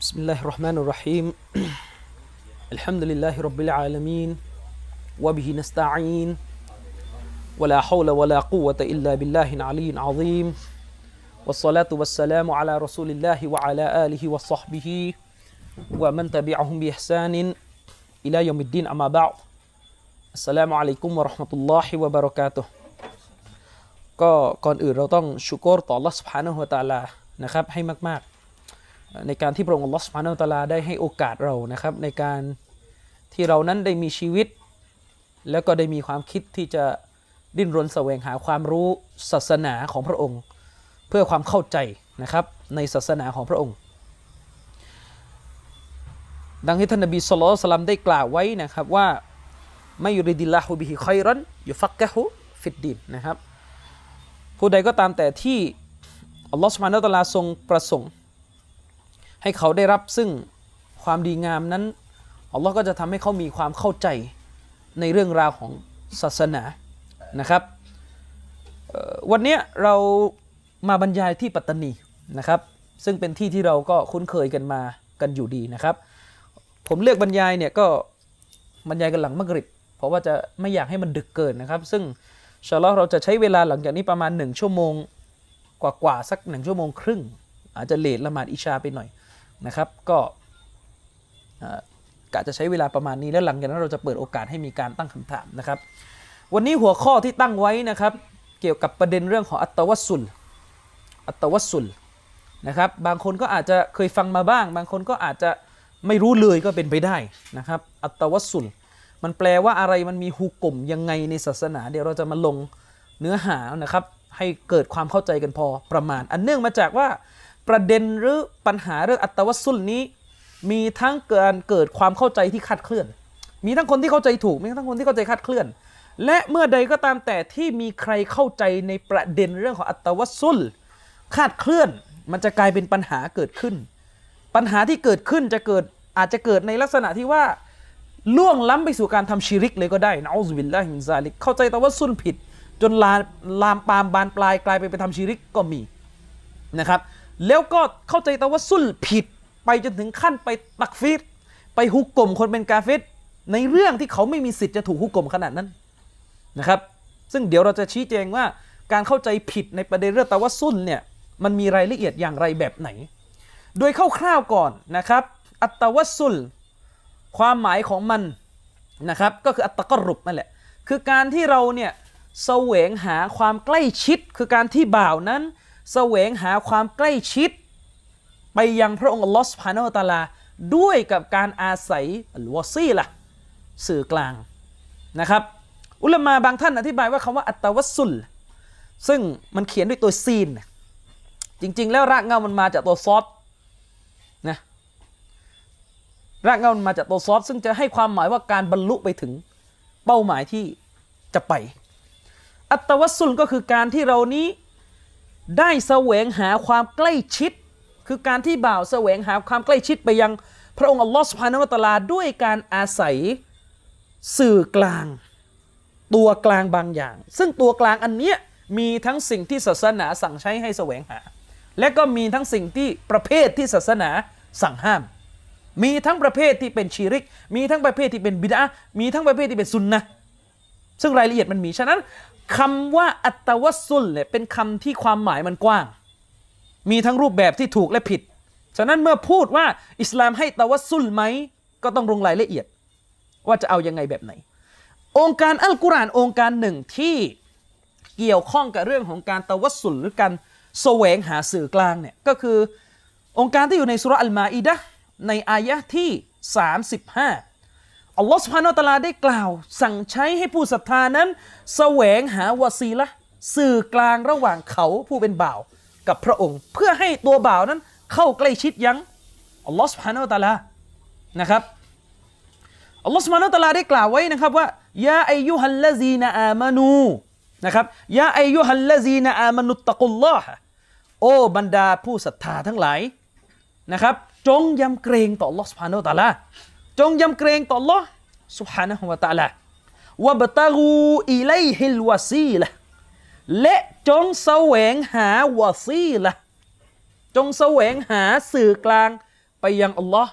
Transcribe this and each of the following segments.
بسم الله الرحمن الرحيم الحمد لله رب العالمين وبه نستعين ولا حول ولا قوة إلا بالله العلي العظيم والصلاة والسلام على رسول الله وعلى آله وصحبه ومن تبعهم بإحسان إلى يوم الدين أما بعد السلام عليكم ورحمة الله وبركاته ก็ก่อนอื่นเราต้องชุกรต่อ Allah سبحانه และ تعالى นะครับให้มากๆในการที่พระองค์ Allah سبحانه และ تعالى ได้ให้โอกาสเรานะครับในการที่เรานั้นได้มีชีวิตแล้วก็ได้มีความคิดที่จะดิ้นรนแสวงหาความรู้ศาสนาของพระองค์เพื่อความเข้าใจนะครับในศาสนาของพระองค์ดังที่ท่านนบีศ็อลลัลลอฮุอะลัยฮิวะซัลลัมได้กล่าวไว้นะครับว่ามัยยุริดิลลาฮุบิฮิค็อยรันยุฟักกะฮุฟิดดีนนะครับผู้ใดก็ตามแต่ที่อัลลอฮฺซุบฮานะฮูวะตะอาลาทรงประสงค์ให้เขาได้รับซึ่งความดีงามนั้นอัลลอฮ์ก็จะทำให้เขามีความเข้าใจในเรื่องราวของศาสนานะครับวันนี้เรามาบรรยายที่ปัตตานีนะครับซึ่งเป็นที่ที่เราก็คุ้นเคยกันมากันอยู่ดีนะครับผมเลือกบรรยายเนี่ยก็บรรยายกันหลังมักริบเพราะว่าจะไม่อยากให้มันดึกเกินนะครับซึ่งอินชาอัลเลาะห์เราจะใช้เวลาหลังจากนี้ประมาณ1ชั่วโมงกว่าสัก1ชั่วโมงครึ่งอาจจะเลทละหมาดอิชาไปหน่อยนะครับก็กะจะใช้เวลาประมาณนี้แล้วหลังจากนั้นเราจะเปิดโอกาสให้มีการตั้งคำถามนะครับวันนี้หัวข้อที่ตั้งไว้นะครับเกี่ยวกับประเด็นเรื่องของอัตตะวัสสุลนะครับบางคนก็อาจจะเคยฟังมาบ้างบางคนก็อาจจะไม่รู้เลยก็เป็นไปได้นะครับอัตตะวัสสุลมันแปลว่าอะไรมันมีฮุกมยังไงในศาสนาเดี๋ยวเราจะมาลงเนื้อหานะครับให้เกิดความเข้าใจกันพอประมาณอันเนื่องมาจากว่าประเด็นหรือปัญหาเรื่องอัตตะวัสสุลนี้มีทั้งการเกิดความเข้าใจที่คลาดเคลื่อนมีทั้งคนที่เข้าใจถูกมีทั้งคนที่เข้าใจคลาดเคลื่อนและเมื่อใดก็ตามแต่ที่มีใครเข้าใจในประเด็นเรื่องของอัตตะวัสสุลคลาดเคลื่อนมันจะกลายเป็นปัญหาเกิดขึ้นปัญหาที่เกิดขึ้นอาจจะเกิดในลักษณะที่ว่าล่วงล้ำไปสู่การทำชิริกเลยก็ได้นะอูซุบิลลาฮิมินซาลิกเข้าใจตะวัสสุลผิดจนลามปามบานปลายกลายไปทำชิริกก็มีนะครับแล้วก็เข้าใจตะวัสสุลผิดไปจนถึงขั้นไปตักฟีรไปฮุกกลมคนเป็นกาเฟรในเรื่องที่เขาไม่มีสิทธิ์จะถูกฮุกกลมขนาดนั้นนะครับซึ่งเดี๋ยวเราจะชี้แจงว่าการเข้าใจผิดในประเด็นเรื่องตะวัสสุลเนี่ยมันมีรายละเอียดอย่างไรแบบไหนโดยคร่าวๆก่อนนะครับอัตตะวัสสุลความหมายของมันนะครับก็คืออัตตะกรุบนั่นแหละคือการที่เราเนี่ยแสวงหาความใกล้ชิดคือการที่บ่าวนั้นแสวงหาความใกล้ชิดไปยังพระองค์อัลลอฮฺซุบฮานะฮูวะตะอาลาด้วยกับการอาศัยอัลวะซีละห์สื่อกลางนะครับอุลามะบางท่านอธิบายว่าคำว่าอัตตะวัสสุลซึ่งมันเขียนด้วยตัวซีนจริงๆแล้วรากเหง้ามันมาจากตัวซอดนะรากเหง้ามันมาจากตัวซอดซึ่งจะให้ความหมายว่าการบรรลุไปถึงเป้าหมายที่จะไปอัตตะวัสสุลก็คือการที่เรานี้ได้แสวงหาความใกล้ชิดคือการที่บ่าวแสวงหาความใกล้ชิดไปยังพระองค์อัลลอฮฺซุบฮานะฮูวะตะอาลาด้วยการอาศัยสื่อกลางตัวกลางบางอย่างซึ่งตัวกลางอันเนี้ยมีทั้งสิ่งที่ศาสนาสั่งใช้ให้แสวงหาและก็มีทั้งสิ่งที่ประเภทที่ศาสนาสั่งห้ามมีทั้งประเภทที่เป็นชิริกมีทั้งประเภทที่เป็นบิดอะห์มีทั้งประเภทที่เป็นซุนนะห์ซึ่งรายละเอียดมันมีฉะนั้นคำว่าอัตตะวัสสุลเนี่ยเป็นคำที่ความหมายมันกว้างมีทั้งรูปแบบที่ถูกและผิดฉะนั้นเมื่อพูดว่าอิสลามให้ตะวัสสุลไหมก็ต้องลงรายละเอียดว่าจะเอายังไงแบบไหนองค์การอัลกุรอานองค์การหนึ่งที่เกี่ยวข้องกับเรื่องของการตะวัสสุลหรือการแสวงหาสื่อกลางเนี่ยก็คือองค์การที่อยู่ในสุเราะห์อัลมาอิดะห์ในอายะห์ที่35อัลลอฮฺซุบฮานะฮูวะตะอาลาได้กล่าวสั่งใช้ให้ผู้ศรัทธานั้นแสวงหาวะซีละห์สื่อกลางระหว่างเขาผู้เป็นบ่าวกับพระองค์เพื่อให้ตัวบ่าวนั้นเข้าใกล้ชิดยังอัลลอฮฺซุบฮานะฮูวะตะอาลานะครับอัลลอฮฺซุบฮานะฮูวะตะอาลาได้กล่าวไว้นะครับว่ายาอัยยูฮัลลซีนะอามานูนะครับยาอัยยูฮัลลซีนะอามานุตตะกุลลอฮะโอ้บรรดาผู้ศรัทธาทั้งหลายนะครับจงยำเกรงต่ออัลลอฮฺซุบฮานะฮูวะตะอาลาจงยำเกรงต่ออัลลอฮฺซุบฮานะฮูวะตะอาลาวะบตะกูอิลัยฮิลวะซีละและจงแสวงหาวะซีละจงแสวงหาสื่อกลางไปยังอัลลอฮ์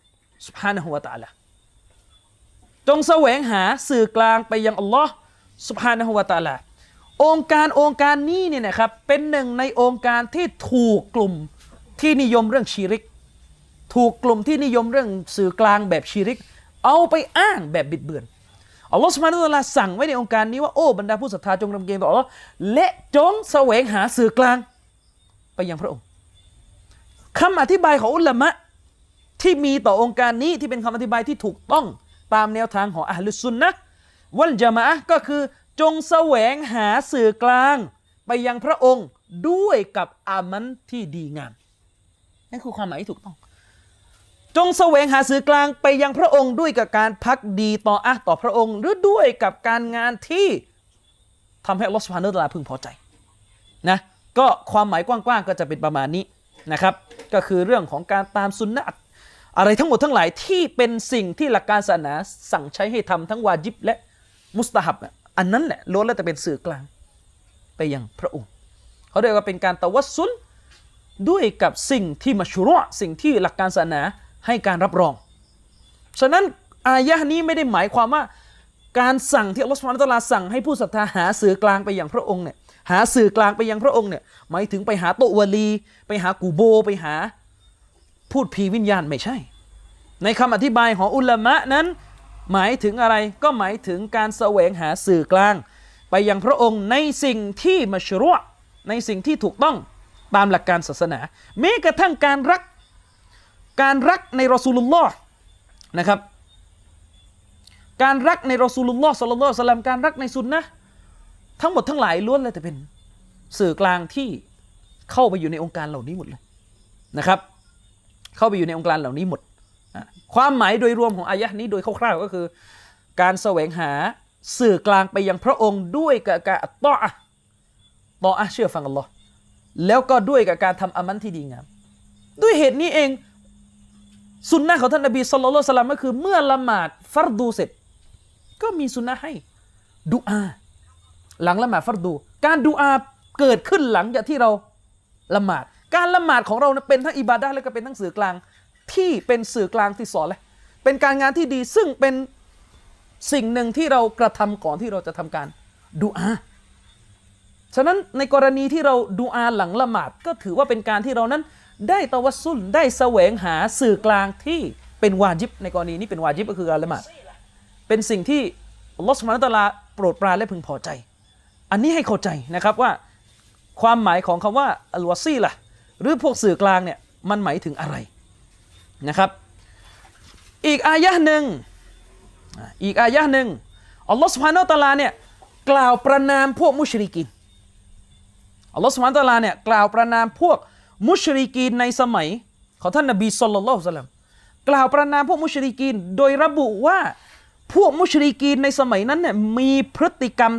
سبحانه และ تعالى จงแสวงหาสื่อกลางไปยังอัลลอฮ์ سبحانه และ تعالى องค์การนี้เนี่ยนะครับเป็นหนึ่งในองค์การที่ถูกกลุ่มที่นิยมเรื่องชิริกถูกกลุ่มที่นิยมเรื่องสื่อกลางแบบชิริกเอาไปอ้างแบบบิดเบือนอัลลอฮฺซุบฮานะฮูวะตะอาลาสั่งไว้ในองค์การนี้ว่าโอ้บรรดาผู้ศรัทธาจงรำเกรงต่ออัลลอฮ์และจงแสวงหาสื่อกลางไปยังพระองค์คำอธิบายของอุลามะที่มีต่อองค์การนี้ที่เป็นคำอธิบายที่ถูกต้องตามแนวทางของอะห์ลุสซุนนะฮ์วัลญะมาอะฮ์ก็คือจงแสวงหาสื่อกลางไปยังพระองค์ด้วยกับอามันที่ดีงามนั่นคือความหมายที่ถูกต้องจงแสวงหาสื่อกลางไปยังพระองค์ด้วยกับการพักดีต่อต่อพระองค์หรือด้วยกับการงานที่ทำให้อัลลอฮฺซุบฮานะฮูวะตะอาลาพึงพอใจนะก็ความหมายกว้างๆก็จะเป็นประมาณนี้นะครับก็คือเรื่องของการตามสุนนะห์อะไรทั้งหมดทั้งหลายที่เป็นสิ่งที่หลักการศาสนาสั่งใช้ให้ทำทั้งวาญิบและมุสตะฮับอันนั้นแหละล้วนแล้วแต่เป็นสื่อกลางไปยังพระองค์เขาเรียกว่าเป็นการตะวัสซุลด้วยกับสิ่งที่มัชรูอ์สิ่งที่หลักการศาสนาให้การรับรองฉะนั้นอายะห์นี้ไม่ได้หมายความว่าการสั่งที่อัลลอฮฺซุบฮานะฮูวะตะอาลาสั่งให้ผู้ศรัทธาหาสื่อกลางไปยังพระองค์เนี่ยหาสื่อกลางไปยังพระองค์เนี่ยหมายถึงไปหาโตวะลีไปหากูโบไปหาพูดผีวิญญาณไม่ใช่ในคำอธิบายของอุลามะนั้นหมายถึงอะไรก็หมายถึงการแสวงหาสื่อกลางไปยังพระองค์ในสิ่งที่มัชรูอ์ในสิ่งที่ถูกต้องตามหลักการศาสนาแม้กระทั่งการรักในรอซูลุลลอฮ์นะครับการรักในรอซูลุลลอฮ์ศ็อลลัลลอฮุอะลัยฮิวะซัลลัมการรักในสุนนะห์ทั้งหมดทั้งหลายล้วนเลยแต่เป็นสื่อกลางที่เข้าไปอยู่ในองค์การเหล่านี้หมดเลยนะครับเข้าไปอยู่ในองค์การเหล่านี้หมดความหมายโดยรวมของอายะห์นี้โดยคร่าวๆก็คือการแสวงหาสื่อกลางไปยังพระองค์ด้วยกับการตออะห์เชื่อฟังอัลลอฮ์แล้วก็ด้วยกับการทำอามันที่ดีงามด้วยเหตุนี้เองสุนนะของท่านนบีศ็อลลัลลอฮุอะลัยฮิวะซัลลัมก็คือเมื่อละหมาดฟัรดูเสร็จก็มีสุนนะให้ดุอาหลังละหมาดฟัรดูการดุอาเกิดขึ้นหลังจากที่เราละหมาดการละหมาดของเราเป็นทั้งอิบาดะห์และก็เป็นทั้งสื่อกลางที่เป็นสื่อกลางที่สอนเลยเป็นการงานที่ดีซึ่งเป็นสิ่งหนึ่งที่เรากระทำก่อนที่เราจะทำการดุอาฉะนั้นในกรณีที่เราดุอาหลังละหมาดก็ถือว่าเป็นการที่เรานั้นได้ตะวัสซุลได้แสวงหาสื่อกลางที่เป็นวาญิบในกรณีนี้เป็นวาญิบก็คือการละหมาดเป็นสิ่งที่อัลลอฮฺซุบฮานะฮูวะตะอาลาโปรดปรานและพึงพอใจอันนี้ให้เข้าใจนะครับว่าความหมายของคำว่าอัลวาซีละห์หรือพวกสื่อกลางเนี่ยมันหมายถึงอะไรนะครับอีกอายะห์หนึ่งอัลลอฮฺซุบฮานะฮูวะตะอาลาเนี่ยกล่าวประนามพวกมุชริกีนอัลลอฮฺซุบฮานะฮูวะตะอาลาเนี่ยกล่าวประนามพวกมุชริกีนในสมัยของท่านนบีศ็อลลัลลอฮุอะลัยฮิวะซัลลัมกล่าวประนามพวกมุชริกีนโดยระบุว่าพวกมุชริกีนในสมัยนั้นเนี่ยมีพฤติกรรม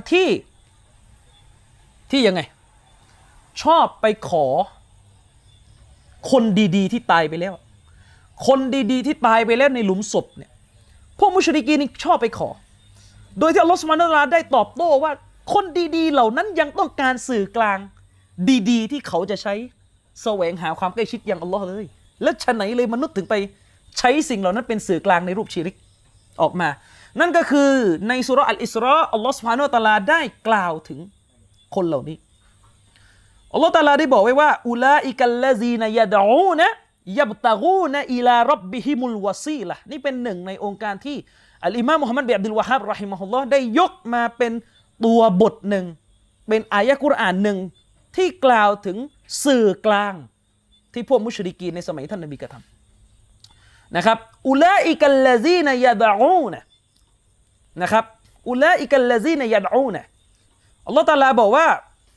ที่ยังไงชอบไปขอคนดีๆที่ตายไปแล้วคนดีๆที่ตายไปแล้วในหลุมศพเนี่ยพวกมุชริกีนนี่ชอบไปขอโดยที่อัลลอฮฺซุบฮานะฮูวะตะอาลาได้ตอบโต้ว่าคนดีๆเหล่านั้นยังต้องการสื่อกลางดีๆที่เขาจะใช้แสวงหาความใกล้ชิดอย่างอัลลอฮ์เลยแล้วฉะไหนเลยมนุษย์ถึงไปใช้สิ่งเหล่านั้นเป็นสื่อกลางในรูปชิริกออกมานั่นก็คือในซูเราะห์อัลอิสรออัลลอฮ์ซุบฮานะฮูวะตะอาลาได้กล่าวถึงคนเหล่านี้อัลลอฮ์ตะอาลาได้บอกไว้ว่าอุลาอิกัลลซีนยะดอูนะยับตะกูนอิลาร็อบบิฮิมุลวะซีละห์นี่เป็นหนึ่งในองค์การที่อัลอิมามมุฮัมมัดบินอับดุลวะฮาบเราะฮิมะฮุลลอฮ์ได้ยกมาเป็นตัวบทหนึ่งเป็นอายะห์กุรอานหนึ่งที่กล่าวถึงสื่อกลางที่พวกมุชริกีนในสมัยท่านนบีกระทำนะครับอุลาอิกัลลซีนยะดอูนะนะครับอุลาอิกัลลซีนยะดอูนะอัลลอฮ์ตะอาลาบอกว่า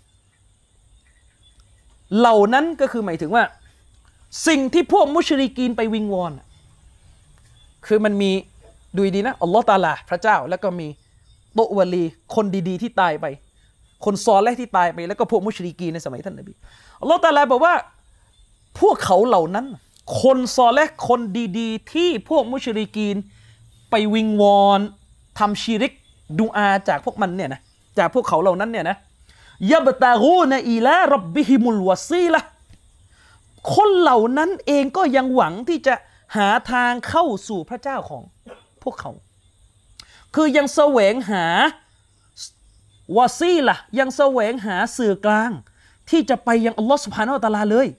เหล่านั้นก็คือหมายถึงว่าสิ่งที่พวกมุชริกีนไปวิงวอนคือมันมีดูดีนะอัลลอฮ์ตะอาลาพระเจ้าแล้วก็มีโตวะลีคนดีๆที่ตายไปคนซอเลห์ที่ตายไปแล้วก็พวกมุชริกีนในสมัยท่านนบีอัลลอฮ์ตะอาลาบอกว่าพวกเขาเหล่านั้นคนซอเลห์คนดีๆที่พวกมุชริกีนไปวิงวอนทำชิริกดุอาจากพวกมันเนี่ยนะจากพวกเขาเหล่านั้นเนี่ยนะยับตะกูนอิลาร็อบบิฮิมุลวะซีละห์คนเหล่านั้นเองก็ยังหวังที่จะหาทางเข้าสู่พระเจ้าของพวกเขาคือยังแสวงหาวาซีละยังแสวงหาสื่อกลางที่จะไปยังอัลลอฮฺซุบฮานะฮูวะตะอาลาเลย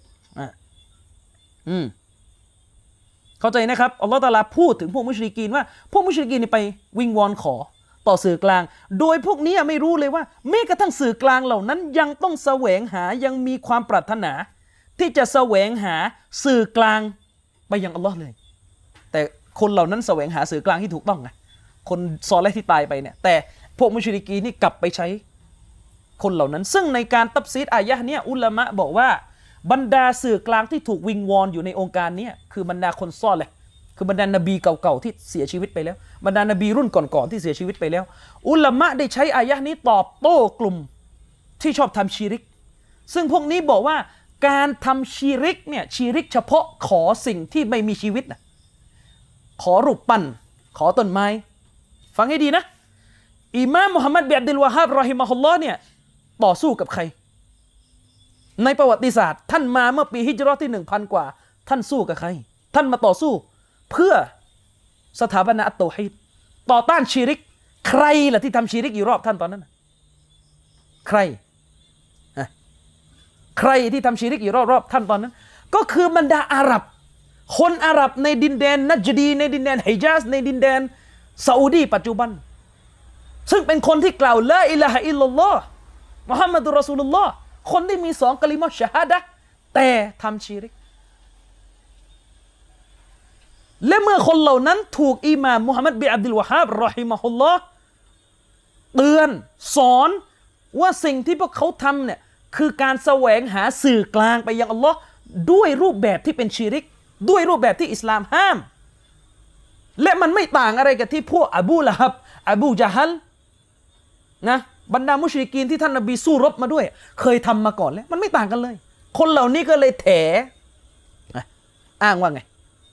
เข้าใจนะครับอัลลอฮฺตะอาลาพูดถึงพวกมุชริกีนว่าพวกมุชริกีนนี่ไปวิงวอนขอต่อสื่อกลางโดยพวกนี้ไม่รู้เลยว่าแม้กระทั่งสื่อกลางเหล่านั้นยังต้องแสวงหายังมีความปรารถนาที่จะแสวงหาสื่อกลางไปยังอัลลอฮ์เลยแต่คนเหล่านั้นแสวงหาสื่อกลางที่ถูกต้องไงคนซอเลห์ที่ตายไปเนี่ยแต่พวกมุชริกีนนี่กลับไปใช้คนเหล่านั้นซึ่งในการตัฟซีรอายะห์เนี่ยอุลามะบอกว่าบรรดาสื่อกลางที่ถูกวิงวอนอยู่ในองค์การนี้คือบรรดาคนซอเลห์คือบรรดานบีเก่าๆที่เสียชีวิตไปแล้วบรรดานบีรุ่นก่อนๆที่เสียชีวิตไปแล้วอุลามะได้ใช้อายะห์นี้ตอบโต้กลุ่มที่ชอบทำชีริกซึ่งพวกนี้บอกว่าการทำชีริกเนี่ยชีริกเฉพาะขอสิ่งที่ไม่มีชีวิตนะขอรูปปั้นขอต้นไม้ฟังให้ดีนะอิมามมุฮัมมัดบินอับดุลวะฮาบรอฮิมะฮุลลอฮ์เนี่ยต่อสู้กับใครในประวัติศาสตร์ท่านมาเมื่อปีฮิจเราะห์ที่ 1,000 กว่าท่านสู้กับใครท่านมาต่อสู้เพื่อสถาบันอัตเตาฮีดต่อต้านชีริกใครล่ะที่ทำชีริกอยู่รอบท่านตอนนั้นใครที่ทำชีริกอยู่รอบท่านตอนนั้นก็คือบรรดาอาหรับคนอาหรับในดินแดนนัจดีในดินแดนฮิญาซในดินแดนซาอุดีปัจจุบันซึ่งเป็นคนที่กล่าวลาอิลาฮะอิลลัลลอฮ์มุฮัมมัดุรรอซูลุลลอฮ์คนที่มี2กะลิมะฮ์ชะฮาดะห์แต่ทำชีริกและเมื่อคนเหล่านั้นถูกอิหม่ามมุฮัมมัดบินอับดุลวะฮาบรอฮิมะฮุลลอฮ์เตือนสอนว่าสิ่งที่พวกเขาทำเนี่ยคือการแสวงหาสื่อกลางไปยังอัลลอฮ์ด้วยรูปแบบที่เป็นชีริกด้วยรูปแบบที่อิสลามห้ามและมันไม่ต่างอะไรกับที่พวกอบูละฮับอบูญะฮัลนะบรรดามุชริกีนที่ท่านนบีสู้รบมาด้วยเคยทำมาก่อนแล้วมันไม่ต่างกันเลยคนเหล่านี้ก็เลยแถอ้างว่าไง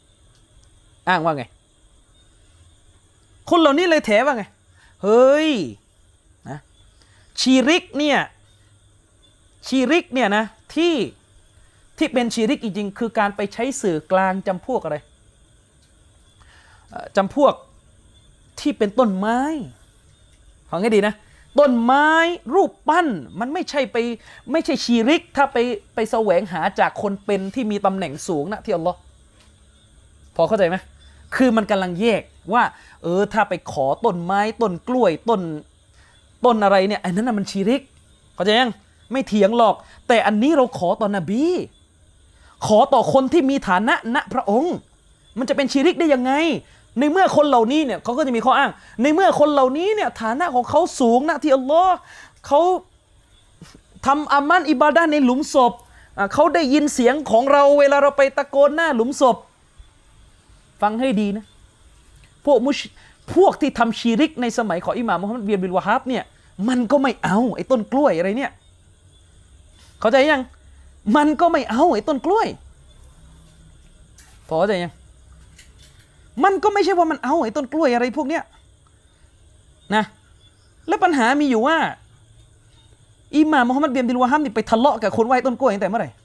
คนเหล่านี้เลยแถว่าไงเฮ้ยนะชีริกเนี่ยนะที่เป็นชีริกจริงๆคือการไปใช้สื่อกลางจำพวกอะไรจำพวกที่เป็นต้นไม้ฟังให้ดีนะต้นไม้รูปปั้นมันไม่ใช่ชีริกถ้าไปแสวงหาจากคนเป็นที่มีตำแหน่งสูงนะที่อัลลอฮ์พอเข้าใจไหมคือมันกำลังแยกว่าถ้าไปขอต้นไม้ต้นกล้วยต้นอะไรเนี่ยอันนั้นน่ะมันชีริกเข้าใจยังไม่เถียงหรอกแต่อันนี้เราขอต่อนบีขอต่อคนที่มีฐานะณพระองค์มันจะเป็นชีริกได้ยังไงในเมื่อคนเหล่านี้เนี่ยเขาก็จะมีข้ออ้างในเมื่อคนเหล่านี้เนี่ยฐานะของเขาสูงนะที่อัลลอฮ์เขาทำอามันอิบาดะห์ในหลุมศพเขาได้ยินเสียงของเราเวลาเราไปตะโกนหน้าหลุมศพฟังให้ดีนะพวกที่ทำชีริกในสมัยของอิหม่ามมุฮัมมัดบินอับดุลวะฮาบเนี่ยมันก็ไม่เอาไอ้ต้นกล้วยอะไรเนี่ยเข้าใจยังมันก็ไม่เอาไอ้ต้นกล้วยพอเข้าใจยังมันก็ไม่ใช่ว่ามันเอาไอ้ต้นกล้วยอะไรพวกเนี้ยนะและปัญหามีอยู่ว่าอิหม่ามมุฮัมมัดบินอับดุลวะฮาบนี่ไปทะเลาะกับคนไหว้ต้นกล้วยตั้งแต่เมื่อไหร่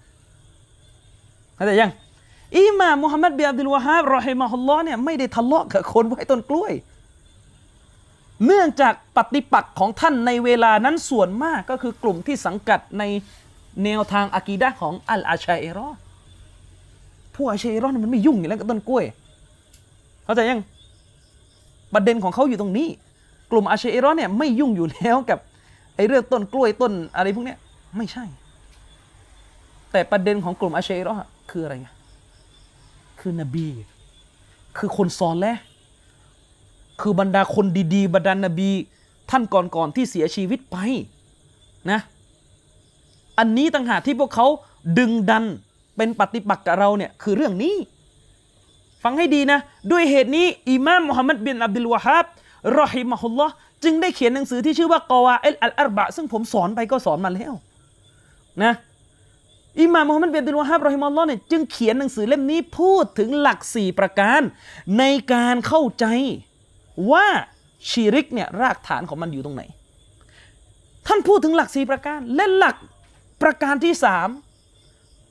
เข้าใจยังอิหม่ามมุฮัมมัดบินอับดุลวะฮาบรอฮิมะฮุลลอฮ์เนี่ยไม่ได้ทะเลาะกับคนไหว้ต้นกล้วยเนื่องจากปฏิปักษ์ของท่านในเวลานั้นส่วนมากก็คือกลุ่มที่สังกัดในแนวทางอะกีดะห์ของอัลอาชัยรอพวกอาชัยรอมันไม่ยุ่งอยู่แล้วกับต้นกล้วยเข้าใจยังประเด็นของเขาอยู่ตรงนี้กลุ่มอาชัยรอเนี่ยไม่ยุ่งอยู่แล้วกับไอ้เรื่องต้นกล้วยต้นอะไรพวกเนี้ยไม่ใช่แต่ประเด็นของกลุ่มอาชัยรอคืออะไรคือนบีคือคนซอเลห์คือบรรดาคนดีๆบรรดานบีท่านก่อนๆที่เสียชีวิตไปนะอันนี้ต่างหากที่พวกเขาดึงดันเป็นปฏิปักษ์กับเราเนี่ยคือเรื่องนี้ฟังให้ดีนะด้วยเหตุนี้อิมามมุฮัมมัดบินอับดุลวะฮาบรอฮิมะฮุลลอฮ์จึงได้เขียนหนังสือที่ชื่อว่ากอวาอิดอัลอัรบะซึ่งผมสอนไปก็สอนมาแล้วนะอิมามมุฮัมมัดบินอับดุลวะฮาบรอฮิมะฮุลลอฮ์เนี่ยจึงเขียนหนังสือเล่มนี้พูดถึงหลัก4ประการในการเข้าใจว่าชีริกเนี่ยรากฐานของมันอยู่ตรงไหนท่านพูดถึงหลัก4ประการและหลักประการที่3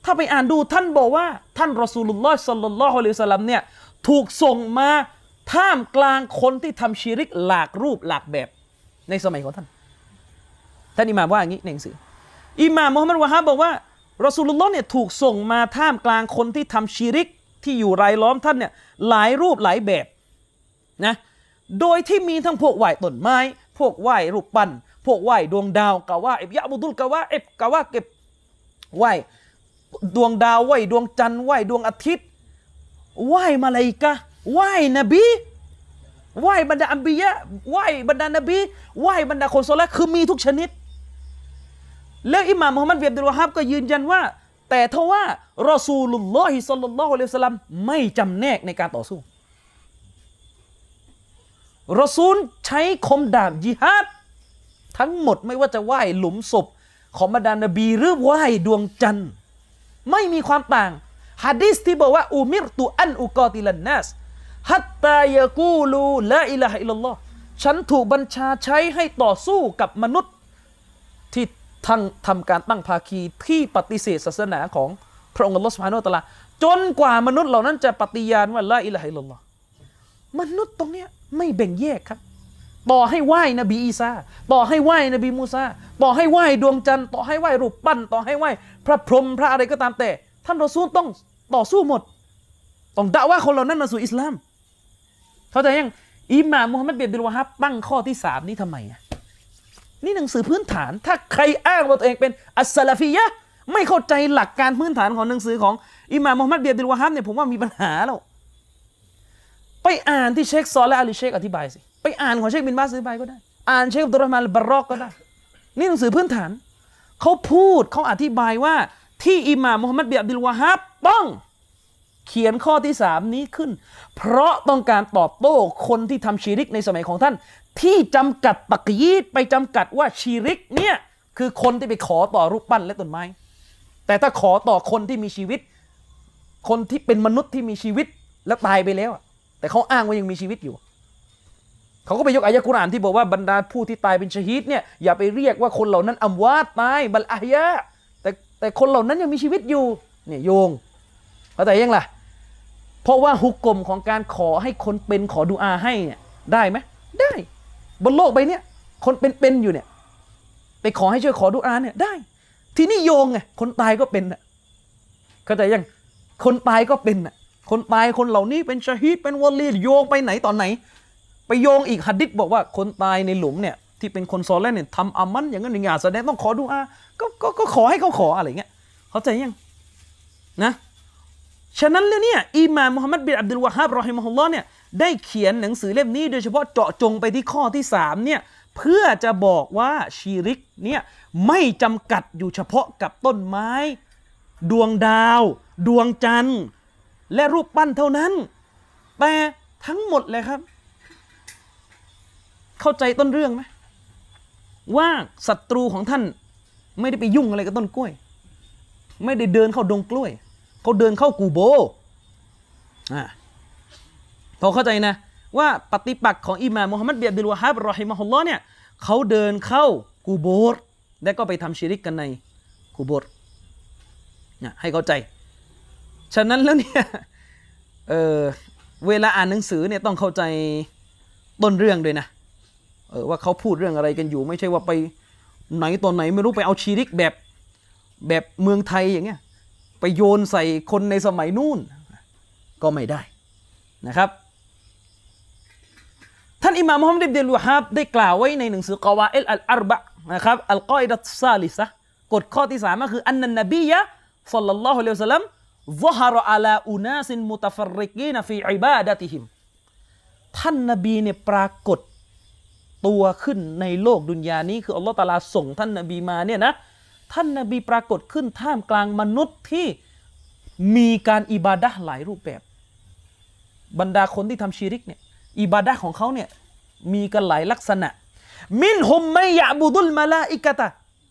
ถ้าไปอ่านดูท่านบอกว่าท่านรอซูลุลลอฮ์ศ็อลลัลลอฮุอะลัยฮิวะซัลลัมเนี่ยถูกส่งมาท่ามกลางคนที่ทำชิริกหลากรูปหลากแบบในสมัยของท่านอิหม่ามว่าอย่างนี้ในหนังสืออิหม่ามมุฮัมมัดวะฮาบบอกว่ารอซูลุลลอฮ์เนี่ยถูกส่งมาท่ามกลางคนที่ทำชิริกที่อยู่รายล้อมท่านเนี่ยหลายรูปหลายแบบนะโดยที่มีทั้งพวกไหว้ต้นไม้พวกไหว้รูปปั้นพวกไหว้ดวงดาวกะว่าอิบยะบุดุลกะว่าอิบกะว่าเก็บไหว้ดวงดาวไหว้ดวงจันทร์ไหว้ดวงอาทิตย์ไหว้มลาอิกะฮ์ไหว้นบีไหว้บรรดาอัมบิยะไหว้บรรดานบีไหว้บรรดาคนซอลิห์คือมีทุกชนิดแล้วอิหม่ามมุฮัมมัดบินอับดุลวะฮาบก็ยืนยันว่าแต่ทว่ารอซูลุลลอฮิศ็อลลัลลอฮุอะลัยฮิวะซัลลัมไม่จำแนกในการต่อสู้รอซูลใช้คมดาบญิฮาดทั้งหมดไม่ว่าจะไหว้หลุมศพของบรรดานบีหรือไหว้ดวงจันทร์ไม่มีความต่างหะดีษที่บอกว่าอุมิรตุอันอุกอติลันนัสฮัตตายะกูลูลาอิลาฮะอิลลัลลอฮ์ฉันถูกบัญชาใช้ให้ต่อสู้กับมนุษย์ที่ทำการตั้งภาคีที่ปฏิเสธศาสนาของพระองค์อัลลอฮ์ซุบฮานะฮูวะตะอาลาจนกว่ามนุษย์เหล่านั้นจะปฏิญาณว่าลาอิลาฮะอิลลัลลอฮ์มนุษย์ตรงเนี้ยไม่แบ่งแยกครับต่อให้ไหว้นบีอีสาต่อให้ไหว้นบีมูซาต่อให้ไหว้ดวงจันทร์ต่อให้ไหว้รูปปั้นต่อให้ไหว้พระพรหมพระอะไรก็ตามแต่ท่านรอซูลต้องต่อสู้หมดต้องดะว่าคนเหล่านั้นมาสู่อิสลามเข้าใจยังอิหม่ามมุฮัมมัดบินอับดุลวะฮาบตั้งข้อที่3นี้ทำไมนี่หนังสือพื้นฐานถ้าใครอ้างว่าตัวเองเป็นอัสซะลาฟียะห์ไม่เข้าใจหลักการพื้นฐานของหนังสือของอิหม่ามมุฮัมมัดบินอับดุลวะฮาบเนี่ยผมว่ามีปัญหาแล้วไปอ่านที่เชคซอลิห์อัลเชคอธิบายสิไปอ่านของเชคบินบาสอธิบายก็ได้อ่านเชคอับดุลเราะห์มานอัลบารอกก็ได้นี่หนังสือพื้นฐานเขาพูดเขาอธิบายว่าที่อิหม่ามมุฮัมมัดบินอับดุลวะฮาบต้องเขียนข้อที่3นี้ขึ้นเพราะต้องการตอบโต้คนที่ทำชิริกในสมัยของท่านที่จำกัดตักยีดไปจำกัดว่าชิริกเนี่ยคือคนที่ไปขอต่อรูปปั้นและต้นไม้แต่ถ้าขอต่อคนที่มีชีวิตคนที่เป็นมนุษย์ที่มีชีวิตแล้วตายไปแล้วแต่เขาอ้างว่ายังมีชีวิตอยู่เขาก็ไปยกอายะกุรอานที่บอกว่าบรรดาผู้ที่ตายเป็นชะฮีดเนี่ยอย่าไปเรียกว่าคนเหล่านั้นอัมวาตตายบัลอะฮยะแต่คนเหล่านั้นยังมีชีวิตอยู่เนี่ยโยงเข้าใจยังล่ะเพราะว่าฮุกกลมของการขอให้คนเป็นขอดุอาให้เนี่ยได้ไหมได้บนโลกใบนี้คนเป็นอยู่เนี่ยไปขอให้ช่วยขอดุอาเนี่ยได้ทีนี้โยงไงคนตายก็เป็นน่ะเข้าใจยังคนตายก็เป็นน่ะคนตายคนเหล่านี้เป็นชะฮีดเป็นวะลีโยงไปไหนตอนไหนไปโยงอีกหะดีษบอกว่าคนตายในหลุมเนี่ยที่เป็นคนซอลิห์เนี่ยทำอามันอย่างนั้นอย่างนี้แสดงต้องขอดุอาก็ขอให้เขาขออะไรเงี้ยเข้าใจยังนะฉะนั้นแล้วเนี่ยอิหม่ามมุฮัมมัดบินอับดุลวะฮาบรอฮิมะฮุลลอฮ์เนี่ยได้เขียนหนังสือเล่มนี้โดยเฉพาะเจาะจงไปที่ข้อที่3เนี่ยเพื่อจะบอกว่าชิริกเนี่ยไม่จำกัดอยู่เฉพาะกับต้นไม้ดวงดาวดวงจันทร์และรูปปั้นเท่านั้นแต่ทั้งหมดเลยครับเข้าใจต้นเรื่องไหมว่าศัตรูของท่านไม่ได้ไปยุ่งอะไรกับต้นกล้วยไม่ได้เดินเข้าดงกล้วยเขาเดินเข้ากูโบพอเข้าใจนะว่าปฏิปักษ์ของอิหม่ามมุฮัมมัดบินอับดุลวะฮาบรอฮิมะฮุลลอฮ์เนี่ยเขาเดินเข้ากูโบรและก็ไปทำชิริกกันในกูโบรให้เข้าใจฉะนั้นแล้วเนี่ยเวลาอ่านหนังสือเนี่ยต้องเข้าใจต้นเรื่องด้วยนะว่าเขาพูดเรื่องอะไรกันอยู่ไม่ใช่ว่าไปไหนตอนไหนไม่รู้ไปเอาชิริกแบบเมืองไทยอย่างเงี้ยไปโยนใส่คนในสมัยนู่นก็ไม่ได้นะครับท่านอิหม่ามมุฮัมมัดบินอับดุลวะฮาบได้กล่าวไว้ในหนังสือกอวาอิดอัลอาร์บะนะครับอัลกออิดะตุซาลิซะห์กฎข้อที่3ก็คืออันนันนบียะศ็อลลัลลอฮุอะลัยฮิวะซัลลัมซะฮะรออะลาอุนาซินมุตะฟัรริกีนฟีอิบาดะติฮิมท่านนบีเนี่ยปรากฏตัวขึ้นในโลกดุนยานี้คืออัลเลาะห์ตะอาลาส่งท่านนบีมาเนี่ยนะท่านนบีปรากฏขึ้นท่ามกลางมนุษย์ที่มีการอิบาดะห์หลายรูปแบบบรรดาคนที่ทำชิริกเนี่ยอิบาดะห์ของเขาเนี่ยมีกันหลายลักษณะมินฮุมมัยยะบุดุลมะลาอิกะตะ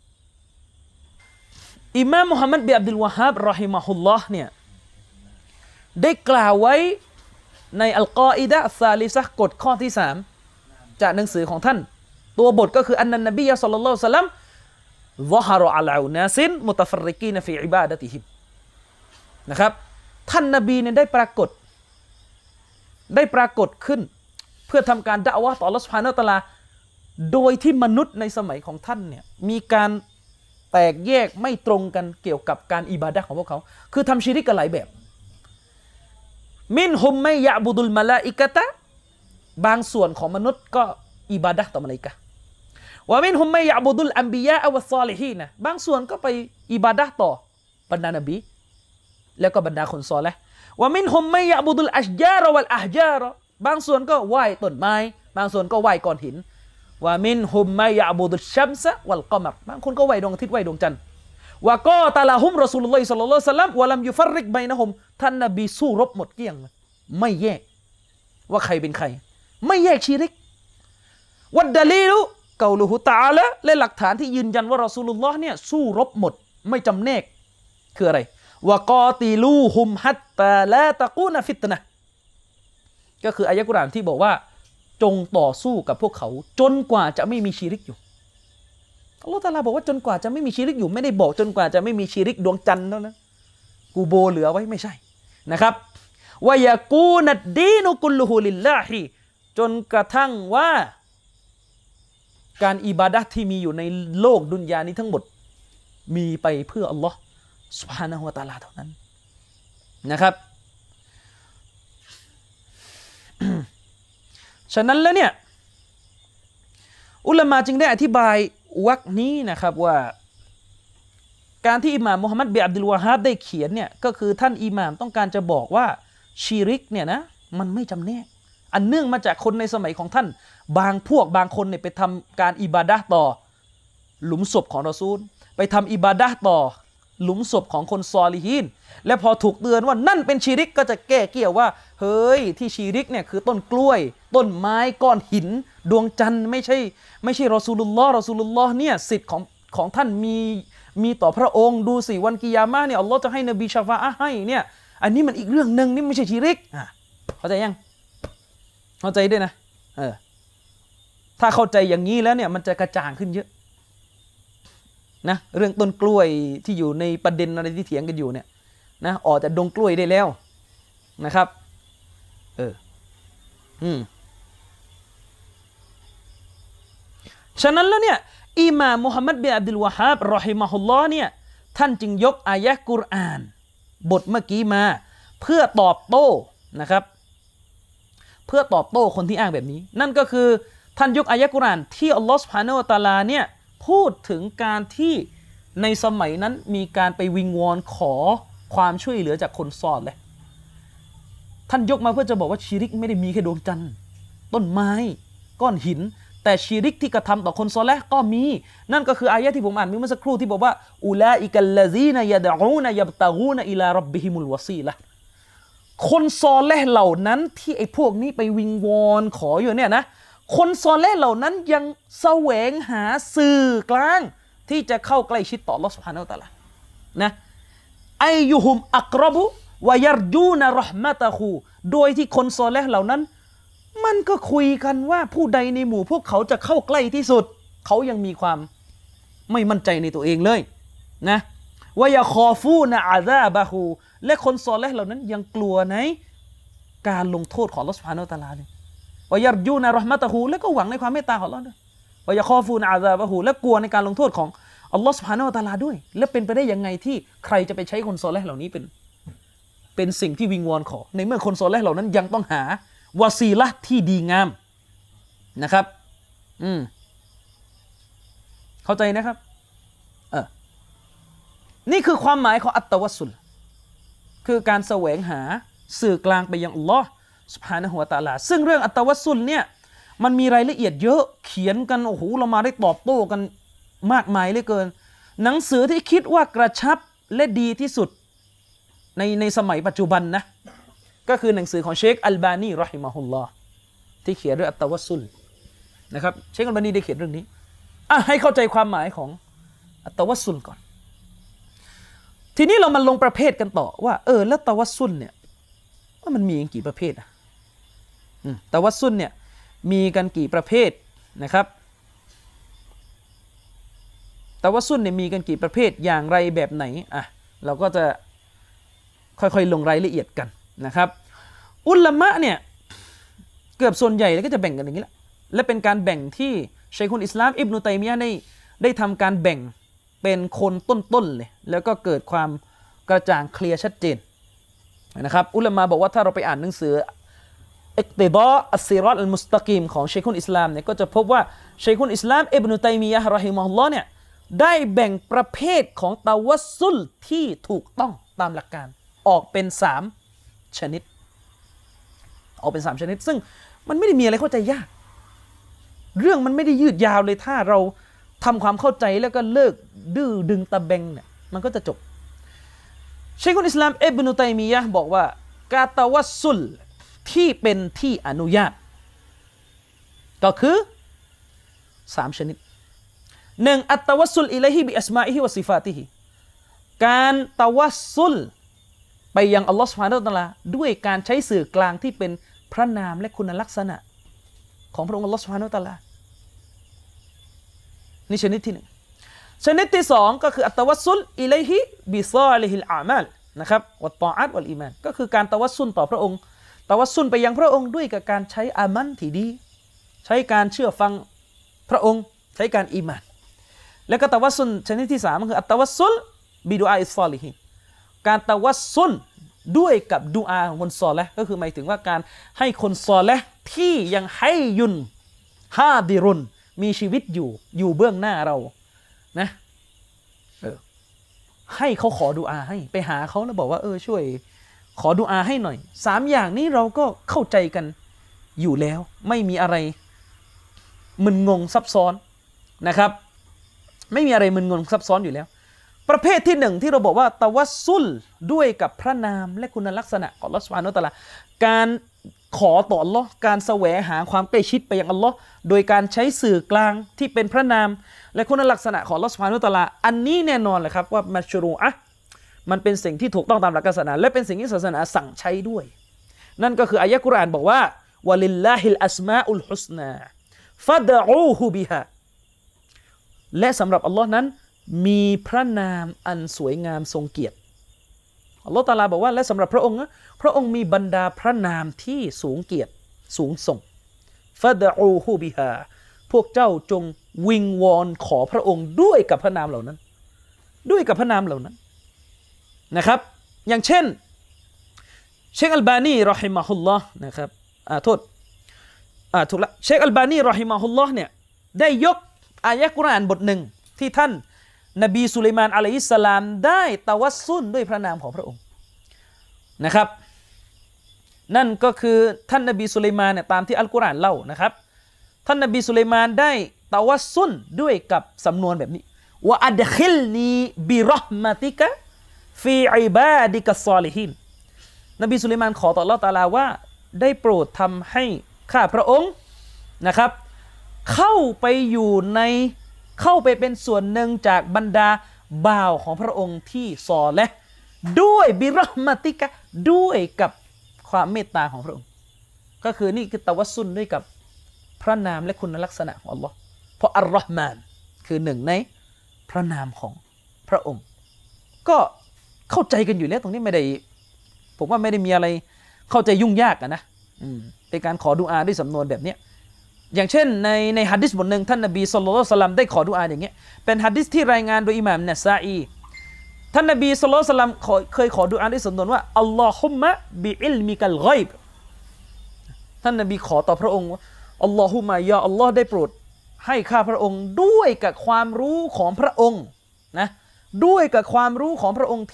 อิมามมุฮัมมัดบินอับดุลวะฮาบรอฮิมะฮุลลอฮ์เนี่ยได้กล่าวไว้ในอัลกออิดะห์ซาลิซะห์กฎข้อที่3จากหนังสือของท่านตัวบทก็คืออันนันนบีศ็อลลัลลอฮุอะลัยฮิวะซัลลัมซะฮะรออะลาอุนาซินมุตะฟัรริกีนฟีอิบาดะติฮิมนะครับท่านนบีเนี่ยได้ปรากฏขึ้นเพื่อทำการดะอ์วะห์ต่ออัลเลาะห์ซุบฮานะฮูวะตะอาลาโดยที่มนุษย์ในสมัยของท่านเนี่ยมีการแตกแยกไม่ตรงกันเกี่ยวกับการอิบาดะห์ของพวกเขาคือทำชิริกกันหลายแบบมินฮุมไม่ยะบุดุลมะลาอิกะตะบางส่วนของมนุษย์ก็อิบาดะห์ต่อมลาอิกะฮ์วะมินฮุมไม่ยะบุดุลอัมบิยะวัสซอลิฮีนบางส่วนก็ไปอิบาดะห์ต่อบรรดานบีแล้วก็บรรดาคนซอลิห์วะมินฮุมไม่ยะบุดุลอัชญาระวัลอะฮญาระบางส่วนก็ไหว้ต้นไม้บางส่วนก็ไหว้ก้อนหินวะมินฮุมไม่ยะบุดุลชัมซะวัลกอมัรบางคนก็ไหว้ดวงอาทิตย์ไหว้ดวงจันทร์วะกอตะละฮุมรอซูลุลลอฮิศ็อลลัลลอฮุอะลัยฮิวะซัลลัมวะลัมยุฟัรริกบัยนะฮุมท่านนบีสู้รบหมดเกลี้ยงไม่แยกว่าใครเป็นใครไม่แยกชิริกวัดดะลีลุกอลุฮุตะอาลาและหลักฐานที่ยืนยันว่ารอซูลุลลอฮ์เนี่ยสู้รบหมดไม่จำแนกคืออะไรวะกอติลูฮุมฮัตตาลาตะกูนฟิตนะห์ก็คืออายะห์กุรอานที่บอกว่าจงต่อสู้กับพวกเขาจนกว่าจะไม่มีชิริกอยู่อัลเลาะห์ตะอาลาบอกว่าจนกว่าจะไม่มีชิริกอยู่ไม่ได้บอกจนกว่าจะไม่มีชิริกดวงจันทร์เท่านั้นกูโบเหลือไว้ไม่ใช่นะครับวะยะกูนัดดีนุกุลลุฮุลิลลาฮิจนกระทั่งว่าการอิบาดะห์ที่มีอยู่ในโลกดุนยานี้ทั้งหมดมีไปเพื่ออัลลอฮ์ซุบฮานะฮูวะตะอาลาเท่านั้นนะครับ ฉะนั้นแล้วเนี่ยอุลามะจึงได้อธิบายวรรคนี้นะครับว่าการที่อิหม่ามมุฮัมมัดบินอับดุลวะฮาบได้เขียนเนี่ยก็คือท่านอิหม่ามต้องการจะบอกว่าชิริกเนี่ยนะมันไม่จำแนกอันเนื่องมาจากคนในสมัยของท่านบางพวกบางคนเนี่ยไปทำการอิบาดะห์ต่อหลุมศพของรอซูลไปทำอิบาดะห์ต่อหลุมศพของคนซอลิฮีนและพอถูกเตือนว่านั่นเป็นชิริกก็จะแก้เกี่ยวว่าเฮ้ยที่ชิริกเนี่ยคือต้นกล้วยต้นไม้ก้อนหินดวงจันทร์ไม่ใช่รอซูลุลลอฮ์เนี่ยสิทธิ์ของท่านมีต่อพระองค์ดูสิวันกิยามะห์เนี่ยอัลลอฮ์จะให้นบีชะฟาอะห์ให้เนี่ยอันนี้มันอีกเรื่องนึงนี่ไม่ใช่ชิริกเข้าใจยังเข้าใจด้วยนะถ้าเข้าใจอย่างนี้แล้วเนี่ยมันจะกระจ่างขึ้นเยอะนะเรื่องต้นกล้วยที่อยู่ในประเด็นอะไรที่เถียงกันอยู่เนี่ยนะออกจากดงกล้วยได้แล้วนะครับฉะนั้นแล้วเนี่ยอิหม่ามมุฮัมมัดบินอับดุลวะฮาบรอฮิมะฮุลลอฮ์เนี่ยท่านจึงยกอายะห์กุรอานบทเมื่อกี้มาเพื่อตอบโต้นะครับเพื่อตอบโต้คนที่อ้างแบบนี้นั่นก็คือท่านยกอายะห์กุรอานที่อัลลอฮ์ซุบฮานะฮูวะตะอาลาเนี่ยพูดถึงการที่ในสมัยนั้นมีการไปวิงวอนขอความช่วยเหลือจากคนซอลิห์ท่านยกมาเพื่อจะบอกว่าชิริกไม่ได้มีแค่ดวงจันทร์ต้นไม้ก้อนหินแต่ชิริกที่กระทำต่อคนซอลิห์ก็มีนั่นก็คืออายะห์ที่ผมอ่านเมื่อสักครู่ที่บอกว่าอูลาอิกัลลซีนะยะดะอูนะยับตะกูนะอิลาร็อบบิฮิมุลวะซีละห์คนซอลิห์เหล่านั้นที่ไอ้พวกนี้ไปวิงวอนขออยู่เนี่ยนะคนซอลิห์เหล่านั้นยังแสวงหาสื่อกลางที่จะเข้าใกล้ชิดต่ออัลเลาะห์ซุบฮานะฮูวะตะอาลานะอัยยุฮุมอักรบุวะยัรจูนะเราะห์มะตะฮูโดยที่คนซอลิห์เหล่านั้นมันก็คุยกันว่าผู้ใดในหมู่พวกเขาจะเข้าใกล้ที่สุดเขายังมีความไม่มั่นใจในตัวเองเลยนะวะยะคอฟูนะอาซาบะฮูและคนซอลิห์เหล่านั้นยังกลัวในการลงโทษของอัลเลาะห์ซุบฮานะฮูวะตะอาลาเนี่ยวะยัรจูนะเราะห์มะตะฮูและก็หวังในความเมตตาของอัลเลาะห์ด้วยวะยะคอฟูนะอาซาบะฮูและกลัวในการลงโทษของอัลเลาะห์ซุบฮานะฮูวะตะอาลาด้วยและเป็นไปได้ยังไงที่ใครจะไปใช้คนซอลิห์เหล่านี้เป็นสิ่งที่วิงวอนขอในเมื่อคนซอลิห์เหล่านั้นยังต้องหาวาซีละห์ที่ดีงามนะครับเข้าใจนะครับนี่คือความหมายของอัตตะวัสสุลคือการแสวงหาสื่อกลางไปยังอัลลอฮ์ซุบฮานะฮูวะตะอาลาซึ่งเรื่องอัตตะวัสสุลเนี่ยมันมีรายละเอียดเยอะเขียนกันโอ้โหเรามาได้ตอบโต้กันมากมายเหลือเกินหนังสือที่คิดว่ากระชับและดีที่สุดในสมัยปัจจุบันนะก็คือหนังสือของเชคอัลบานีเราะฮิมะฮุลลอฮ์ที่เขียนเรื่องอัตตะวัสซุลนะครับเชคอัลบานีได้เขียนเรื่องนี้ให้เข้าใจความหมายของอัตตะวัสซุลก่อนทีนี้เรามาลงประเภทกันต่อว่าแล้วตะวัสซุลเนี่ยว่ามันมีกี่ประเภทตะวัสซุลเนี่ยมีกันกี่ประเภทนะครับตะวัสซุลเนี่ยมีกันกี่ประเภทอย่างไรแบบไหนเราก็จะค่อยๆลงรายละเอียดกันนะครับอุลามะเนี่ยเกือบส่วนใหญ่ก็จะแบ่งกันอย่างนี้แหละและเป็นการแบ่งที่ชัยคุลอิสลามอิบนุตัยมียะห์ได้ทำการแบ่งเป็นคนต้นๆเลยแล้วก็เกิดความกระจ่างเคลียร์ชัดเจนนะครับอุลามะบอกว่าถ้าเราไปอ่านหนังสืออิกติฎออัสซิรอตอัลมุสตะกีมของชัยคุลอิสลามเนี่ยก็จะพบว่าชัยคุลอิสลามอิบนุตัยมียะห์เราะฮิมะฮุลลอฮ์เนี่ยได้แบ่งประเภทของตะวัสซุลที่ถูกต้องตามหลักการออกเป็น3ชนิดออกเป็น3ชนิดซึ่งมันไม่ได้มีอะไรเข้าใจยากเรื่องมันไม่ได้ยืดยาวเลยถ้าเราทำความเข้าใจแล้วก็เลิกดื้อดึงตะเบงเนี่ยมันก็จะจบชัยคุลอิสลามอิบนุตัยมียะห์บอกว่าการตะวัสซุลที่เป็นที่อนุญาตก็คือ3ชนิด1อัตตะวัสซุลอิลัยฮิบิอัสมาอิฮิวะซิฟาติฮิการตะวัสซุลไปยังอัลลอฮฺซุบฮานะฮูวะตะอาลาด้วยการใช้สื่อกลางที่เป็นพระนามและคุณลักษณะของพระองค์อัลลอฮฺซุบฮานะฮูวะตะอาลานี่ชนิดที่1ชนิดที่2ก็คืออัตตะวัสซุลอิลัยฮิบิซอลิฮิลอามัลนะครับวัตตออะตวัลอีมานก็คือการตะวัสซุลต่อพระองค์ตะวัสซุลไปยังพระองค์ด้วยกับการใช้อามันที่ดีใช้การเชื่อฟังพระองค์ใช้การอีมานแล้วก็ตะวัสซุลชนิดที่3ก็คืออัตตะวัสซุลบิดุอาอิศศอลิฮีนการตะวัสซุลด้วยกับดุอาของคนซอลิห์ก็คือหมายถึงว่าการให้คนซอลิห์ที่ยังให้ยุนฮาดิรุนมีชีวิตอยู่เบื้องหน้าเรานะให้เขาขอดุอาให้ไปหาเขาแล้วบอกว่าช่วยขอดุอาให้หน่อย3อย่างนี้เราก็เข้าใจกันอยู่แล้วไม่มีอะไรมึนงงซับซ้อนนะครับไม่มีอะไรมึนงงซับซ้อนอยู่แล้วประเภทที่1ที่เราบอกว่าตะวัสซุลด้วยกับพระนามและคุณลักษณะของอัลเลาะห์ซุบฮานะฮูวะตะอาลาการขอต่ออัลเลาะห์การแสวงหาความใกล้ชิดไปยังอัลเลาะห์โดยการใช้สื่อกลางที่เป็นพระนามและคุณลักษณะของอัลเลาะห์ซุบฮานะฮูวะตะอาลาอันนี้แน่นอนเลยครับว่ามัชรูอะห์มันเป็นสิ่งที่ถูกต้องตามหลักศาสนาและเป็นสิ่งที่ศาสนาสั่งใช้ด้วยนั่นก็คืออายะห์กุรอานบอกว่าวะลิลลาฮิลอัสมาอุลฮุสนาฟัดอูฮูบิฮาและสำหรับอัลเลาะห์นั้นมีพระนามอันสวยงามทรงเกียรติอัลเลาะห์ตะอาลาบอกว่าและสำหรับพระองค์พระองค์มีบรรดาพระนามที่สูงเกียรติสูงส่งฟัดอูฮูบิฮาพวกเจ้าจงวิงวอนขอพระองค์ด้วยกับพระนามเหล่านั้นด้วยกับพระนามเหล่านั้นนะครับอย่างเช่นเชคอัลบานีรอฮิมะฮุลลอฮ์นะครับถูกละเชคอัลบานีรอฮิมะฮุลลอฮ์เนี่ยได้ยกอายะห์กุรอานบทหนึ่งที่ท่านนบีสุลัยมานอะลัยฮิสสลามได้ตะวัสซุลด้วยพระนามของพระองค์นะครับนั่นก็คือท่านนบีสุลัยมานเนี่ยตามที่อัลกุรอานเล่านะครับท่านนบีสุลัยมานได้ตะวัสซุลด้วยกับสำนวนแบบนี้วะอัดคิลนีบิเราะห์มะติกะฟีอิบาดิกัสซอลิฮีนนบีสุลัยมานขอต่ออัลเลาะห์ตะอาลาว่าได้โปรดทำให้ข้าพระองค์นะครับเข้าไปเป็นส่วนหนึ่งจากบรรดาบ่าวของพระองค์ที่ซอและด้วยบิเราะห์มะติกะด้วยกับความเมตตาของพระองค์ก็คือนี่คือตะวัสซุลด้วยกับพระนามและคุณลักษณะของอัลลอฮ์เพราะอัลลอฮ์มานคือหนึ่งในพระนามของพระองค์ก็เข้าใจกันอยู่แล้วตรงนี้ไม่ได้ผมว่าไม่ได้มีอะไรเข้าใจยุ่งยากนะเป็นการขอดุอาด้วยสำนวนแบบนี้อย่างเช่นในหะดีษบทหนึ่งท่านนบีศ็อลลัลลอฮุอะลัยฮิวะซัลลัมได้ขอดุอาอย่างเงี้ยเป็นหะดีษที่รายงานโดยอิหม่ามนะซาอีท่านนบีศ็อลลัลลอฮุอะลัยฮิวะซัลลัมเคยขอดุอาด้วยสำนวนว่าอัลลอฮุมมะบิอิลมิกัลฆอยบท่านนบีขอต่อพระองค์ว่าอัลลอฮุมะยาอัลลอฮ์ได้โปรดให้ข้าพระองค์ด้วยกับความรู้ของพระองค์นะด้วยกับความรู้ของพระองค์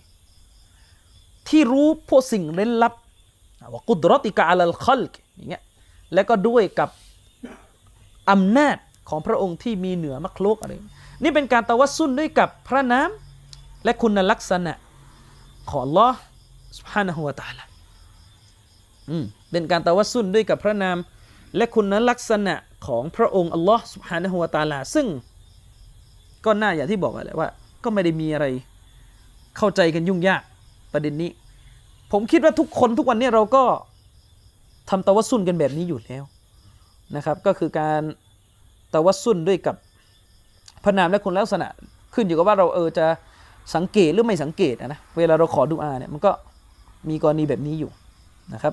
ที่รู้พวกสิ่งเร้นลับว่ากุดรอติกะอะลัลคัลกอย่างเงี้ยแล้วก็ด้วยกับอำนาจของพระองค์ที่มีเหนือมักลุกอะไรนี่เป็นการตะวัสซุลด้วยกับพระนามและคุณลักษณะของอัลลอฮ์ซุบฮานะฮูวะตะอาลาเป็นการตะวัสซุลด้วยกับพระนามและคุณลักษณะของพระองค์อัลลอฮ์ซุบฮานะฮูวะตะอาลาซึ่งก็น่าอย่างที่บอกแหละว่าก็ไม่ได้มีอะไรเข้าใจกันยุ่งยากประเด็นนี้ผมคิดว่าทุกคนทุกวันนี้เราก็ทำตะวัสซุลกันแบบนี้อยู่แล้วนะครับก็คือการตะวัสซุลด้วยกับพระนามและคุณลักษณะขึ้นอยู่กับว่าเราจะสังเกตหรือไม่สังเกตนะเวลาเราขอดุอาเนี่ยมันก็มีกรณีแบบนี้อยู่นะครับ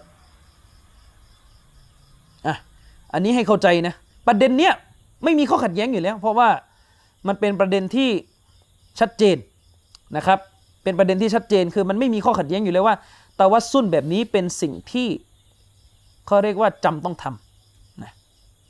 อันนี้ให้เข้าใจนะประเด็นเนี้ยไม่มีข้อขัดแย้งอยู่แล้วเพราะว่ามันเป็นประเด็นที่ชัดเจนนะครับเป็นประเด็นที่ชัดเจนคือมันไม่มีข้อขัดแย้งอยู่แล้วว่าตะวัสซุลแบบนี้เป็นสิ่งที่เขาเรียกว่าจำต้องทำนะ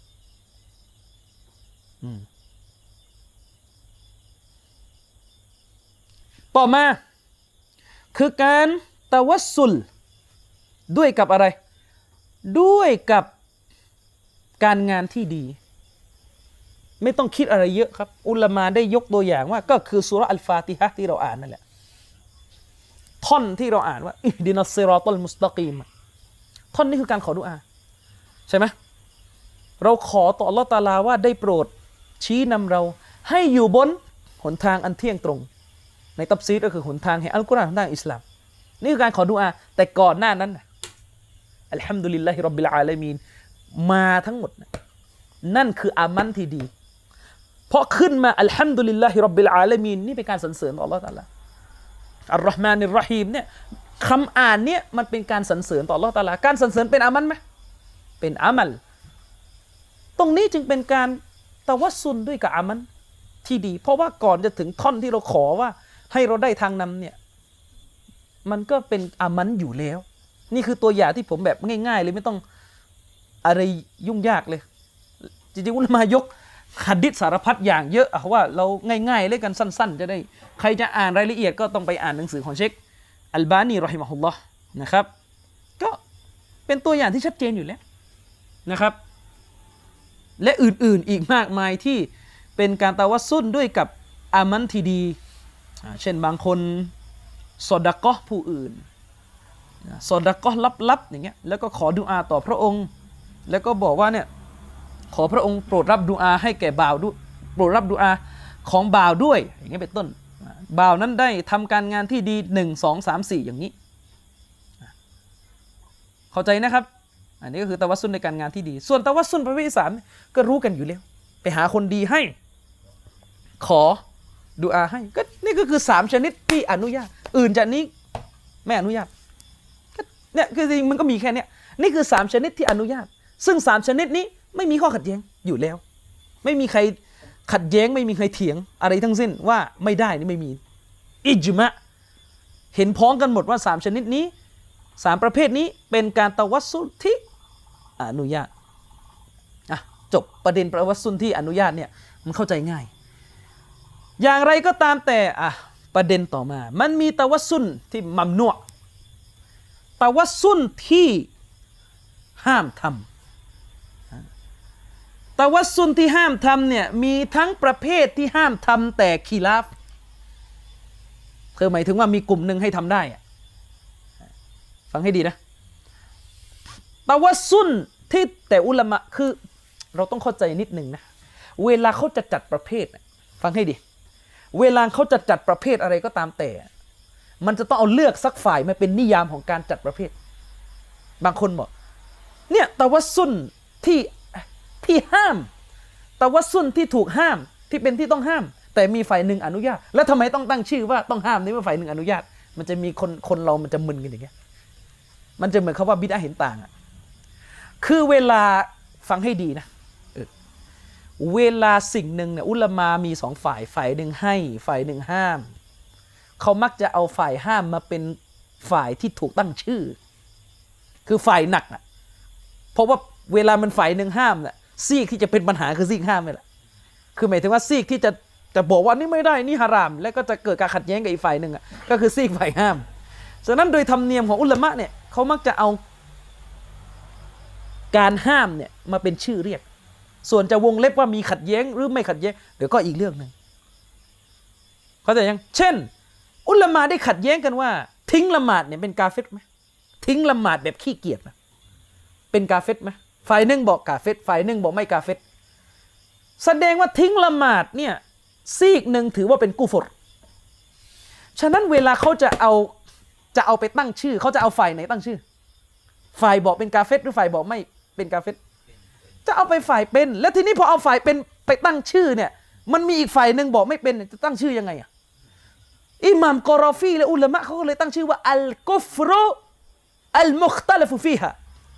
ต่อมาคือการตะวัสซุลด้วยกับอะไรด้วยกับการงานที่ดีไม่ต้องคิดอะไรเยอะครับอุลามะได้ยกตัวอย่างว่าก็คือซูเราะห์อัลฟาติฮะห์ที่เราอ่านนั่นแหละท่อนที่เราอ่านว่าอิห์ดินัสซิรอตัลมุสตะกีมท่อนนี้คือการขอดุอาใช่ไหมเราขอต่ออัลเลาะห์ตะอาลาว่าได้โปรดชี้นำเราให้อยู่บนหนทางอันเที่ยงตรงในตัฟซีรก็คือหนทางแห่งอัลกุรอานหนทางอิสลามนี่คือการขอดุอาแต่ก่อนหน้านั้นอัลฮัมดุลิลลาฮิร็อบบิลอาลามีนมาทั้งหมดนั่นคืออามันที่ดีเพราะขึ้นมาอัลฮัมดุลิลลาฮิร็อบบิลอาลามีนนี่เป็นการสรรเสริญต่ออัลเลาะห์ตะอาลาอัลเราะห์มานิรเราะฮีมเนี่ยคำอ่านเนี่ยมันเป็นการสรรเสริญต่ออัลเลาะห์ตะอาลาการสรรเสริญเป็นอามันไหมเป็นอามัลตรงนี้จึงเป็นการตะวัสซุลด้วยกับอามันที่ดีเพราะว่าก่อนจะถึงท่อนที่เราขอว่าให้เราได้ทางนำเนี่ยมันก็เป็นอามันอยู่แล้วนี่คือตัวอย่างที่ผมแบบง่ายๆเลยไม่ต้องอะไรยุ่งยากเลยจริงๆอุลามะยกหะดีษสารพัดอย่างเยอะว่าเราง่ายๆเลยกันสั้นๆจะได้ใครจะอ่านรายละเอียดก็ต้องไปอ่านหนังสือของเชคอัลบานีรอฮิมะฮุลลอฮ์นะครับก็เป็นตัวอย่างที่ชัดเจนอยู่แล้วนะครับและอื่นๆอีกมากมายที่เป็นการตะวัสซุลด้วยกับอามันที่ดีเช่นบางคนซอดะกอฮ์ผู้อื่นซอดะกอฮ์ลับๆอย่างเงี้ยแล้วก็ขอดุอาต่อพระองค์แล้วก็บอกว่าเนี่ยขอพระองค์โปรดรับดุอาให้แก่บ่าวด้วยโปรดรับดุอาของบ่าวด้วยอย่างเงี้ยเป็นต้นบ่าวนั้นได้ทำการงานที่ดี1 2 3 4อย่างนี้เข้าใจนะครับอันนี้ก็คือตะวัสซุลในการงานที่ดีส่วนตะวัสซุลประเภทที่3ก็รู้กันอยู่แล้วไปหาคนดีให้ขอดุอาให้ก็นี่ก็คือ3ชนิดที่อนุญาตอื่นจากนี้ไม่อนุญาตเนี่ยคือจริงมันก็มีแค่นี้นี่คือ3ชนิดที่อนุญาตซึ่ง3ชนิดนี้ไม่มีข้อขัดแย้งอยู่แล้วไม่มีใครขัดแย้งไม่มีใครเถียงอะไรทั้งสิ้นว่าไม่ได้นี่ไม่มีอิจมะเห็นพ้องกันหมดว่า3ชนิดนี้3ประเภทนี้เป็นการตะวัสซุลที่อนุญาตจบประเด็นตะวัสซุลที่อนุญาตเนี่ยมันเข้าใจง่ายอย่างไรก็ตามแต่ประเด็นต่อมามันมีตะวัสซุลที่มัมนูอ์ตะวัสซุลที่ห้ามทำตะวัสซุลที่ห้ามทำเนี่ยมีทั้งประเภทที่ห้ามทำแต่คีลาฟคือหมายถึงว่ามีกลุ่มหนึ่งให้ทำได้ฟังให้ดีนะตะวัสซุลที่แต่อุลามะคือเราต้องเข้าใจนิดหนึ่งนะเวลาเขาจะจัดประเภทฟังให้ดีเวลาเขาจะจัดประเภทอะไรก็ตามแต่มันจะต้องเอาเลือกสักฝ่ายมาเป็นนิยามของการจัดประเภทบางคนบอกเนี่ยตะวัสซุลที่ห้ามตะวัสซุลที่ถูกห้ามที่เป็นที่ต้องห้ามแต่มีฝ่ายหนึ่งอนุญาตแล้วทำไมต้องตั้งชื่อว่าต้องห้ามนี่ว่าฝ่ายหนึ่งอนุญาตมันจะมีคนเรามันจะมึนกันอย่างเงี้ยมันจะเหมือนคำว่าบิดอะห์เห็นต่างคือเวลาฟังให้ดีนะเวลาสิ่งหนึ่งเนี่ยอุลามะมี2ฝ่ายหนึ่งให้ฝ่ายหนึ่งห้ามเขามักจะเอาฝ่ายห้ามมาเป็นฝ่ายที่ถูกตั้งชื่อคือฝ่ายหนักเพราะว่าเวลามันฝ่ายหนึ่งห้ามน่ะซีกที่จะเป็นปัญหาคือซีกห้ามนี่แหละคือหมายถึงว่าซีกที่จะบอกว่านี่ไม่ได้นี่ฮารามแล้วก็จะเกิดการขัดแย้งกับอีกฝ่ายหนึ่งก็คือซีกฝ่ายห้ามฉะนั้นโดยธรรมเนียมของอุลามะเนี่ยเขามักจะเอาการห้ามเนี่ยมาเป็นชื่อเรียกส่วนจะวงเล็บว่ามีขัดแย้งหรือไม่ขัดแย้งเดี๋ยวก็อีกเรื่องนึงเข้าใจยังเช่นอุลามะได้ขัดแย้งกันว่าทิ้งละหมาดเนี่ยเป็นกาเฟรไหมทิ้งละหมาดแบบขี้เกียจนะเป็นกาเฟรไหมฝ่ายหนึ่งบอกกาเฟรฝ่ายหนึ่งบอกไม่กาเฟรแสดงว่าทิ้งละหมาดเนี่ยซีกหนึ่งถือว่าเป็นกุฟรฉะนั้นเวลาเขาจะเอาไปตั้งชื่อเขาจะเอาฝ่ายไหนตั้งชื่อฝ่ายบอกเป็นกาเฟรหรือฝ่ายบอกไม่เป็นกาเฟรจะเอาไปฝ่ายเป็นแล้วทีนี้พอเอาฝ่ายเป็นไปตั้งชื่อเนี่ยมันมีอีกฝ่ายหนึ่งบอกไม่เป็นจะตั้งชื่อยังไงอิหม่ามกอรอฟีและอุลามะเขาก็เลยตั้งชื่อว่าอัลกุฟรุลมุคตะลิฟุฟีฮะ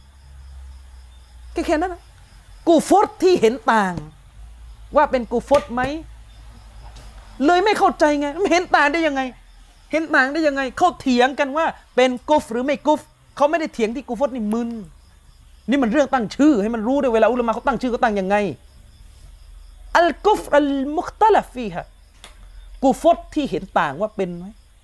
แค่นั้นนะกูฟรที่เห็นต่างว่าเป็นกูฟรไหมเลยไม่เข้าใจไงเห็นต่างได้ยังไงเห็นต่างได้ยังไงเขาเถียงกันว่าเป็นกุฟหรือไม่กุฟเขาไม่ได้เถียงที่กูฟรนี่มึนนี่มันเรื่องตั้งชื่อให้มันรู้ด้วยเวลาอุลามะเขาตั้งชื่อเขาตั้งยังไงอัลกุฟอัลมุคตะลิฟีฮะกูฟรที่เห็นต่างว่าเป็นไหม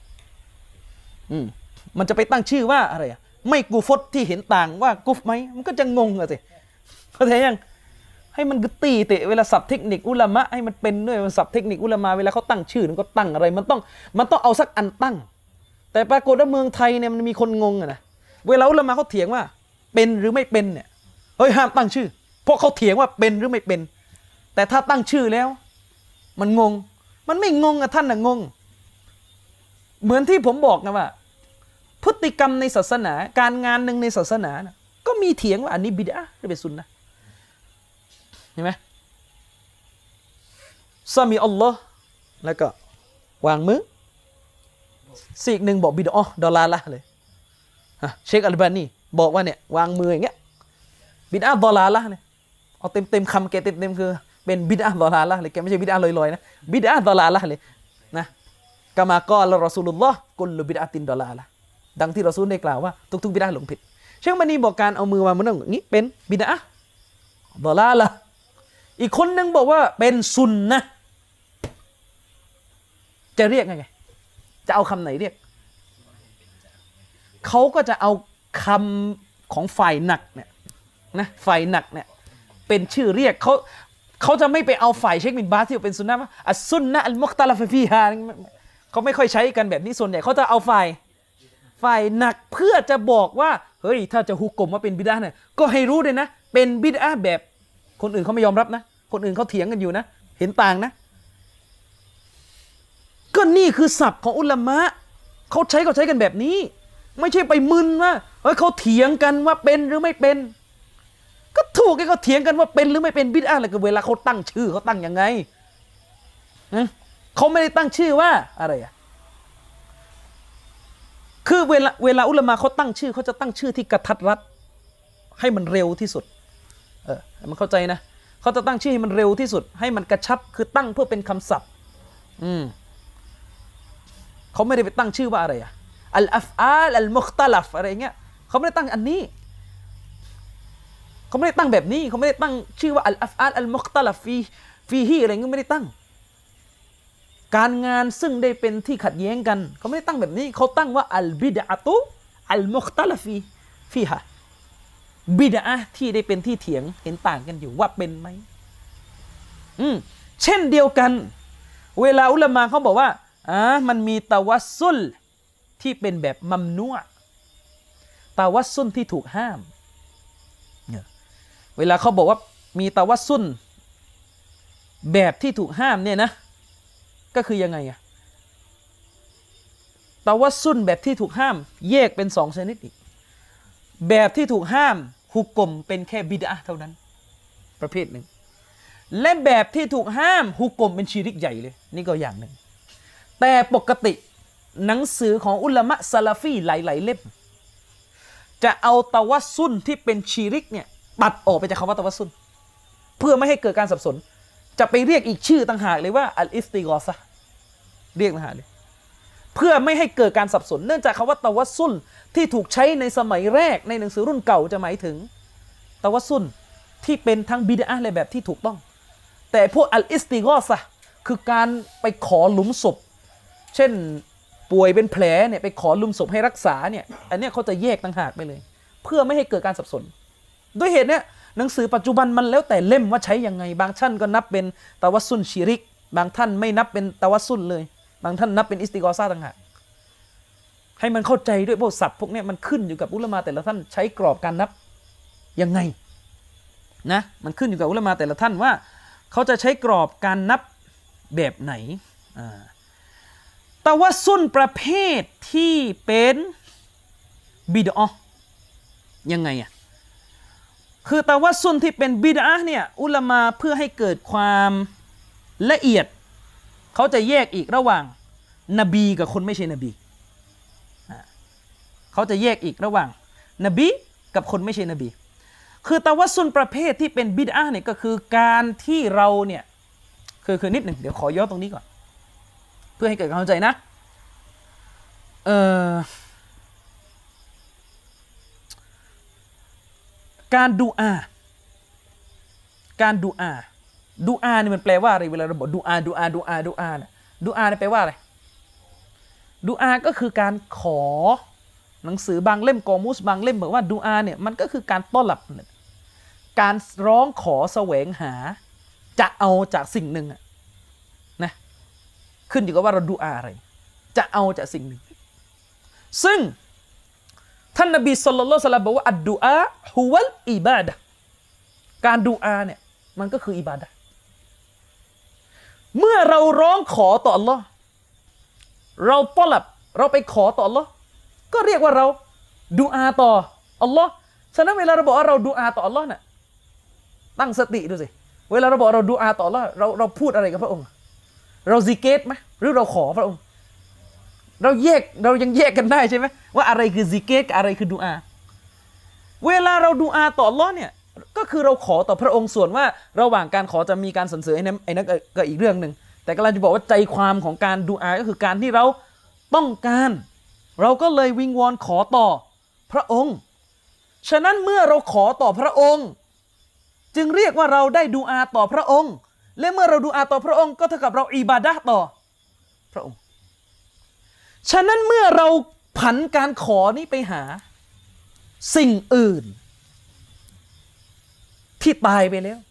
มันจะไปตั้งชื่อว่าอะไรอะไม่กูฟรที่เห็นต่างว่ากุฟไหมมันก็จะงงอะสิเข้าใจยังให้มันกตีเตะเวลาศัพท์เทคนิคอุลามะให้มันเป็นด้วยศัพท์เทคนิคอุลามะเวลาเขาตั้งชื่อมันก็ตั้งอะไรมันต้องเอาสักอันตั้งแต่ปรากฏว่าเมืองไทยเนี่ยมันมีคนงงอะนะเวลาอุลามะเขาเถียงว่าเป็นหรือไม่เป็นเนี่ยเฮ้ยห้ามตั้งชื่อเพราะเขาเถียงว่าเป็นหรือไม่เป็นแต่ถ้าตั้งชื่อแล้วมันงงมันไม่งงอะท่านน่ะงงเหมือนที่ผมบอกนะว่าพฤติกรรมในศาสนาการงานหนึ่งในศาสนานะก็มีเถียงว่าอันนี้บิดอะห์หรือเป็นซุนนะห์เห็นไหมซามีอัลลอฮ์แล้วก็วางมือซีกหนึ่งบอกบิดอะห์ดอลาละเลยเชคอัลบานีบอกว่าเนี่ยวางมืออย่างเงี้ยบิดอะห์ดอลาละเลยเอาเต็มคำแกเต็มคือเป็นบิดอะห์ดอลาละเลยแกไม่ใช่บิดอะห์ลอยๆนะบิดอะห์ดอลาละเลยนะกามากอลรอซูลุลลอฮ์กุลบิดอะตินดอลาละดังที่รอซูลได้กล่าวว่าทุกๆบิดอะห์หลงผิดเชคบันีบอกการเอามือวางมันอย่างนี้เป็นบิดอะห์ดอลาละอีกคนนึงบอกว่าเป็นซุนนะจะเรียกไงจะเอาคำไหนเรียกเขาก็จะเอาคำของฝ่ายหนักเนี่ยนะฝ่ายหนักเนี่ยเป็นชื่อเรียกเขาจะไม่ไปเอาฝ่ายเชคบินบาสที่เป็นซุนนะอัสซุนนะอัลมุคตะลิฟฟีฮาเขาไม่ค่อยใช้กันแบบนี้ส่วนใหญ่เขาจะเอาฝ่ายหนักเพื่อจะบอกว่าเฮ้ยถ้าจะฮุกกลมว่าเป็นบิดอะห์เนี่ยก็ให้รู้เลยนะเป็นบิดอะห์แบบคนอื่นเขาไม่ยอมรับนะคนอื่นเขาเถียงกันอยู่นะเห็นต่างนะก็นี่คือศัพท์ของอุลามะเขาใช้กันแบบนี้ไม่ใช่ไปมึนว่าเฮ้ยเขาเถียงกันว่าเป็นหรือไม่เป็นก็ถูกไอ้เขาเถียงกันว่าเป็นหรือไม่เป็นบิดอะห์อะไรก็เวลาเขาตั้งชื่อเขาตั้งยังไงเขาไม่ได้ตั้งชื่อว่าอะไรอะคือเวลาอุลามะเขาตั้งชื่อเขาจะตั้งชื่อที่กระทัดรัดให้มันเร็วที่สุดมันเข้าใจนะเขาจะตั้งชื่อให้มันเร็วที่สุดให้มันกระชับคือตั้งเพื่อเป็นคำศัพท์เขาไม่ได้ไปตั้งชื่อว่าอะไรอะอัลอัฟอาลอัลมุคตะลิฟอะไรเงี้ยเขาไม่ได้ตั้งอันนี้เขาไม่ได้ตั้งแบบนี้เขาไม่ได้ตั้งชื่อว่าอัลอัฟอาลอัลมุคตะลิฟฟีฮีอะไรเงี้ยไม่ได้ตั้งการงานซึ่งได้เป็นที่ขัดแย้งกันเขาไม่ได้ตั้งแบบนี้เขาตั้งว่าอัลบิดอะตุอัลมุคตะลิฟีฮะบิดอะห์ที่ได้เป็นที่เถียงเห็นต่างกันอยู่ว่าเป็นไหมเช่นเดียวกันเวลาอุลามะเขาบอกว่ามันมีตะวัสซุลที่เป็นแบบมัมนูอะตะวัสซุลที่ถูกห้ามเวลาเขาบอกว่ามีตะวัสซุลแบบที่ถูกห้ามเนี่ยนะก็คือยังไงอะตะวัสซุลแบบที่ถูกห้ามแยกเป็น2ชนิดอีกแบบที่ถูกห้ามฮุกกลมเป็นแค่บิดอะห์เท่านั้นประเภทหนึ่งและแบบที่ถูกห้ามฮุกกลมเป็นชิริกใหญ่เลยนี่ก็อย่างหนึ่งแต่ปกติหนังสือของอุลามะซะลาฟีหลายๆเล่มจะเอาตะวัสซุลที่เป็นชิริกเนี่ยตัดออกไปจากคำว่าตะวัสซุลเพื่อไม่ให้เกิดการสับสนจะไปเรียกอีกชื่อต่างหากเลยว่าอัลอิสติฆอซะห์เรียกต่างหากเลยเพื่อไม่ให้เกิดการสับสนเนื่องจากคำว่าตะวัสซุลที่ถูกใช้ในสมัยแรกในหนังสือรุ่นเก่าจะหมายถึงตะวัสซุลที่เป็นทั้งบิดอะห์และแบบที่ถูกต้องแต่พวกอัลอิสติฆอซะห์คือการไปขอหลุมศพเช่นป่วยเป็นแผลเนี่ยไปขอหลุมศพให้รักษาเนี่ยอันเนี้ยเขาจะแยกต่างหากไปเลยเพื่อไม่ให้เกิดการสับสนด้วยเหตุเนี้ยหนังสือปัจจุบันมันแล้วแต่เล่มว่าใช้ยังไงบางท่านก็นับเป็นตะวัสซุลชิริกบางท่านไม่นับเป็นตะวัสซุลเลยบางท่านนับเป็นอิสติฆอซะห์ต่างหากให้มันเข้าใจด้วยพวกศัพท์พวกนี้มันขึ้นอยู่กับอุลามะแต่ละท่านใช้กรอบการนับยังไงนะมันขึ้นอยู่กับอุลามะแต่ละท่านว่าเขาจะใช้กรอบการนับแบบไหนตะวัสซุลประเภทที่เป็นบิดอะห์ยังไงอ่ะคือตะวัสซุลที่เป็นบิดอะห์เนี่ยอุลามะเพื่อให้เกิดความละเอียดเขาจะแยกอีกระหว่างนบีกับคนไม่ใช่นบีเขาจะแยกอีกระหว่างนบีกับคนไม่ใช่นบีคือตะวัสซุลประเภทที่เป็นบิดอะห์เนี่ยก็คือการที่เราเนี่ยคือนิดหนึ่งเดี๋ยวขอย้อนตรงนี้ก่อนเพื่อให้เกิดความเข้าใจนะการดูอาเนี่ยมันแปลว่าอะไรเวลาเราบอกดูอาเนี่ยดูอาเนี่ยแปลว่าอะไรดูอาก็คือการขอหนังสือบางเล่มกอมุสบางเล่มบอกว่าดูอาเนี่ยมันก็คือการต้อนรับการร้องขอแสวงหาจะเอาจากสิ่งหนึ่งนะขึ้นอยู่กับว่าเราดูอาอะไรจะเอาจากสิ่งหนึ่งซึ่งท่านนบีศ็อลลัลลอฮุอะลัยฮิวะซัลลัมบอกว่าอัดดุอาฮุวัลอิบาดะห์การดูอาเนี่ยมันก็คืออิบาดะห์เมื่อเราร้องขอต่ออัลลอฮ์เราต้อนรับเราไปขอต่ออัลลอฮ์ก็เรียกว่าเราดูอาต่ออัลลอฮ์ฉะนั้นเวลาเราบอกว่าเราดูอาต่ออัลลอฮ์น่ะตั้งสติดูสิเวลาเราบอกเราดูอาต่ออัลลอฮ์เราพูดอะไรกับพระองค์เราซิกเกตไหมหรือเราขอพระองค์เรายังแยกกันได้ใช่ไหมว่าอะไรคือซิกเกตกับอะไรคือดูอาเวลาเราดูอาต่ออัลลอฮ์เนี่ยก็คือเราขอต่อพระองค์ส่วนว่าระหว่างการขอจะมีการสรรเสริญไอ้นั่นก็อีกเรื่องหนึ่งแต่กำลังจะบอกว่าใจความของการดูอาก็คือการที่เราต้องการเราก็เลยวิงวอนขอต่อพระองค์ฉะนั้นเมื่อเราขอต่อพระองค์จึงเรียกว่าเราได้ดูอาต่อพระองค์และเมื่อเราดูอาต่อพระองค์ก็เท่ากับเราอิบาดะห์ต่อพระองค์ฉะนั้นเมื่อเราผันการขอนี้ไปหาสิ่งอื่นที่ตายไปแล้ว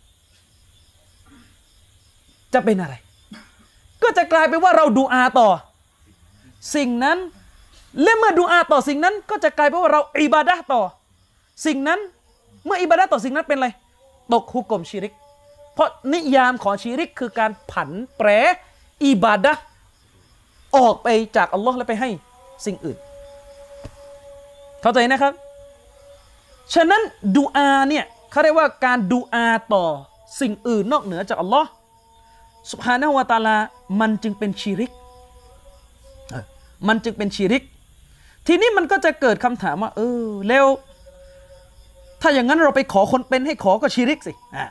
จะเป็นอะไรก็จะกลายเป็นว่าเราดูอาต่อสิ่งนั้นและเมื่อดูอาต่อสิ่งนั้นก็จะกลายเป็นว่าเราอิบาดะห์ต่อสิ่งนั้นเมื่ออิบาดะห์ต่อสิ่งนั้นเป็นอะไรตกฮุกมชิริกเพราะนิยามของชิริกคือการผันแปรอิบาดะห์ออกไปจากอัลลอฮ์และไปให้สิ่งอื่นเข้าใจนะครับฉะนั้นดูอาเนี่ยเขาเรียกว่าการดูอาต่อสิ่งอื่นนอกเหนือจากอัลลอฮ์ซุบฮานะฮูวะตะอาลามันจึงเป็นชิริกมันจึงเป็นชิริกทีนี้มันก็จะเกิดคำถามว่าแล้วถ้าอย่างนั้นเราไปขอคนเป็นให้ขอก็ชิริกสิ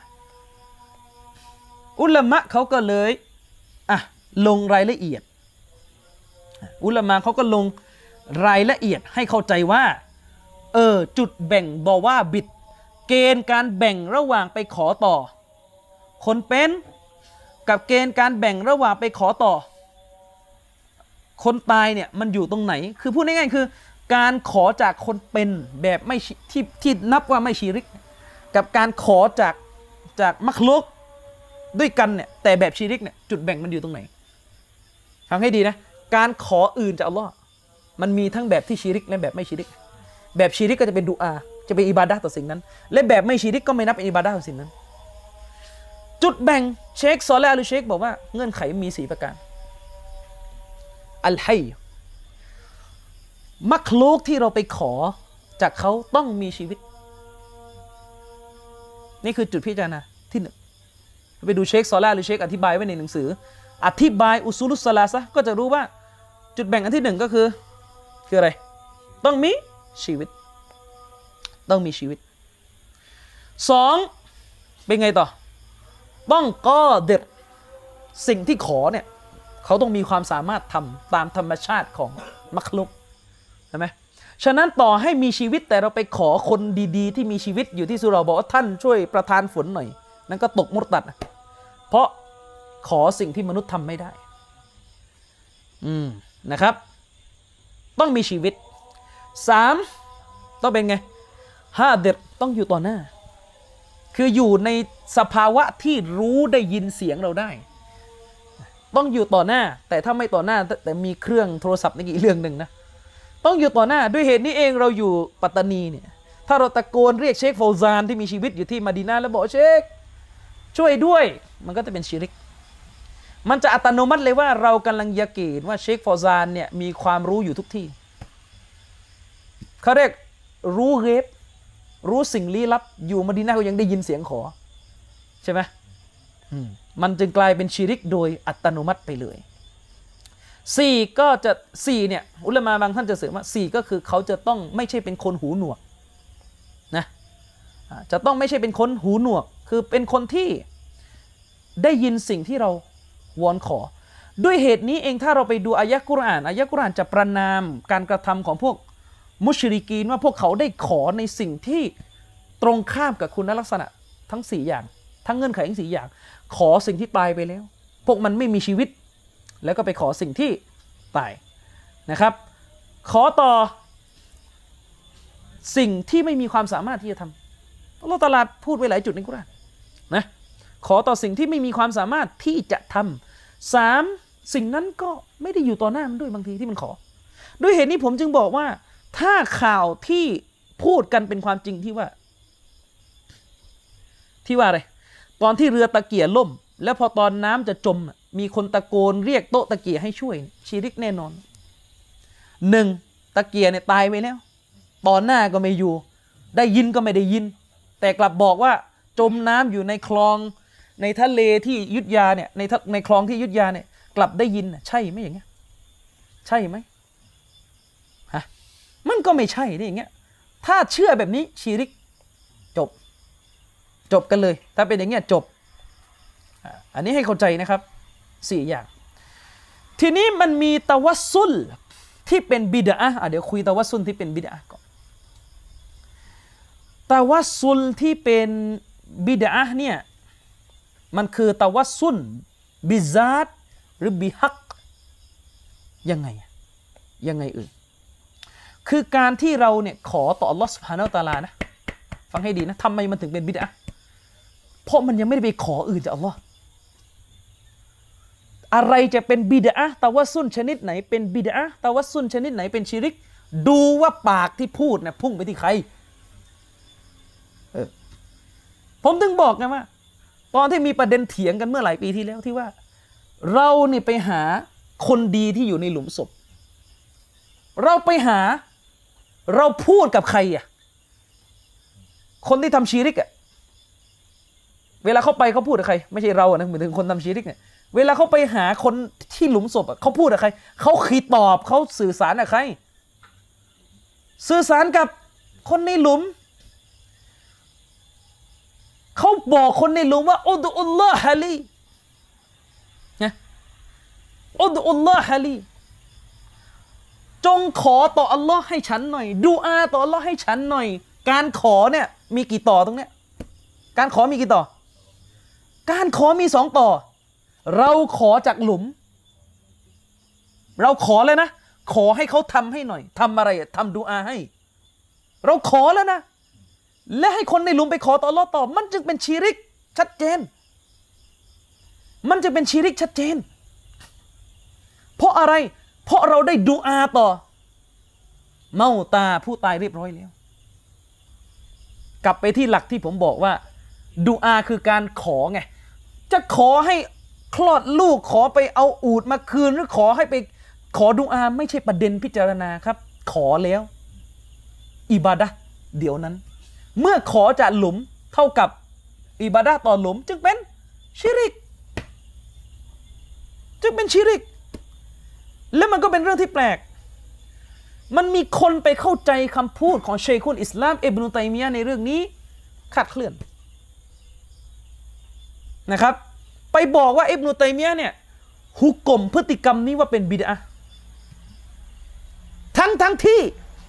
อุลามะเขาก็เลยลงรายละเอียดอุลามะเขาก็ลงรายละเอียดให้เข้าใจว่าจุดแบ่งดอว่าบิดเกณฑ์การแบ่งระหว่างไปขอต่อคนเป็นกับเกณฑ์การแบ่งระหว่างไปขอต่อคนตายเนี่ยมันอยู่ตรงไหนคือพูดง่ายๆคือการขอจากคนเป็นแบบไม่ที่นับว่าไม่ชิริกกับการขอจากมักลุกด้วยกันเนี่ยแต่แบบชิริกเนี่ยจุดแบ่งมันอยู่ตรงไหนฟังให้ดีนะการขออื่นจากอัลลอฮ์มันมีทั้งแบบที่ชิริกและแบบไม่ชิริกแบบชิริกก็จะเป็นดุอาจะเป็นอิบาดะห์ต่อสิ่งนั้นและแบบไม่ชิริกก็ไม่นับเป็นอิบาดะห์ต่อสิ่งนั้นจุดแบ่งเชคซอเลห์ อัลเชคบอกว่าเงื่อนไขมี4ประการอัลฮัยมักลุกที่เราไปขอจากเขาต้องมีชีวิตนี่คือจุดพิจารณาที่1ไปดูเชคซอเลห์ อัลเชคอธิบายไว้ในหนังสืออธิบายอุซูลุสซะลาซะห์ก็จะรู้ว่าจุดแบ่งอันที่1ก็คืออะไรต้องมีชีวิตต้องมีชีวิต2เป็นไงต่อต้องกอดิรสิ่งที่ขอเนี่ยเขาต้องมีความสามารถทำตามธรรมชาติของมักลุกใช่ไหมฉะนั้นต่อให้มีชีวิตแต่เราไปขอคนดีๆที่มีชีวิตอยู่ที่สุเราะห์บอกว่าท่านช่วยประทานฝนหน่อยนั่นก็ตกมุรตัดเพราะขอสิ่งที่มนุษย์ทำไม่ได้นะครับต้องมีชีวิต3ต้องเป็นไงฮาดิรต้องอยู่ต่อหน้าคืออยู่ในสภาวะที่รู้ได้ยินเสียงเราได้ต้องอยู่ต่อหน้าแต่ถ้าไม่ต่อหน้าแต่มีเครื่องโทรศัพท์นี่อีกเรื่องหนึ่งนะต้องอยู่ต่อหน้าด้วยเหตุนี้เองเราอยู่ปัตตานีเนี่ยถ้าเราตะโกนเรียกเชคฟาวซานที่มีชีวิตอยู่ที่มะดีนะห์แล้วบอกเชคช่วยด้วยมันก็จะเป็นชิริกมันจะอัตโนมัติเลยว่าเรากำลังยะกีนว่าเชคฟาวซานเนี่ยมีความรู้อยู่ทุกที่เขาเรียกรู้เกฟรู้สิ่งลี้ลับอยู่มะดีนะห์ก็ยังได้ยินเสียงขอใช่ไหมมันจึงกลายเป็นชิริกโดยอัตโนมัติไปเลย4ก็จะ4เนี่ยอุลามะบางท่านจะเสริมว่า4ก็คือเขาจะต้องไม่ใช่เป็นคนหูหนวกจะต้องไม่ใช่เป็นคนหูหนวกคือเป็นคนที่ได้ยินสิ่งที่เราวอนขอด้วยเหตุนี้เองถ้าเราไปดูอายะกุรอานจะประนามการกระทำของพวกมุชริกีนว่าพวกเขาได้ขอในสิ่งที่ตรงข้ามกับคุณลักษณะทั้ง4อย่างทั้งเงื่อนไขทั้ง4อย่างขอสิ่งที่ตายไปแล้วพวกมันไม่มีชีวิตแล้วก็ไปขอสิ่งที่ตายนะครับขอต่อสิ่งที่ไม่มีความสามารถที่จะทำอัลเลาะห์ตะอาลาพูดไว้หลายจุดในกุรอานนะขอต่อสิ่งที่ไม่มีความสามารถที่จะทำ3สิ่งนั้นก็ไม่ได้อยู่ต่อหน้ามันด้วยบางทีที่มันขอด้วยเหตุนี้ผมจึงบอกว่าถ้าข่าวที่พูดกันเป็นความจริงที่ว่าอะไรตอนที่เรือตะเกียล่มแล้วพอตอนน้ำจะจมมีคนตะโกนเรียกโต๊ะตะเกียให้ช่วยชิริกแน่นอน1ตะเกียเนี่ยตายไปแล้วตอนหน้าก็ไม่อยู่ได้ยินก็ไม่ได้ยินแต่กลับบอกว่าจมน้ำอยู่ในคลองในทะเลที่ยุธยาเนี่ยในคลองที่ยุธยาเนี่ยกลับได้ยินใช่ไหมอย่างเงี้ยใช่ไหมฮะมันก็ไม่ใช่ได้อย่างเงี้ยถ้าเชื่อแบบนี้ชิริกจบกันเลยถ้าเป็นอย่างเงี้ยจบอันนี้ให้เข้าใจนะครับ4อย่างทีนี้มันมีตะวัสซุลที่เป็นบิดอะห์เดี๋ยวคุยตะวัสซุลที่เป็นบิดอะห์ก่อนตะวัสซุลที่เป็นบิดอะห์เนี่ยมันคือตะวัสซุลบิซาตหรือบิฮักยังไงคือการที่เราเนี่ยขอต่ออัลลอฮฺซุบฮานะฮูวะตะอาลานะฟังให้ดีนะทำไมมันถึงเป็นบิดอะห์เพราะมันยังไม่ได้ไปขออื่นจากอัลลอฮ์อะไรจะเป็นบิดอะห์ตะวัสซุลชนิดไหนเป็นบิดอะห์ตะวัสซุลชนิดไหนเป็นชิริกดูว่าปากที่พูดเนี่ยพุ่งไปที่ใครผมถึงบอกไงว่าตอนที่มีประเด็นเถียงกันเมื่อหลายปีที่แล้วที่ว่าเราเนี่ยไปหาคนดีที่อยู่ในหลุมศพเราพูดกับใครคนที่ทำชิริกเวลาเขาไปเขาพูดกับใครไม่ใช่เรานะหมายถึงคนทำชิริกเนี่ยเวลาเขาไปหาคนที่หลุมศพเขาพูดกับใครเขาคีตอบเขาสื่อสารกับใครสื่อสารกับคนในหลุมเขาบอกคนในหลุมว่าอุดอุลลอฮะลีนะอุดอุลลอฮะลีจงขอต่ออัลลอฮ์ให้ฉันหน่อยดูอาต่ออัลลอฮ์ให้ฉันหน่อยการขอเนี่ยมีกี่ต่อตรงเนี้ยการขอมีกี่ต่อการขอมี2ต่อเราขอจากหลุมเราขอเลยนะขอให้เขาทำให้หน่อยทำอะไรทำดูอาให้เราขอแล้วนะและให้คนในหลุมไปขอต่ออัลเลาะห์ต่อมันจึงเป็นชิริกชัดเจนมันจะเป็นชิริกชัดเจนเพราะอะไรเพราะเราได้ดูอาต่อเมาตาผู้ตายเรียบร้อยแล้วกลับไปที่หลักที่ผมบอกว่าดูอาคือการขอไงจะขอให้คลอดลูกขอไปเอาอูฐมาคืนหรือขอให้ไปขอดุอาไม่ใช่ประเด็นพิจารณาครับขอแล้วอิบาดะห์เดี๋ยวนั้นเมื่อขอจากหลุมเท่ากับอิบาดะห์ต่อหลุมจึงเป็นชิริกและมันก็เป็นเรื่องที่แปลกมันมีคนไปเข้าใจคำพูดของเชคุลอิสลามอิบนุตัยมียะห์ในเรื่องนี้คลาดเคลื่อนนะครับไปบอกว่าอิบนุตัยมียะห์เนี่ยฮุกกลมพฤติกรรมนี้ว่าเป็นบิดอะห์ทั้งที่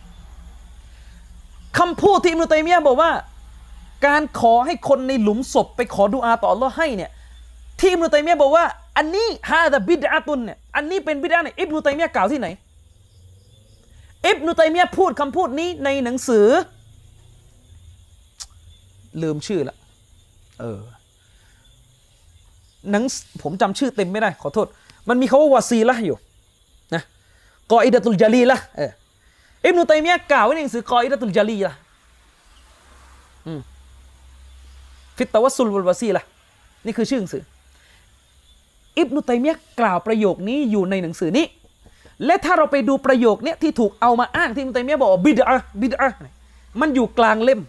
คำพูดที่อิบนุตัยมียะห์บอกว่าการขอให้คนในหลุมศพไปขอดุอาต่ออัลเลาะห์ให้เนี่ยที่อิบนุตัยมียะห์บอกว่าอันนี้ฮาซาบิดอะตุนเนี่ยอันนี้เป็นบิดอะห์เนี่ยอิบนุตัยมียะห์กล่าวที่ไหนอิบนุตัยมียะห์พูดคำพูดนี้ในหนังสือลืมชื่อละผมจำชื่อเต็มไม่ได้ขอโทษมันมีคำว่าวาซีละห์อยู่นะกออิดะตุลญะลีละห์อิบนุตัยมียะห์กล่าวไว้ในหนังสือกออิดะตุลญะลีละห์ฟิตตะวัสซุลวัลวาซีละห์นี่คือชื่อหนังสืออิบนุตัยมียะห์กล่าวประโยคนี้อยู่ในหนังสือนี้และถ้าเราไปดูประโยคนี้ที่ถูกเอามาอ้างที่อิบนุตัยมียะห์บอกว่าบิดอะห์มันอยู่กลางเล่ม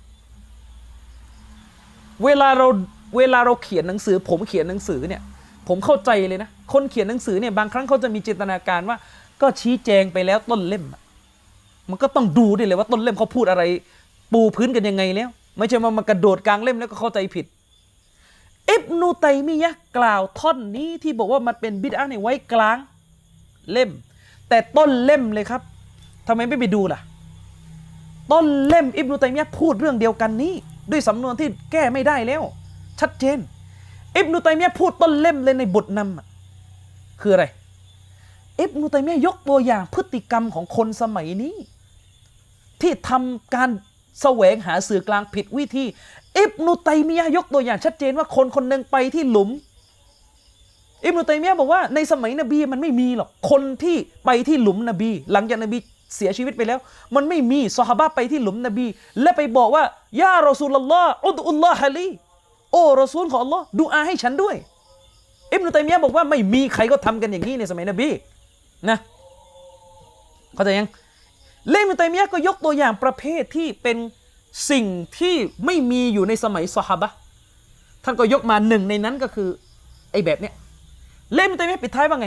เวลาเราเขียนหนังสือผมเขียนหนังสือเนี่ยผมเข้าใจเลยนะคนเขียนหนังสือเนี่ยบางครั้งเขาจะมีจินตนาการว่าก็ชี้แจงไปแล้วต้นเล่มมันก็ต้องดูด้วยเลยว่าต้นเล่มเขาพูดอะไรปูพื้นกันยังไงแล้วไม่ใช่มากระโดดกลางเล่มแล้วก็เข้าใจผิดอิบนุตัยมียะห์กล่าวท่อนนี้ที่บอกว่ามันเป็นบิดอะห์เนี่ยไว้กลางเล่มแต่ต้นเล่มเลยครับทำไมไม่ไปดูล่ะต้นเล่มอิบนุตัยมียะห์พูดเรื่องเดียวกันนี้ด้วยสำนวนที่แก้ไม่ได้แล้วชัดเจนอิบนุตัยมียะห์พูดต้นเล่มเลยในบทนำคืออะไรอิบนุตัยมียะห์ยกตัวอย่างพฤติกรรมของคนสมัยนี้ที่ทำการแสวงหาสื่อกลางผิดวิธีอิบนุตัยมียะห์ยกตัวอย่างชัดเจนว่าคนคนหนึ่งไปที่หลุมอิบนุตัยมียะห์บอกว่าในสมัยนบีมันไม่มีหรอกคนที่ไปที่หลุมนบีหลังจากนบีเสียชีวิตไปแล้วมันไม่มีซอฮาบะห์ไปที่หลุมนบีและไปบอกว่ายารอซูลุลลอฮ์อุดุลลอฮะลีโอ้รอซูลของอัลลอฮ์ดุอาให้ฉันด้วยอิบนุตัยมียะห์บอกว่าไม่มีใครก็ทำกันอย่างนี้ในสมัยนบีนะเข้าใจยังอิบนุตัยมียะห์ก็ยกตัวอย่างประเภทที่เป็นสิ่งที่ไม่มีอยู่ในสมัยซอฮาบะห์ท่านก็ยกมาหนึ่งในนั้นก็คือไอ้แบบเนี้ยอิบนุตัยมียะห์ปิดท้ายว่าไง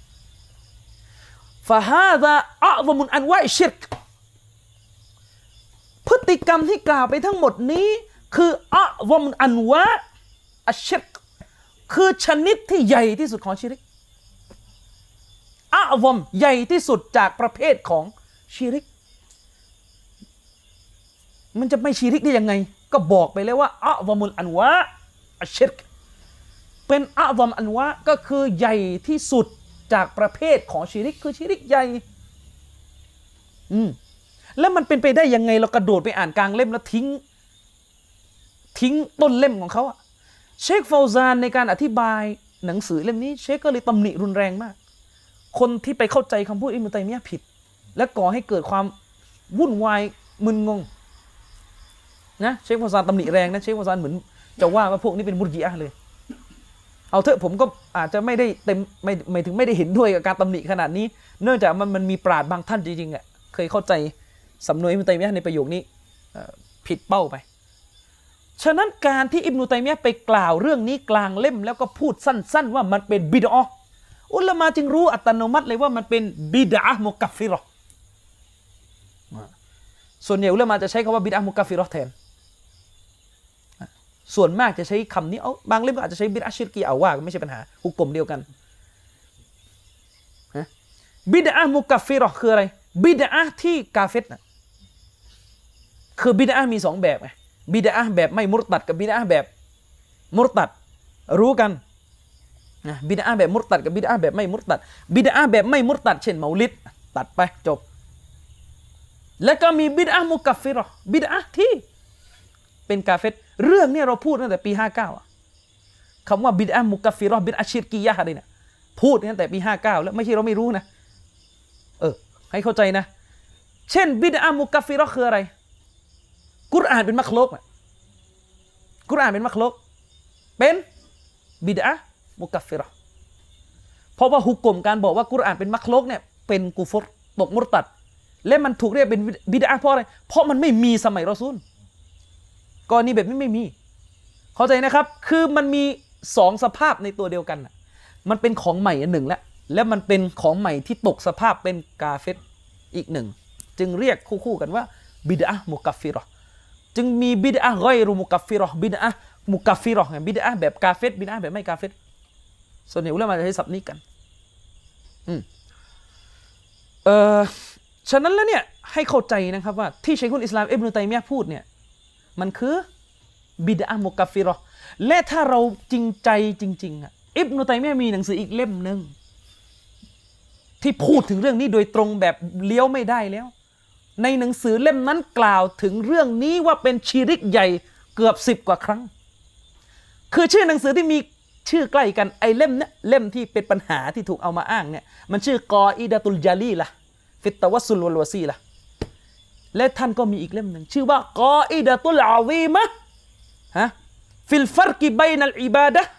ฟะฮาซาอะซะมุนอันวะอิชิรกพฤติกรรมที่กล่าวไปทั้งหมดนี้คืออะซะมุนอันวะอัชชิรกคือชนิดที่ใหญ่ที่สุดของชิริกอะซอมใหญ่ที่สุดจากประเภทของชิริกมันจะไม่ชิริกได้ยังไงก็บอกไปแล้วว่าอะซอมุลอันวะอัชชิรกเป็นอะซอมอันวะก็คือใหญ่ที่สุดจากประเภทของชิริกคือชิริกใหญ่แล้วมันเป็นไปได้ยังไงเรากระโดดไปอ่านกลางเล่มแล้วทิ้งต้นเล่มของเขาอะเชคฟาวซานในการอธิบายหนังสือเล่มนี้เชคก็เลยตำหนิรุนแรงมากคนที่ไปเข้าใจคำพูดอิบนุตัยมียะห์ผิดและก่อให้เกิดความวุ่นวายมึนงงนะเชคฟาวซานตำหนิแรงนะเชคฟาวซานเหมือนจะว่าพวกนี้เป็นมุรญิอะห์เลยเอาเถอะผมก็อาจจะไม่ได้เต็มไม่ถึงไม่ได้เห็นด้วยกับการตำหนิขนาดนี้เนื่องจากมันมีปราชญ์บางท่านจริงๆอ่ะเคยเข้าใจสำนวนอิบนุตัยมียะห์ในประโยคนี้ผิดเป้าไปฉะนั้นการที่อิบนุตัยมียะห์ไปกล่าวเรื่องนี้กลางเล่มแล้วก็พูดสั้นๆว่ามันเป็นบิดอะห์อุลามะจึงรู้อัตโนมัติเลยว่ามันเป็นบิดอะห์มุกัฟฟิเราะห์ส่วนใหญ่อุลามะจะใช้คำว่าบิดอะห์มุกัฟฟิเราะห์แทนส่วนมากจะใช้คำนี้บางเล่มก็อาจจะใช้บิดอะห์ชิรกีเอาว่าไม่ใช่ปัญหาฮุกกลมเดียวกันบิดอะห์มุกัฟฟิเราะห์คืออะไรบิดอะห์ที่กาเฟรนะคือบิดอะห์มีสองแบบไงบิดอะห์แบบไม่มุรตัดกับบิดอะห์แบบมุรตัดรู้กันนะบิดอะห์แบบมุรตัดกับบิดอะห์แบบไม่มุรตัดบิดอะห์แบบไม่มุรตัดเช่นเมาลิดตัดไปจบแล้วก็มีบิดอะห์มุกัฟฟิเราะห์บิดอะห์ที่เป็นกาเฟรเรื่องนี้เราพูดตั้งแต่ปี59คำว่าบิดอะห์มุกัฟฟิเราะห์บิดอะห์ชิรกียะห์อะไรเนี่ยพูดตั้งแต่ปี59แล้วไม่ใช่เราไม่รู้นะให้เข้าใจนะเช่นบิดอะห์มุกัฟฟิเราะห์คืออะไรกุรอานเป็นมักลุกกุรอานเป็นมักลุกเป็นบิดอะห์มุกัฟฟิเราะห์เพราะว่าฮุกกลมการบอกว่ากุรอานเป็นมักลุกเนี่ยเป็นกุฟรตกมุรตัดและมันถูกเรียกเป็นบิดอะห์เพราะอะไรเพราะมันไม่มีสมัยรอซูลกรณีแบบนี้ไม่มีเข้าใจนะครับคือมันมีสองสภาพในตัวเดียวกันมันเป็นของใหม่อันหนึ่งและมันเป็นของใหม่ที่ตกสภาพเป็นกาเฟรอีกหนึ่งจึงเรียกคู่กันว่าบิดอะห์มุกัฟฟิเราะห์จึงมีบิดอะห์ฆอยรุมุกัฟฟิเราะห์บิดอะห์มุกัฟฟิเราะห์บิดอะห์แบบกาเฟรบิดอะห์แบบไม่กาเฟรส่วนใหญ่อุลามะจะใช้ศัพท์นี้กันฉะนั้นแล้วเนี่ยให้เข้าใจนะครับว่าที่ชัยคุลอิสลามอิบนุตัยมียะห์พูดเนี่ยมันคือบิดอะห์มุกัฟฟิเราะห์และถ้าเราจริงใจจริงๆอิบนุตัยมียะห์มีหนังสืออีกเล่มนึงที่พูดถึงเรื่องนี้โดยตรงแบบเลี้ยวไม่ได้แล้วในหนังสือเล่มนั้นกล่าวถึงเรื่องนี้ว่าเป็นชิริกใหญ่เกือบ10 กว่าครั้งคือชื่อหนังสือที่มีชื่อใกล้กันไอ้เล่มเนี้ยเล่มที่เป็นปัญหาที่ถูกเอามาอ้างเนี่ยมันชื่อกออิดะตุลญาลีละฟิตตะวัสซุลวัลวะซีละและท่านก็มีอีกเล่มหนึ่งชื่อว่ากออิดะตุลอาซีมะฮะฟิลฟัรกิบัยนัลอิบาดะห์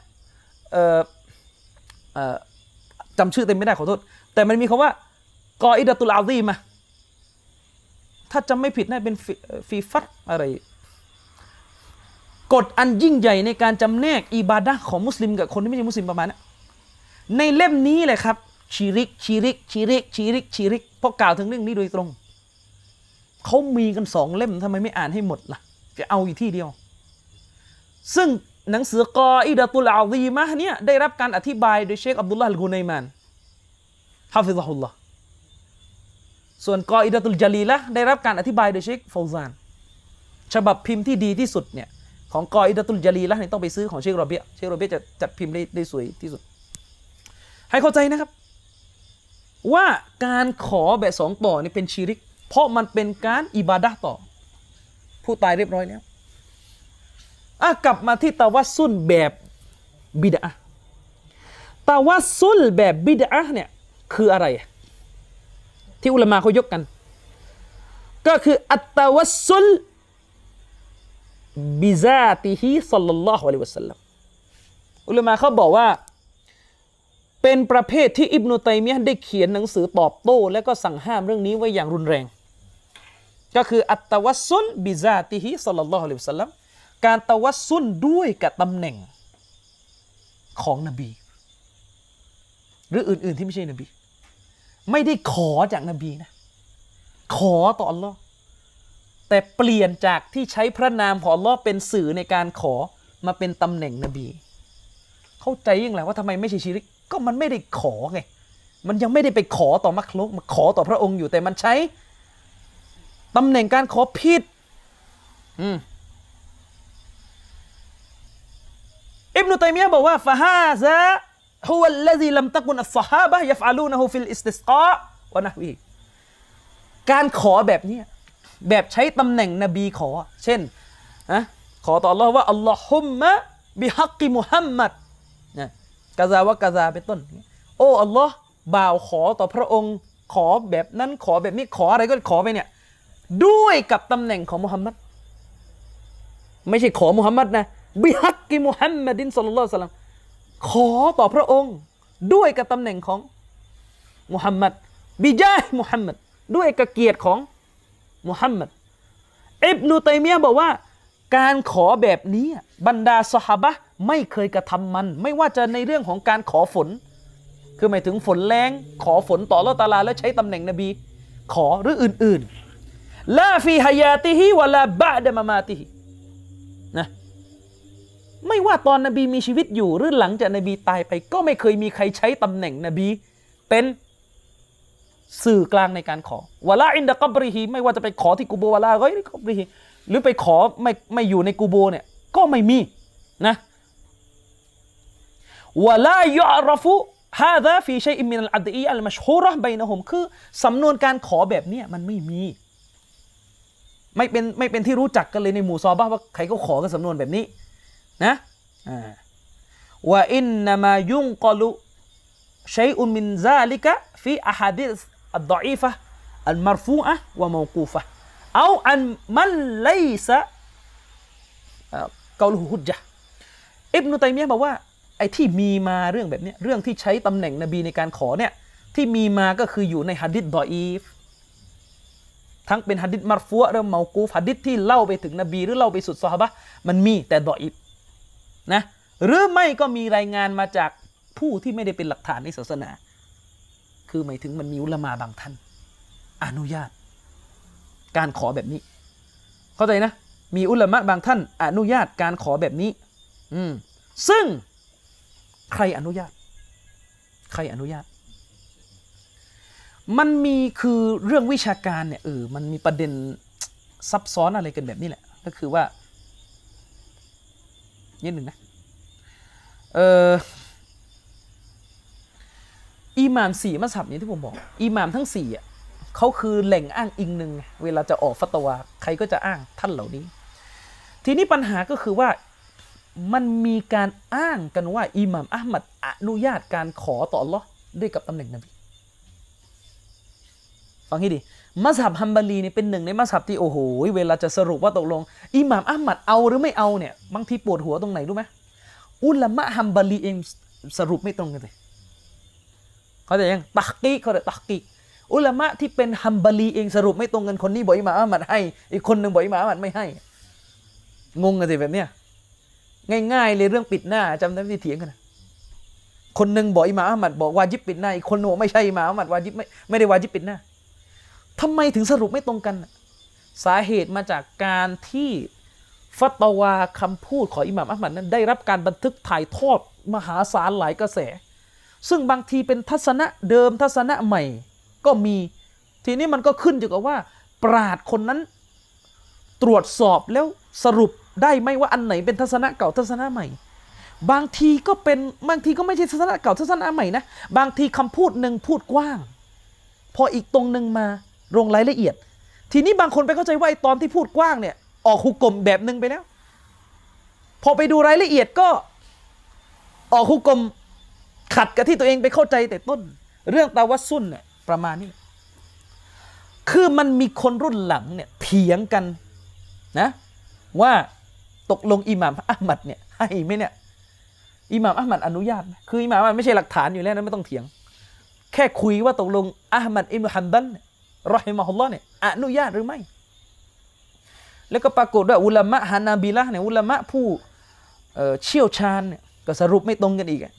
จำชื่อเต็มไม่ได้ขอโทษแต่มันมีคำว่ากออิดะตุลอาซีมะถ้าจำไม่ผิดน่าเป็นฟีฟัตอะไรกฎอันยิ่งใหญ่ในการจำแนกอิบาดะห์ของมุสลิมกับคนที่ไม่ใช่มุสลิมประมาณนั้นในเล่มนี้แหละครับชิริกเพราะกล่าวถึงเรื่องนี้โดยตรงเขามีกัน2 เล่มทำไมไม่อ่านให้หมดล่ะจะเอาอยู่ที่เดียวซึ่งหนังสือกออิดะตุลอาซีมะห์เนี่ยได้รับการอธิบายโดยเชคอับดุลลาห์อัลกุนัยมานฮะฟิซะฮุลลอฮ์ส่วนกออิดะตุลญะลีละห์ได้รับการอธิบายโดยเชคฟาวซานฉบับพิมพ์ที่ดีที่สุดเนี่ยของกออิดะตุลญะลีละห์เนี่ยต้องไปซื้อของเชคโรเบียเชคโรเบียจะจัดพิมพ์ได้สวยที่สุดให้เข้าใจนะครับว่าการขอแบบสองต่อนี่เป็นชิริกเพราะมันเป็นการอิบาดะห์ต่อผู้ตายเรียบร้อยแล้วกลับมาที่ตะวัสซุลแบบบิดอะห์ตะวัสซุลแบบบิดอะห์เนี่ยคืออะไรที่อุลามะเขายกกันก็คืออัตตะวัสซุลบิซาติฮิศ็อลลัลลอฮุอะลัยฮิวะซัลลัมอุลามะเขาบอกว่าเป็นประเภทที่อิบนุตัยมียะห์ได้เขียนหนังสือตอบโต้และก็สั่งห้ามเรื่องนี้ไว้อย่างรุนแรงก็คืออัตตะวัสซุลบิซาติฮิศ็อลลัลลอฮุอะลัยฮิวะซัลลัมการตะวัสซุลด้วยกับตำแหน่งของนบีหรืออื่นๆที่ไม่ใช่นบีไม่ได้ขอจากนบีนะขอต่ออัลลอฮ์แต่เปลี่ยนจากที่ใช้พระนามของอัลลอฮ์เป็นสื่อในการขอมาเป็นตำแหน่งนบีเข้าใจยังไงว่าทำไมไม่ใช่ชิริกก็มันไม่ได้ขอไงมันยังไม่ได้ไปขอต่อมักลุกมาขอต่อพระองค์อยู่แต่มันใช้ตำแหน่งการขอผิดอิบนุตัยมียะห์บอกว่าฟะฮาซาฮุวัลลซีลัมตะกุนอัศศอฮาบะฮ์ยัฟอะลูนะฮูฟิลอิสติสกอวะนะฮวีการขอแบบนี้แบบใช้ตำแหน่งนบีขอเช่นขอต่ออัลเลาะห์ว่าอัลลอฮุมมะบิฮักกิมุฮัมมัดกะซาวะกะซาเป็นต้นโอ้อัลลอฮ์บ่าวขอต่อพระองค์ขอแบบนั้นขอแบบนี้ขออะไรก็ขอไปเนี่ยด้วยกับตำแหน่งของมุฮัมมัดไม่ใช่ขอมุฮัมมัดนะบิฮักกิมุฮัมมัดินศ็อลลัลลอฮุอะลัยฮิวะซัลลัมขอต่อพระองค์ด้วยกับตำแหน่งของมุฮัมมัดบิญาห์มุฮัมมัดด้วยกับเกียรติของมุฮัมมัดอิบนุตัยมียะห์บอกว่าการขอแบบนี้บรรดาซอฮาบะห์ไม่เคยกระทำมันไม่ว่าจะในเรื่องของการขอฝนคือหมายถึงฝนแรงขอฝนต่ออัลเลาะห์ตะอาลาแล้วใช้ตำแหน่งนบีขอหรืออื่นๆลาฟีฮายาติฮิวะลาบะดะมะมาติฮินะไม่ว่าตอนนบีมีชีวิตอยู่หรือหลังจากนบีตายไปก็ไม่เคยมีใครใช้ตำแหน่งนบีเป็นสื่อกลางในการขอวะลาอินดะกับริฮิไม่ว่าจะไปขอที่กูโบวะลาก็ไม่กับริฮิหรือไปขอไม่อยู่ในกูโบเนี่ยก็ไม่มีนะวะลายะรฟุฮาซาฟีชัยอินมินัลอัดอีอัลมัชฮูเราะห์บัยนะฮุมคือสำนวนการขอแบบนี้มันไม่มีไม่เป็นที่รู้จักกันเลยในหมู่ซอฮาบะห์ว่าใครก็ขอกันสำนวนแบบนี้นะวะอินนามายุนกอลุชัยอุนมินซาลิกะฟีอะฮาดิษอัดฎออีฟะอัลมัรฟูอะห์วะมอกูฟะห์เอาอันมันไลซะกอลุฮุจญะห์อิบนุตัยมียะห์บอกว่าไอ้ที่มีมาเรื่องแบบนี้เรื่องที่ใช้ตำแหน่งนบีในการขอเนี่ยที่มีมาก็คืออยู่ในหะดีษฎออีฟทั้งเป็นหะดีษมัรฟูอะห์หรือเมากูฟหะดีษที่เล่าไปถึงนบีหรือเล่าไปสู่ซอฮาบะห์มันมีแต่ฎออีฟนะหรือไม่ก็มีรายงานมาจากผู้ที่ไม่ได้เป็นหลักฐานในศาสนาคือหมายถึงมันมีอุลามะบางท่านอนุญาตการขอแบบนี้เข้าใจนะมีอุลามะบางท่านอนุญาตการขอแบบนี้ซึ่งใครอนุญาตมันมีคือเรื่องวิชาการเนี่ยมันมีประเด็นซับซ้อนอะไรกันแบบนี้แหละก็คือว่านิดหนึ่งนะอิหม่าม4มัซฮับนี้ที่ผมบอกอิหม่ามทั้ง4อ่ะเขาคือแหล่งอ้างอิงหนึ่งเวลาจะออกฟัตวาใครก็จะอ้างท่านเหล่านี้ทีนี้ปัญหาก็คือว่ามันมีการอ้างกันว่าอิหม่ามอะห์มัดอนุญาตการขอต่ออัลเลาะห์ด้วยกับตำแหน่งนบีฟังให้ดีมัซฮับฮัมบารีนี่เป็นหนึ่งในมัซฮับที่โอ้โหเวลาจะสรุปว่าตกลงอิหม่ามอะห์มัดเอาหรือไม่เอาเนี่ยบางทีปวดหัวตรงไหนรู้ไหมอุลามะฮัมบารีเองสรุปไม่ตรงกันเลยเขาจะยังตักกีเขาจะตักกีอุลามะที่เป็นฮัมบารีเองสรุปไม่ตรงกันคนนี้บอกอิหม่ามอะห์มัดให้อีกคนนึงบอกอิหม่ามอะห์มัดไม่ให้งงกันสิแบบเนี้ยง่ายๆเลยเรื่องปิดหน้าจำได้ที่เถียงกันคนนึงบอกอิหม่ามอะห์มัดบอกวาญิบปิดหน้าอีกคนนึงบอกไม่ใช่อิหม่ามอะห์มัดวาญิบไม่ได้วาญิบปิดหน้าทำไมถึงสรุปไม่ตรงกันสาเหตุมาจากการที่ฟัตวาคำพูดของอิหม่ามอะห์มัดนั้นได้รับการบันทึกถ่ายทอดมหาศาลหลายกระแสซึ่งบางทีเป็นทัศนะเดิมทัศนะใหม่ก็มีทีนี้มันก็ขึ้นอยู่กับว่าปราชญ์คนนั้นตรวจสอบแล้วสรุปได้ไหมว่าอันไหนเป็นทัศนะเก่าทัศนะใหม่บางทีก็เป็นบางทีก็ไม่ใช่ทัศนะเก่าทัศนะใหม่นะบางทีคำพูดหนึ่งพูดกว้างพออีกตรงหนึ่งมาลงรายละเอียดทีนี้บางคนไปเข้าใจว่าไอ้ตอนที่พูดกว้างเนี่ยออกหุกกลมแบบหนึ่งไปแล้วพอไปดูรายละเอียดก็ออกหุกกลมขัดกับที่ตัวเองไปเข้าใจแต่ต้นเรื่องตะวัสซุลเนี่ยประมาณนี้คือมันมีคนรุ่นหลังเนี่ยเถียงกันนะว่าตกลงอิหม่ามอะห์มัดเนี่ยให้ไหมเนี่ยอิหม่ามอะห์มัดอนุญาตไหมคืออิหม่ามอะห์มัดไม่ใช่หลักฐานอยู่แล้วนะไม่ต้องเถียงแค่คุยว่าตกลงอะห์มัดอิบนุฮัมบัลรอฮิมะฮุลลอฮ์เนี่ยอนุญาตหรือไม่แล้วก็ปรากฏว่าอุลามะฮานาบิละห์เนี่ยอุลามะผู้เชี่ยวชาญเนี่ยก็สรุปไม่ตรงกันอีก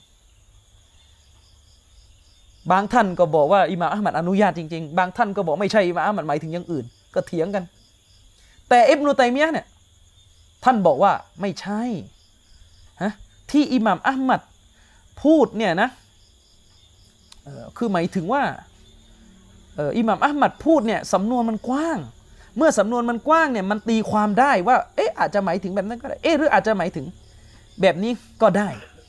บางท่านก็บอกว่าอิหม่ามอะห์มัดอนุญาตจริงๆบางท่านก็บอกไม่ใช่อิหม่ามอะห์มัดหมายถึงอย่างอื่นก็เถียงกันแต่อิบนุตัยมียะห์เนี่ยท่านบอกว่าไม่ใช่ที่อิหม่ามอะห์มัดพูดเนี่ยนะคือหมายถึงว่าอิหม่ามอะห์มัดพูดเนี่ยสำนวนมันกว้างเมื่อสำนวนมันกว้างเนี่ยมันตีความได้ว่าอาจจะหมายถึงแบบนั้นก็ได้หรืออาจจะหมายถึงแบบนี้ก็ได้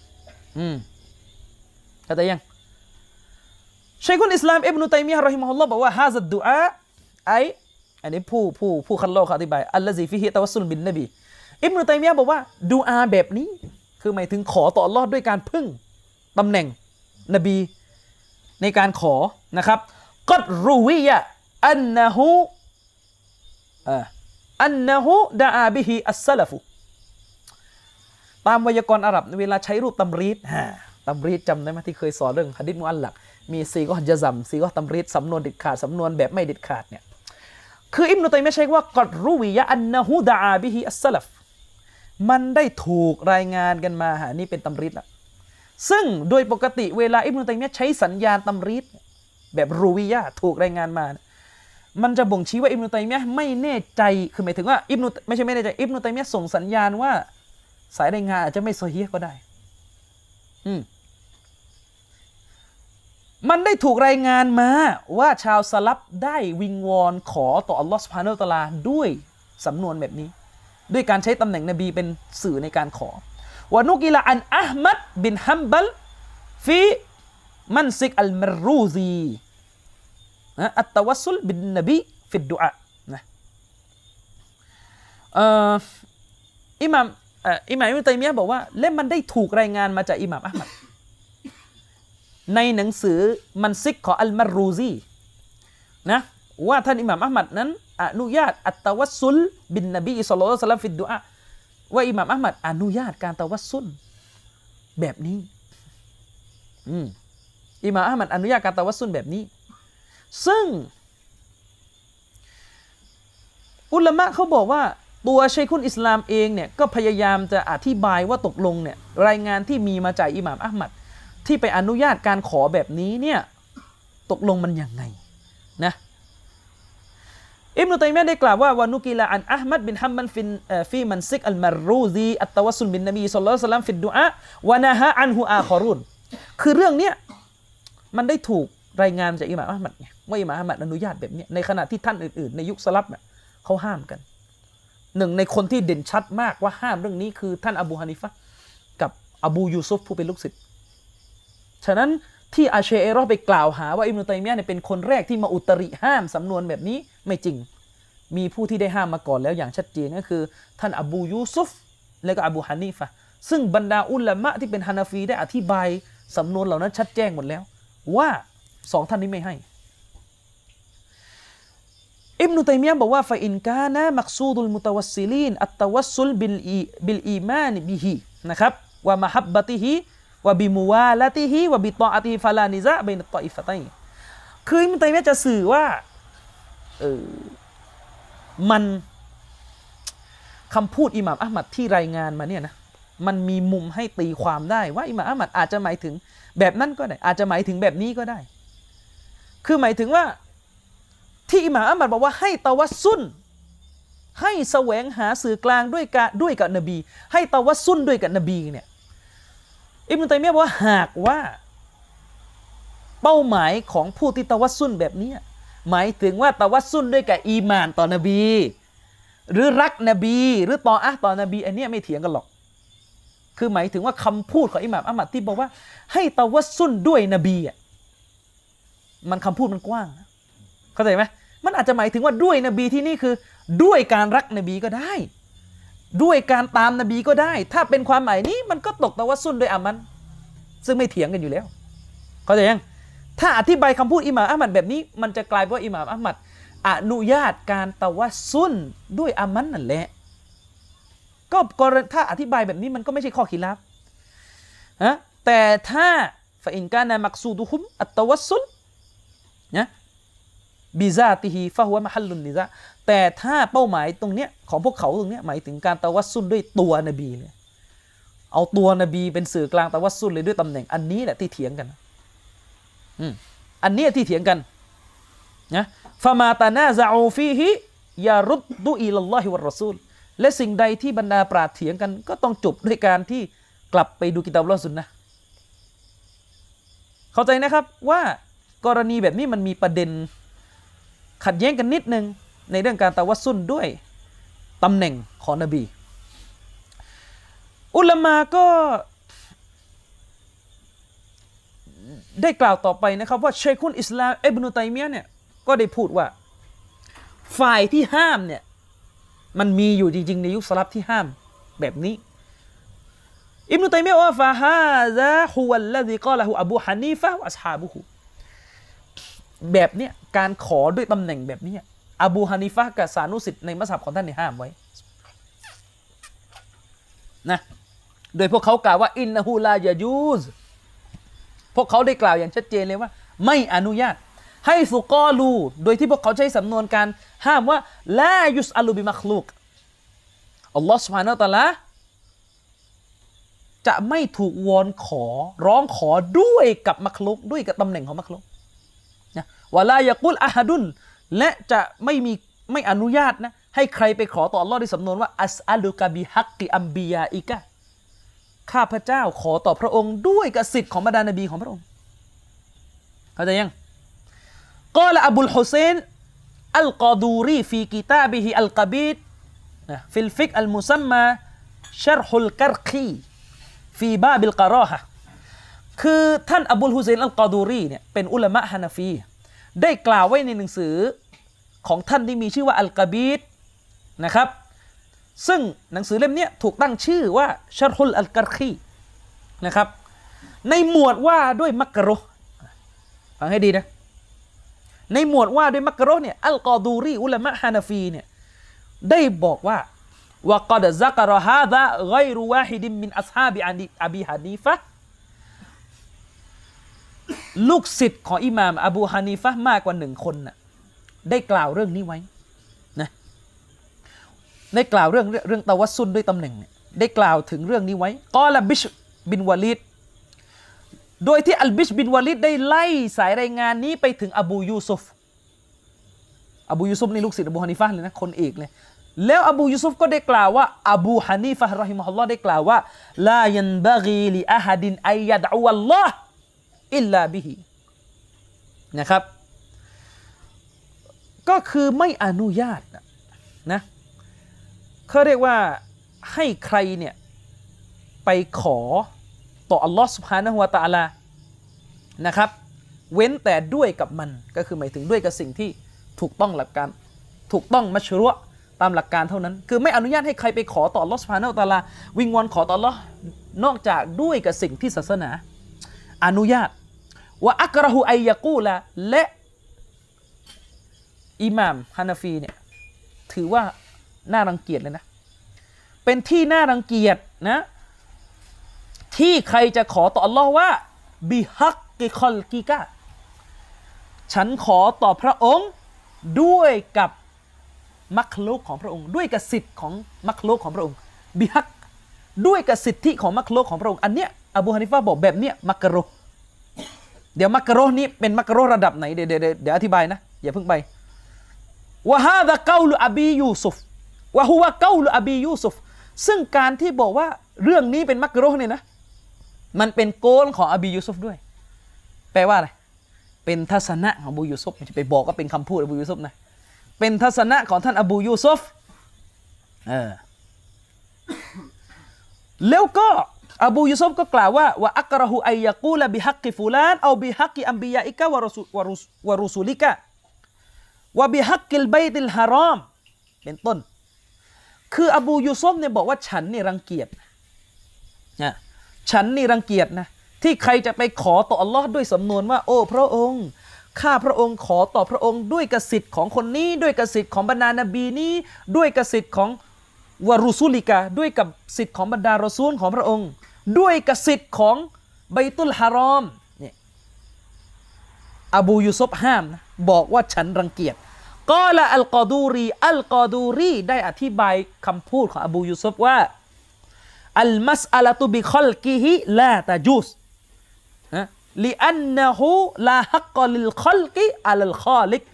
เข้าใจยังชัยคุลอิสลามอิบนุตัยมียะห์รอฮิมะฮุลลอฮ์บอกว่าฮาซัดดุอาอันนี้ผู้คัลลอฮ์เขาอธิบายอัลลซีฟิฮิตะวัสซุลบินนบีอิบนุตัยมียะห์บอกว่าดุอาแบบนี้คือหมายถึงขอต่ออัลเลาะห์ด้วยการพึ่งตำแหน่งนบีในการขอนะครับกัดรูวิยะอันนะฮูดะอาบิฮิอัสซะลฟุตามไวยากรณ์อาหรับเวลาใช้รูปตำรีดจำได้ไหมที่เคยสอนเรื่องหะดีษมุอัลลักมีซีกอญะซัมซีกอตำรีดสำนวนเด็ดขาดสำนวนแบบไม่เด็ดขาดเนี่ยคืออิบนุตัยมียะห์ใช้ว่ากัดรูวิยะอันนะฮูดะอาบิฮิอัสซะลฟมันได้ถูกรายงานกันมานี่เป็นตำรีดละซึ่งโดยปกติเวลาอิบนุตัยมียะห์ใช้สัญญาณตำรีดแบบรูวิยะถูกรายงานมามันจะบ่งชี้ว่าอิบนุตัยมียะห์ไม่แน่ใจคือหมายถึงว่าไม่ใช่ไม่แน่ใจอิบนุตัยมียะห์ส่งสัญญาณว่าสายรายงานอาจจะไม่ซอฮีฮ์ก็ได้มันได้ถูกรายงานมาว่าชาวสลับได้วิงวอนขอต่ออัลลอฮฺซุบฮานะฮูวะตะอาลาด้วยสำนวนแบบนี้ด้วยการใช้ตำแหน่งนบีเป็นสื่อในการขอวะนุกิละอันอะห์มัดบินฮัมบัลฟีมันซิกอัลมารรูซีอัตตะวัสซุลบินนบีฟิดดุอานะอิหม่ามอิบนุตัยมียะห์บอกว่าและมันได้ถูกรายงานมาจากอิหม่ามอะห์มัดในหนังสือมันซิกของอัลมารรูซีนะว่าท่านอิหม่ามอะห์มัดนั้นอนุญาตอัตตะวัสซุลบินนบีศ็อลลัลลอฮุอะลัยฮิวะซัลลัมฟิดดุอาว่าอิหม่ามอะห์มัดอนุญาตการตะวัสซุลแบบนี้อิหม่ามอะห์มัดอนุญาตการตะวัสซุลแบบนี้ซึ่งอุลามะเขาบอกว่าตัวชัยคุลอิสลามเองเนี่ยก็พยายามจะอธิบายว่าตกลงเนี่ยรายงานที่มีมาจากอิหม่ามอะห์มัดที่ไปอนุญาตการขอแบบนี้เนี่ยตกลงมันยังไงนะอิบนุตัยมียะห์ได้กล่าวว่าวานุกิละอันอะห์มัดบินฮัมบัลฟีมันซิกอัลมารรูซีอัตตะวัสซุลบินนบีศ็อลลัลลอฮุอะลัยฮิวะซัลลัมฟิดดุอาวะนะฮะอันฮุอาคอรุนคือเรื่องเนี้ยมันได้ถูกรายงานจากอิหม่ามอะห์มัดไงว่าอิหม่ามอะห์มัดอนุญาตแบบนี้ในขณะที่ท่านอื่นๆในยุคสลับเนี่ยเขาห้ามกันหนึ่งในคนที่เด่นชัดมากว่าห้ามเรื่องนี้คือท่านอบูฮานิฟะห์กับอบูยูซุฟผู้เป็นลูกศิษย์ฉะนั้นที่อาชัยเราะห์ไปกล่าวหาว่าอิบนุตัยมียะห์เนี่ยเป็นคนแรกที่มาอุตริห้ามสำนวนแบบนี้ไม่จริงมีผู้ที่ได้ห้ามมาก่อนแล้วอย่างชัดเจนก็คือท่านอบูยูซุฟและก็อบูฮานิฟะห์ซึ่งบรรดาอุลามะที่เป็นฮานาฟีได้อธิบายสำนวนเหล่านั้นชัดแจ้งหมดแล้วว่าสองท่านนี้ไม่ให้อิบนุตัยมียะห์บอกว่าฟะอินกานะมักซูดุลมุตะวัสซิลีนอัตตะวัสซุลบิลอีมานบิฮินะครับวะมะฮับบะติฮิวะบิมุวาละติฮิวะบิตออะติฮิฟะลานิซะบัยนัตฏออิฟะตัยคืออิบนุตัยมียะห์จะสื่อว่ามันคำพูดอิหม่ามอะห์มัดที่รายงานมาเนี่ยนะมันมีมุมให้ตีความได้ว่าอิหม่ามอะห์มัดอาจจะหมายถึงแบบนั้นก็ได้อาจจะหมายถึงแบบนี้ก็ได้คือหมายถึงว่าที่อิหม่ามอะห์มัดบอกว่าให้ตะวัสซุลให้แสวงหาสื่อกลางด้วยกับนบีให้ตะวัสซุลด้วยกับนบีเนี่ยอิบนุตัยมียะห์บอกว่าหากว่าเป้าหมายของผู้ที่ตะวัสซุลแบบนี้หมายถึงว่าตะวัสซุลด้วยกับอีหม่านต่อนบีหรือรักนบีหรือต่อนบีอันนี้ไม่เถียงกันหรอกคือหมายถึงว่าคำพูดของอิหม่ามอะห์มัดที่บอกว่าให้ตะวัสซุลด้วยนบีอ่ะมันคำพูดมันกว้างเข้าใจไหมมันอาจจะหมายถึงว่าด้วยนบีที่นี่คือด้วยการรักนบีก็ได้ด้วยการตามนบีก็ได้ถ้าเป็นความหมายนี้มันก็ตกตะวัสซุลด้วยอามันซึ่งไม่เถียงกันอยู่แล้วเข้าใจยังถ้าอธิบายคำพูดอิหม่ามอะห์มัดแบบนี้มันจะกลายเป็นว่าอิหม่ามอะห์มัดอนุญาตการตะวัสซุลด้วยอามันนั่นแหละก็ถ้าอธิบายแบบนี้มันก็ไม่ใช่ข้อขีลาฟนะแต่ถ้าฟะอินกานะมักซูดุฮุมอัตตะวัสซุลนะบิซาติฮิฟะฮุวะมะฮัลลุนนิซะแต่ถ้าเป้าหมายตรงเนี้ยของพวกเขาตรงเนี้ยหมายถึงการตะวัสซุลด้วยตัวนบีเลยเอาตัวนบีเป็นสื่อกลางตะวัสซุลเลยด้วยตำแหน่งอันนี้แหละที่เถียงกันอันนี้ที่เถียงกันนะฟะมาตะนาซะอูฟีฮิยารุดดุอิลัลลอฮิวัรรอซูลและสิ่งใดที่บรรดาปราชญ์เถียงกันก็ต้องจบด้วยการที่กลับไปดูกิตาบอัลเลาะห์ซุนนะห์เข้าใจนะครับว่ากรณีแบบนี้มันมีประเด็นขัดแย้งกันนิดนึงในเรื่องการตะวัสซุลด้วยตำแหน่งของนบีอุลามะก็ได้กล่าวต่อไปนะครับว่าชัยคุลอิสลามอิบนุตัยมียะห์เนี่ยก็ได้พูดว่าฝ่ายที่ห้ามเนี่ยมันมีอยู่จริงๆในยุคสลับที่ห้ามแบบนี้อิบนุตัยมียะห์ว่าฟะฮาซาฮุวัลลซีกอละฮูอบูฮานีฟะฮ์วะอัศฮาบุฮุแบบเนี้ยการขอด้วยตำแหน่งแบบนี้อบูฮานีฟะห์กับสานุสิทธิ์ในมัซฮับของท่านเนี่ยห้ามไว้นะโดยพวกเขากล่าวว่าอินนะฮูลายะญูซพวกเขาได้กล่าวอย่างชัดเจนเลยว่าไม่อนุญาตให้ซุกอลูโดยที่พวกเขาใช้สำนวนการห้ามว่าลายุสอัลูบิมักลุกอัลลอฮฺซุบฮานะฮูวะตะอาลาจะไม่ถูกวอนขอร้องขอด้วยกับมักลุกด้วยกับตำแหน่งของมักลุกนะวะลายะกุลอะฮะดุนและจะไม่อนุญาตนะให้ใครไปขอต่ออัลลอฮ์ด้วยสำนวนว่าอัสอัลุกะบิฮักกิอัมบิยาอิกะข้าพเจ้าขอต่อพระองค์ด้วยกับสิทธิ์ของบรรดานบีของพระองค์เข้าใจยังกอละอบุลฮุเซนอัลกอดูรีฟีกิตาบิฮิอัลกะบีดฟิลฟิกอัลมุซัมมาชัรฮุลกัรคีฟีบาบิลกะรอฮะคือท่านอบุลฮุเซนอัลกอดูรีเนี่ยเป็นอุลามะฮานาฟีได้กล่าวไว้ในหนังสือของท่านที่มีชื่อว่าอัลกะบีดนะครับซึ่งหนังสือเล่มนี้ถูกตั้งชื่อว่าชัรฮุลอัลกัรคีนะครับในหมวดว่าด้วยมักรุฮ์ฟังให้ดีนะในหมวดว่าด้วยมักรุฮ์เนี่ยอัลกอดูรีอุลามะฮานาฟีเนี่ยได้บอกว่าวะกอดซักรฮาซาฆอยรุวาฮิดมินอัศฮาบิอบีฮานีฟะห์ลูกศิษย์ของอิหม่ามอบูฮานีฟะห์มากกว่า1คนน่ะได้กล่าวเรื่องนี้ไว้นะได้กล่าวเรื่องตะวัสซุลด้วยตำแหน่งเนี่ยได้กล่าวถึงเรื่องนี้ไว้กอละบิชบินวะลีดโดยที่อัลบิชบินวะลีดได้ไล่สายรายงานนี้ไปถึงอบูยูซุฟนี่ลูกศิษย์อบูฮานีฟะห์เลยนะคนเอกเลยแล้วอบูยูซุฟก็ได้กล่าวว่าอบูฮานีฟะห์รอฮิมะฮุลลอฮ์ได้กล่าวว่าลายันบะกีลิอะฮัดินอัยยะดอวัลลอฮ์อิลลาบิฮินะครับก็คือไม่อนุญาตนะเขาเรียกว่าให้ใครเนี่ยไปขอต่ออัลลอฮ์ซุบฮานะฮูวะตะอาลานะครับเว้นแต่ด้วยกับมันก็คือหมายถึงด้วยกับสิ่งที่ถูกต้องหลักการถูกต้องมัชรุอ์ตามหลักการเท่านั้นคือไม่อนุญาตให้ใครไปขอต่ออัลลอฮ์ซุบฮานะฮูวะตะอาลาวิงวอนขอต่ออัลลอฮ์นอกจากด้วยกับสิ่งที่ศาสนาอนุญาตว่าอักเราะฮูอัยยะกูละและอิหม่ามฮานาฟีเนี่ยถือว่าน่ารังเกียจเลยนะเป็นที่น่ารังเกียจนะที่ใครจะขอต่ออัลลอฮ์ว่าบิฮักกิคอลกิกะฉันขอต่อพระองค์ด้วยกับมักลุกของพระองค์ด้วยกับสิทธิ์ของมักลุกของพระองค์บิฮักด้วยกับสิทธิของมักลุกของพระองค์อันเนี้ยอบูฮานิฟะห์บอกแบบเนี้ยมักรุฮ์เดี๋ยวมักรุฮ์นี้เป็นมักรุฮ์ระดับไหนเดี๋ยวอธิบายนะอย่าเพิ่งไปวะฮาซากาลุอบียูซุฟวะฮุวะเกาลอบียูซุฟซึ่งการที่บอกว่าเรื่องนี้เป็นมักรุฮ์เนี่ยนะมันเป็นโกลของอบียูซุฟด้วยแปลว่าอะไรเป็นทัศนะของอบูยูซุฟไม่ใช่ไปบอกก็เป็นคำพูดอบูยูซุฟนะเป็นทัศนะของท่านอบูยูซุฟแล้วก็อบูยูซุฟก็กล่าวว่าวะอักรหูอัยยะกูลบิฮักกิฟูลานเอาบิฮักกิอัมบิยาอิกะวะรุสุลิกะวะบิฮักกิลบัยติลฮารอมเป็นต้นคืออบูยูซุฟเนี่ยบอกว่าฉันนี่รังเกียจนะฉันนี่รังเกียจนะที่ใครจะไปขอต่ออัลลอฮ์ด้วยสำนวนว่าโอ้พระองค์ข้าพระองค์ขอต่อพระองค์ด้วยกสิทธิ์ของคนนี้ด้วยกสิทธิ์ของบรรดานบีนี้ด้วยกสิทธิ์ของวะรุสุลิกะด้วยกับสิทธิ์ของบรรดารอซูลของพระองค์ด้วยกสิทธิ์ของบัยตุลฮารอมเนี่ยอบูยูซุฟห้ามนะบอกว่าฉันรังเกียจกอละอัลกอดูรีได้อธิบายคำพูดของอบูยูซุฟว่าอัลมัสอะละตุบิคอลกิฮิลาตะจูสลิอันนะฮูลาฮักกอลิลคอลกิอัลคอลิก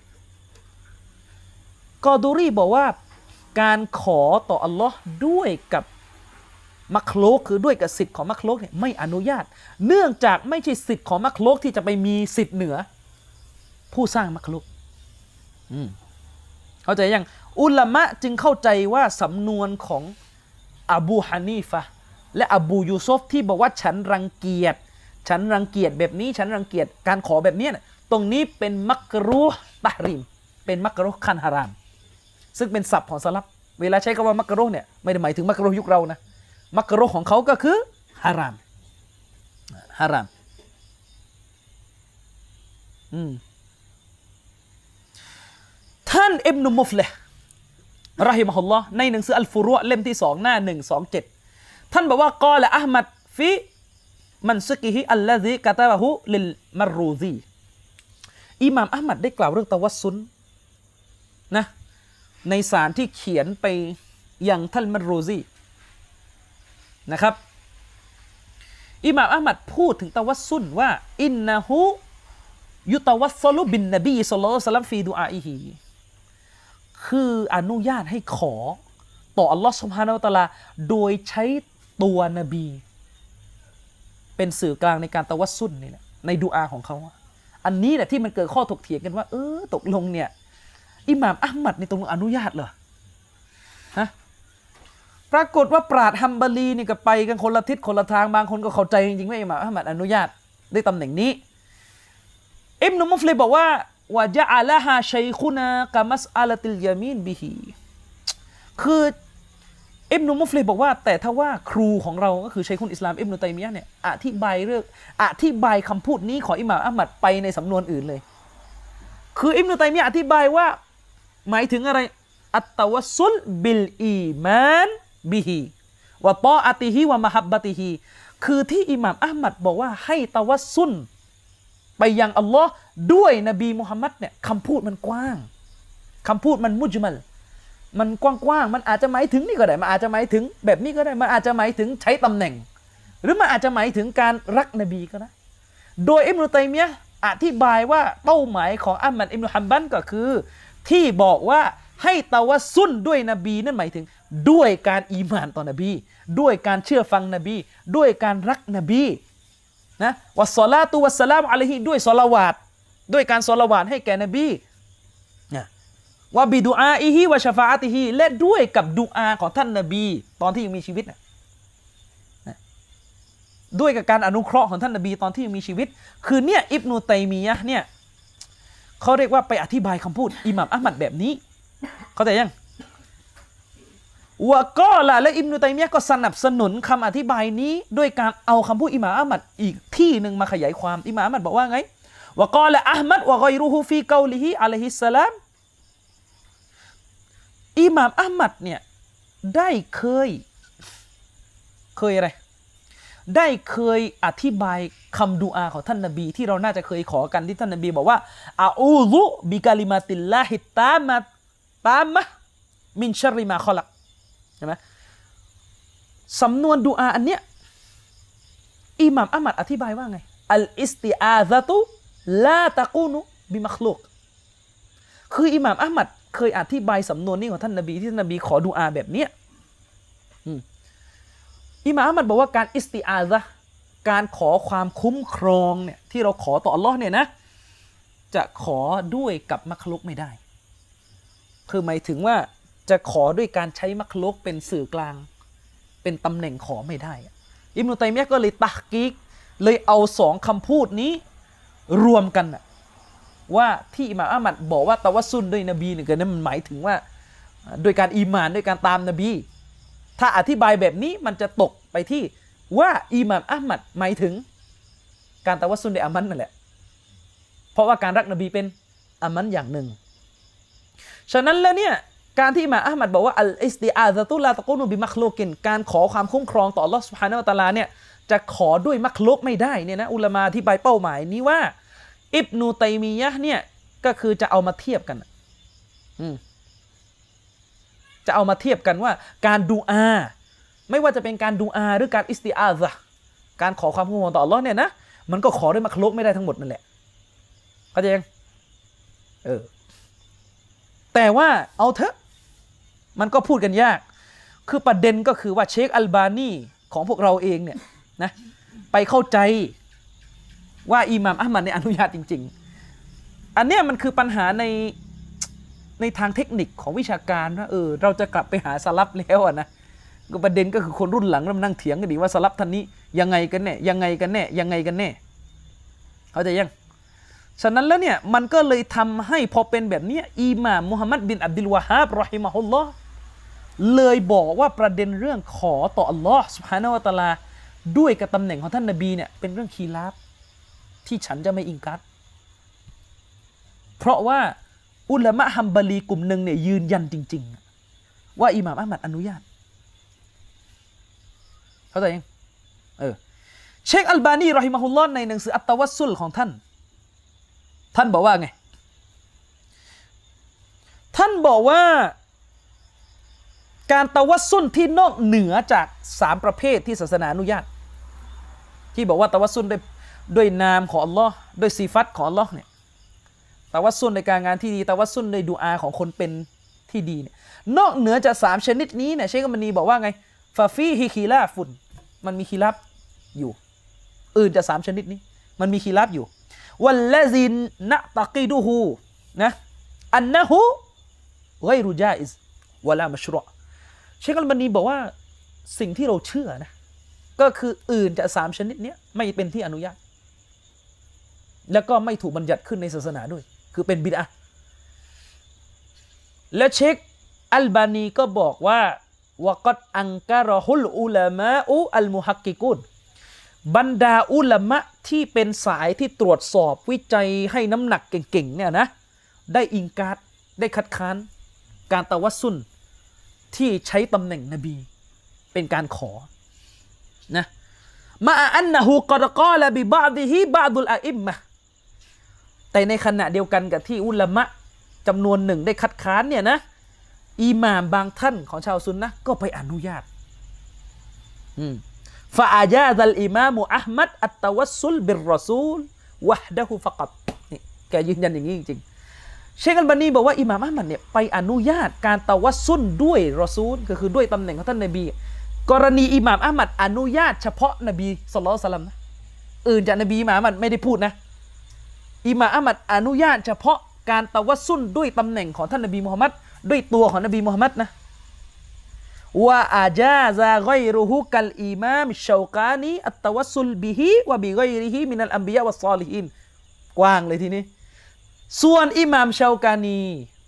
กอดูรีบอกว่าการขอต่ออัลลอฮ์ด้วยกับมักลุกคือด้วยกับสิทธิ์ของมักลุกเนี่ยไม่อนุญาตเนื่องจากไม่ใช่สิทธิ์ของมักลุกที่จะไปมีสิทธิ์เหนือผู้สร้างมักลุกเข้าใจยังอุลามะจึงเข้าใจว่าสำนวนของอบูฮานีฟะห์และอบูยูซุฟที่บอกว่าฉันรังเกียจแบบนี้ฉันรังเกียจการขอแบบนี้ตรงนี้เป็นมักรูฮ์ตะฮรีมเป็นมักรูฮ์คันฮารามซึ่งเป็นศัพท์ของซะลัฟเวลาใช้คำว่ามักรูฮ์เนี่ยไม่ได้หมายถึงมักรูฮ์ยุคเรานะมักรูฮ์ของเขาก็คือฮารามท่านอิบนุมุฟลิฮ์รอฮิมะฮุลลอฮ์ในหนังสืออัลฟุรุอ์เล่มที่2หน้า127ท่านบอกว่ากอละอะห์มัดฟิมันซุกิฮิอัลลซีกะตะบะฮูลิลมัรรูซีอิหม่ามอะห์มัดได้กล่าวเรื่องตะวัสซุลนะในสารที่เขียนไปยังท่านมัรรูซีนะครับอิหม่ามอะห์มัดพูดถึงตะวัสซุลว่าอินนะฮูยุตะวัสซลุบินนบีศ็อลลัลลอฮุอะลัยฮิวะซัลลัมฟีดุอาอิฮิคืออนุญาตให้ขอต่ออัลลอฮ์ซุบฮานะฮูวะตะอาลาโดยใช้ตัวนบีเป็นสื่อกลางในการตะวัสซุลนี่แหละในดุอาของเขาอันนี้แหละที่มันเกิดข้อถกเถียงกันว่าตกลงเนี่ยอิหม่ามอะห์มัดในตรงอนุญาตเหรอฮะปรากฏว่าปราชญ์ฮัมบาลีนี่ก็ไปกันคนละทิศคนละทางบางคนก็เข้าใจจริงๆว่าอิหม่ามอะห์มัดอนุญาตได้ตำแหน่งนี้อิบนุมุฟลิบอกว่าวะญะอะละฮาชัยคุนากะมัสอะละติลยามีนบิฮิคืออิบนุมุฟลิบอกว่าแต่ถ้าว่าครูของเราก็คือชัยคุลอิสลามอิบนุตัยมียะห์เนี่ยอธิบายคำพูดนี้ของอิหม่ามอะห์มัดไปในสำนวนอื่นเลยคืออิบนุตัยมียะห์อธิบายว่าหมายถึงอะไรอัตตะวัสซุลบิลอีมานบิฮิวะตออะติฮิวะมะฮับบะติฮิคือที่อิหม่ามอะห์มัดบอกว่าให้ตะวัสซุลไปยังอัลลอฮ์ด้วยนบีมุฮัมมัดเนี่ยคำพูดมันกว้างคำพูดมันมุจมัลมันกว้างๆมันอาจจะหมายถึงนี่ก็ได้มันอาจจะหมายถึงแบบนี้ก็ได้มันอาจจะหมายถึงใช้ตำแหน่งหรือมันอาจจะหมายถึงการรักนบีก็ได้โดยอิบนุตัยมียะห์อธิบายว่าเป้าหมายของอะห์มัดอิบนุฮัมบัลก็คือที่บอกว่าให้ตะวัสซุลด้วยนบีนั่นหมายถึงด้วยการอีหม่านต่อนบีด้วยการเชื่อฟังนบีด้วยการรักนบีนะวัสศอลาตุวัสสลามอะลัยฮิด้วยศอลาวาตด้วยการศอลาวาตให้แก่นบีนะวะบิดุอาอิฮิวะชะฟาอะติฮิและด้วยกับดุอาของท่านนบีตอนที่ยังมีชีวิตนะด้วยกับการอนุเคราะห์ของท่านนบีตอนที่ยังมีชีวิตคือเนี่ยอิบนุตัยมียะห์เนี่ยเขาเรียกว่าไปอธิบายคำพูดอิหม่ามอะห์มัดแบบนี้เข้าใจยังวะกอละและอิบนุตัยมียะห์ก็สนับสนุนคำอธิบายนี้ด้วยการเอาคำพูดอิหม่ามอะห์มัดอีกที่หนึ่งมาขยายความอิหม่ามอะห์มัดบอกว่าไงวะกอละอะห์มัดวะฆอยรุฮูฟีกอลิฮิอะลัยฮิสสลามอิหม่ามอะห์มัดเนี่ยได้เคยอะไรได้เคยอธิบายคำดุอาของท่านนบีที่เราน่าจะเคยขอกันที่ท่านนบีบอกว่าอะอูซุบิกะลิมาติลลาฮิตามะมินชัรริมาคอลักใช่ไหมสำนวนดุอาอันเนี้ยอิหม่ามอะห์มัดอธิบายว่าไงอัลอิสติอาซะตุลาตะกูนุบิมักลุกคืออิหม่ามอะห์มัดเคยอธิบายสำนวนนี้ของท่านนบีที่ท่านนบีขอดุอาแบบเนี้ยอิหม่ามอะห์มัดบอกว่าการอิสติอาซะห์การขอความคุ้มครองเนี่ยที่เราขอต่ออัลเลาะห์เนี่ยนะจะขอด้วยกับมักลุกไม่ได้คือหมายถึงว่าจะขอด้วยการใช้มักลุกเป็นสื่อกลางเป็นตำแหน่งขอไม่ได้อิบนุตัยมียะห์ก็เลยตัฮกีกเลยเอาสองคำพูดนี้รวมกันว่าที่อิหม่ามอะห์มัดบอกว่าตะวัสซุลด้วยนบีเนี่ยก็นั้นมันหมายถึงว่าโดยการอีหม่านด้วยการตามนบีถ้าอธิบายแบบนี้มันจะตกไปที่ว่าอิหม่ามอะห์มัดหมายถึงการตะวัสซุลในอามันนั่นแหละเพราะว่าการรักนบีเป็นอามันอย่างหนึ่งฉะนั้นแล้วเนี่ยการที่อิหม่ามอะห์มัดบอกว่าอัลอิสติอาซะตุลาตะกูนุบิมักลุกินการขอความคุ้มครองต่ออัลเลาะห์ซุบฮานะฮูวะตะอาลาเนี่ยจะขอด้วยมักลุกไม่ได้เนี่ยนะอุลามะอธิบายเป้าหมายนี้ว่าอิบนุตัยมียะห์เนี่ยก็คือจะเอามาเทียบกันจะเอามาเทียบกันว่าการดูอาไม่ว่าจะเป็นการดูอาหรือการอิสติอาซะห์การขอความคุ้มครองต่ออัลเลาะห์เนี่ยนะมันก็ขอด้วยมักลุกไม่ได้ทั้งหมดนั่นแหละเข้าใจยังแต่ว่าเอาเถอะมันก็พูดกันยากคือประเด็นก็คือว่าเชคอัลบานีของพวกเราเองเนี่ยนะไปเข้าใจว่าอิหม่ามอะห์มัดเนี่ยอนุญาตจริงๆอันเนี้ยมันคือปัญหาในทางเทคนิคของวิชาการว่าเราจะกลับไปหาสลับแล้วนะก็ประเด็นก็คือคนรุ่นหลังเริ่มนั่งเถียงกันดีว่าสลับท่านนี้ยังไงกันแน่ยังไงกันแน่ยังไงกันแน่เข้าใจยังฉะนั้นแล้วเนี่ยมันก็เลยทำให้พอเป็นแบบนี้อิหม่ามมุฮัมมัดบินอับดุลวะฮาบรอฮิมะฮุลลอฮ์เลยบอกว่าประเด็นเรื่องขอต่ออัลลอฮ์ซุบฮานะฮูวะตะอาลาด้วยกับตำแหน่งของท่านนบีเนี่ยเป็นเรื่องคีลาฟที่ฉันจะไม่อิงกัดเพราะว่าอุลามะฮัมบาลีกลุ่มหนึ่งเนี่ยยืนยันจริงๆว่าอิหม่ามอะห์มัดอนุญาตเข้าใจยังเชคอัลบานีรอฮิมะฮุลลอฮ์ในหนังสืออัตตะวัสซุลของท่านบอกว่าไงท่านบอกว่าการตะวัสซุลที่นอกเหนือจาก3ประเภทที่ศาสนาอนุญาตที่บอกว่าตะวัสซุลด้วยนามของอัลลอฮ์ด้วยซิฟัตของอัลลอฮ์เนี่ยตะวัสซุลในการงานที่ดีตะวัสซุลในดุอาของคนเป็นที่ดีเนี่ยนอกเหนือจาก3ชนิดนี้เนี่ยเชคอัลบานีบอกว่าไงฟาฟีฮิคีลาฟุนมันมีคีลาฟอยู่อื่นจาก3ชนิดนี้มันมีคีลาฟอยู่วัลลซินนะตะกีดูฮูนะอันนะฮูไกรุญาอิซวะลามัชรุอเชคอัลบานีบอกว่าสิ่งที่เราเชื่อนะก็คืออื่นจาก3ชนิดนี้ไม่เป็นที่อนุญาตแล้วก็ไม่ถูกบัญญัติขึ้นในศาสนาด้วยคือเป็นบิดอะห์และเชคอัลบานีก็บอกว่าวะกัดอังกะรอฮุลอุลามะอุอัลมุฮักกิกุนบรรดาอุลามะที่เป็นสายที่ตรวจสอบวิจัยให้น้ำหนักเก่งๆเนี่ยนะได้อิงการ์ดได้คัดค้านการตะวัสซุลที่ใช้ตำแหน่งนบีเป็นการขอนะมาอันนะฮูกอดกอละบิบะดิฮิบะดุลอะอิมมะแต่ในขณะเดียวกันกับที่อุลามะจำนวนหนึ่งได้คัดค้านเนี่ยนะอิหม่ามบางท่านของชาวซุนนะห์ก็ไปอนุญาตฟะอาญาซัลอิมามอะห์มัดอัตตะวัสซุลบิรรอซูลวะฮดะฮูฟะกัตนี่แกยืนยันอย่างนี้จริงๆเชคอัลบานีบอกว่าอิหม่ามอะห์มัดเนี่ยไปอนุญาตการตะวัสซุลด้วยรอซูลก็คือด้วยตำแหน่งของท่านนบีกรณีอิหม่ามอะห์มัดอนุญาตเฉพาะนบีศ็อลลัลลอฮุอะลัยฮิวะซัลลัมนะอื่นจากนบีอิหม่ามอะห์มัดไม่ได้พูดนะอิหม่ามอะห์มัดอนุญาตเฉพาะการตะวัสซุลด้วยตำแหน่งของท่านนบีมุฮัมมัดด้วยตัวของนบีมุฮัมมัดนะว่าอาจาซาไกรุฮุกัลอิมามชาวกานีอัตตะวัสซุลบิฮิวะบิไกริฮิมินัลอัมบิยะวัสซอลิฮีนกว้างเลยทีนี้ส่วนอิหม่ามชาวกานี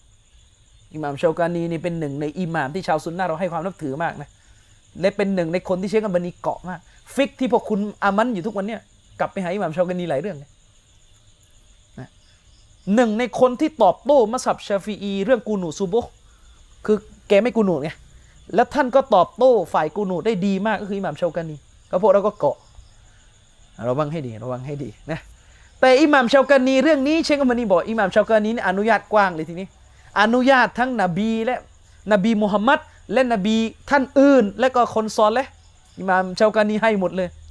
นี่เป็นหนึ่งในอิหม่ามที่ชาวซุนนะห์เราให้ความนับถือมากนะและเป็นหนึ่งในคนที่เชคอัลบานีเกาะมากฟิกที่พวกคุณอามันอยู่ทุกวันเนี่ยกลับไปหาอิหม่ามชาวกานีหลายเรื่องเลยหนึ่งในคนที่ตอบโต้มัซฮับชาฟิอีเรื่องกูนูซูโบคือแกไม่กูนูไงแล้วท่านก็ตอบโต้ฝ่ายกูนูได้ดีมากก็คืออิหม่ามชาวกานีก็พวกเราก็เกาะระวังให้ดีนะแต่อิหม่ามชาวกานีเรื่องนี้เชคอัลบานีบอกอิหม่ามชาวกานีนี่อนุญาตกว้างเลยทีนี้อนุญาตทั้งนบีและนบีมุฮัมมัดและนบีท่านอื่นและก็คนซอเลห์อิหม่ามชาวกานีให้หมดเลย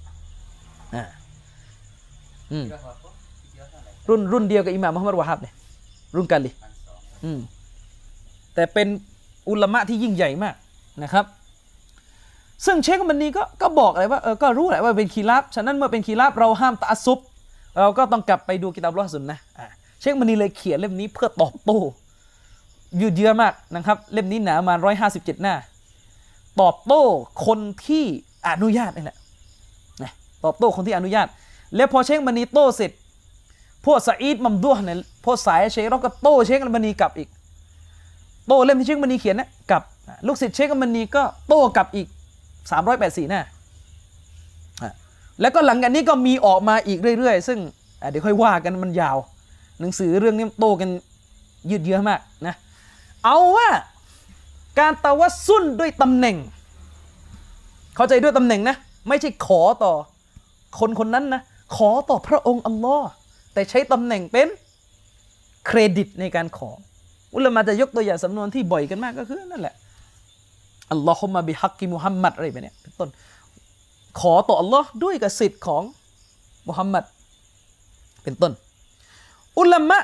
รุ่นเดียวกับอิหม่ามมุฮัมมัดวะฮับเนี่ยรุ่นกันเลยแต่เป็นอุลามะที่ยิ่งใหญ่มากนะครับซึ่งเชคมันนีก็บอกเลยว่าก็รู้แหละว่าเป็นคีราฟฉะนั้นเมื่อเป็นคีราฟเราห้ามตะอัสซุบเราก็ต้องกลับไปดูกิตาบุลซุนนะห์เชคมันนีเลยเขียนเล่มนี้เพื่อตอบโต้ยืดเยื้อมากนะครับเล่มนี้หนามา157 หน้าตอบโต้คนที่อนุญาตนี่แหละนะตอบโต้คนที่อนุญาตแล้วพอเชคมันนีโต้เสร็จพวกซะอีดมัมดูฮ์เนี่ยพวกสายเชคเราก็โต้เชคมันนีกลับอีกโต้เล่มที่เชคมันนีเขียนนะกับลูกศิษย์เชคมันนีก็โต้กลับอีก384 หน้าแล้วก็หลังจากนี้ก็มีออกมาอีกเรื่อยๆซึ่งเดี๋ยวค่อยว่ากันมันยาวหนังสือเรื่องนี้โตกันยืดเยื้อมากนะเอาว่าการตะวัสซุลด้วยตำแหน่งเข้าใจด้วยตำแหน่งนะไม่ใช่ขอต่อคนคนนั้นนะขอต่อพระองค์อัลลอฮ์แต่ใช้ตำแหน่งเป็นเครดิตในการขออุลามะจะยกตัวอย่างสำนวนที่บ่อยกันมากก็คือนั่นแหละอัลลอฮุมะบิฮักกิมุฮัมมัดอะไรแบบนี้เป็นต้นขอต่ออัลลอฮ์ด้วยกับสิทธิ์ของมุฮัมมัดเป็นต้นอุลามะ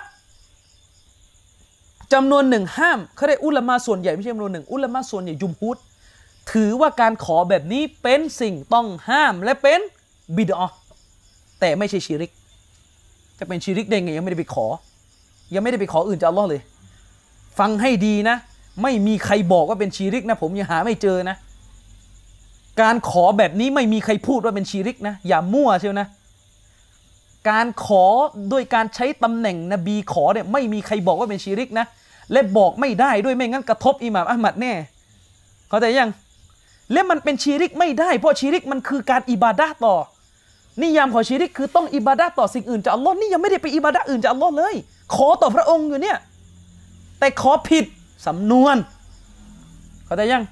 จำนวนหนึ่งห้ามเขาได้อุลามะส่วนใหญ่ไม่ใช่จำนวนหนึ่งอุลามะส่วนใหญ่ยุมฮุดถือว่าการขอแบบนี้เป็นสิ่งต้องห้ามและเป็นบิดอะห์แต่ไม่ใช่ชิริกจะเป็นชิริกได้ไงยังไม่ได้ไปขออื่นจากอัลลอฮ์เลยฟังให้ดีนะไม่มีใครบอกว่าเป็นชีริกนะผมยังหาไม่เจอนะการขอแบบนี้ไม่มีใครพูดว่าเป็นชีริกนะอย่ามั่วเชียวนะการขอโดยการใช้ตำแหน่งนบีขอเนี่ยไม่มีใครบอกว่าเป็นชีริกนะและบอกไม่ได้ด้วยไม่งั้นกระทบอิหม่ามอะห์มัดแน่เข้าใจยังและมันเป็นชีริกไม่ได้เพราะชีริกมันคือการอิบาดะห์ต่อนิยามของชีริกคือต้องอิบาดะห์ต่อสิ่งอื่นจากอัลลอฮ์นี่ยังไม่ได้ไปอิบาดะห์อื่นจากอัลลอฮ์เลยขอต่อพระองค์อยู่เนี่ยแต่ขอผิดสำนวนเข้าใจยัง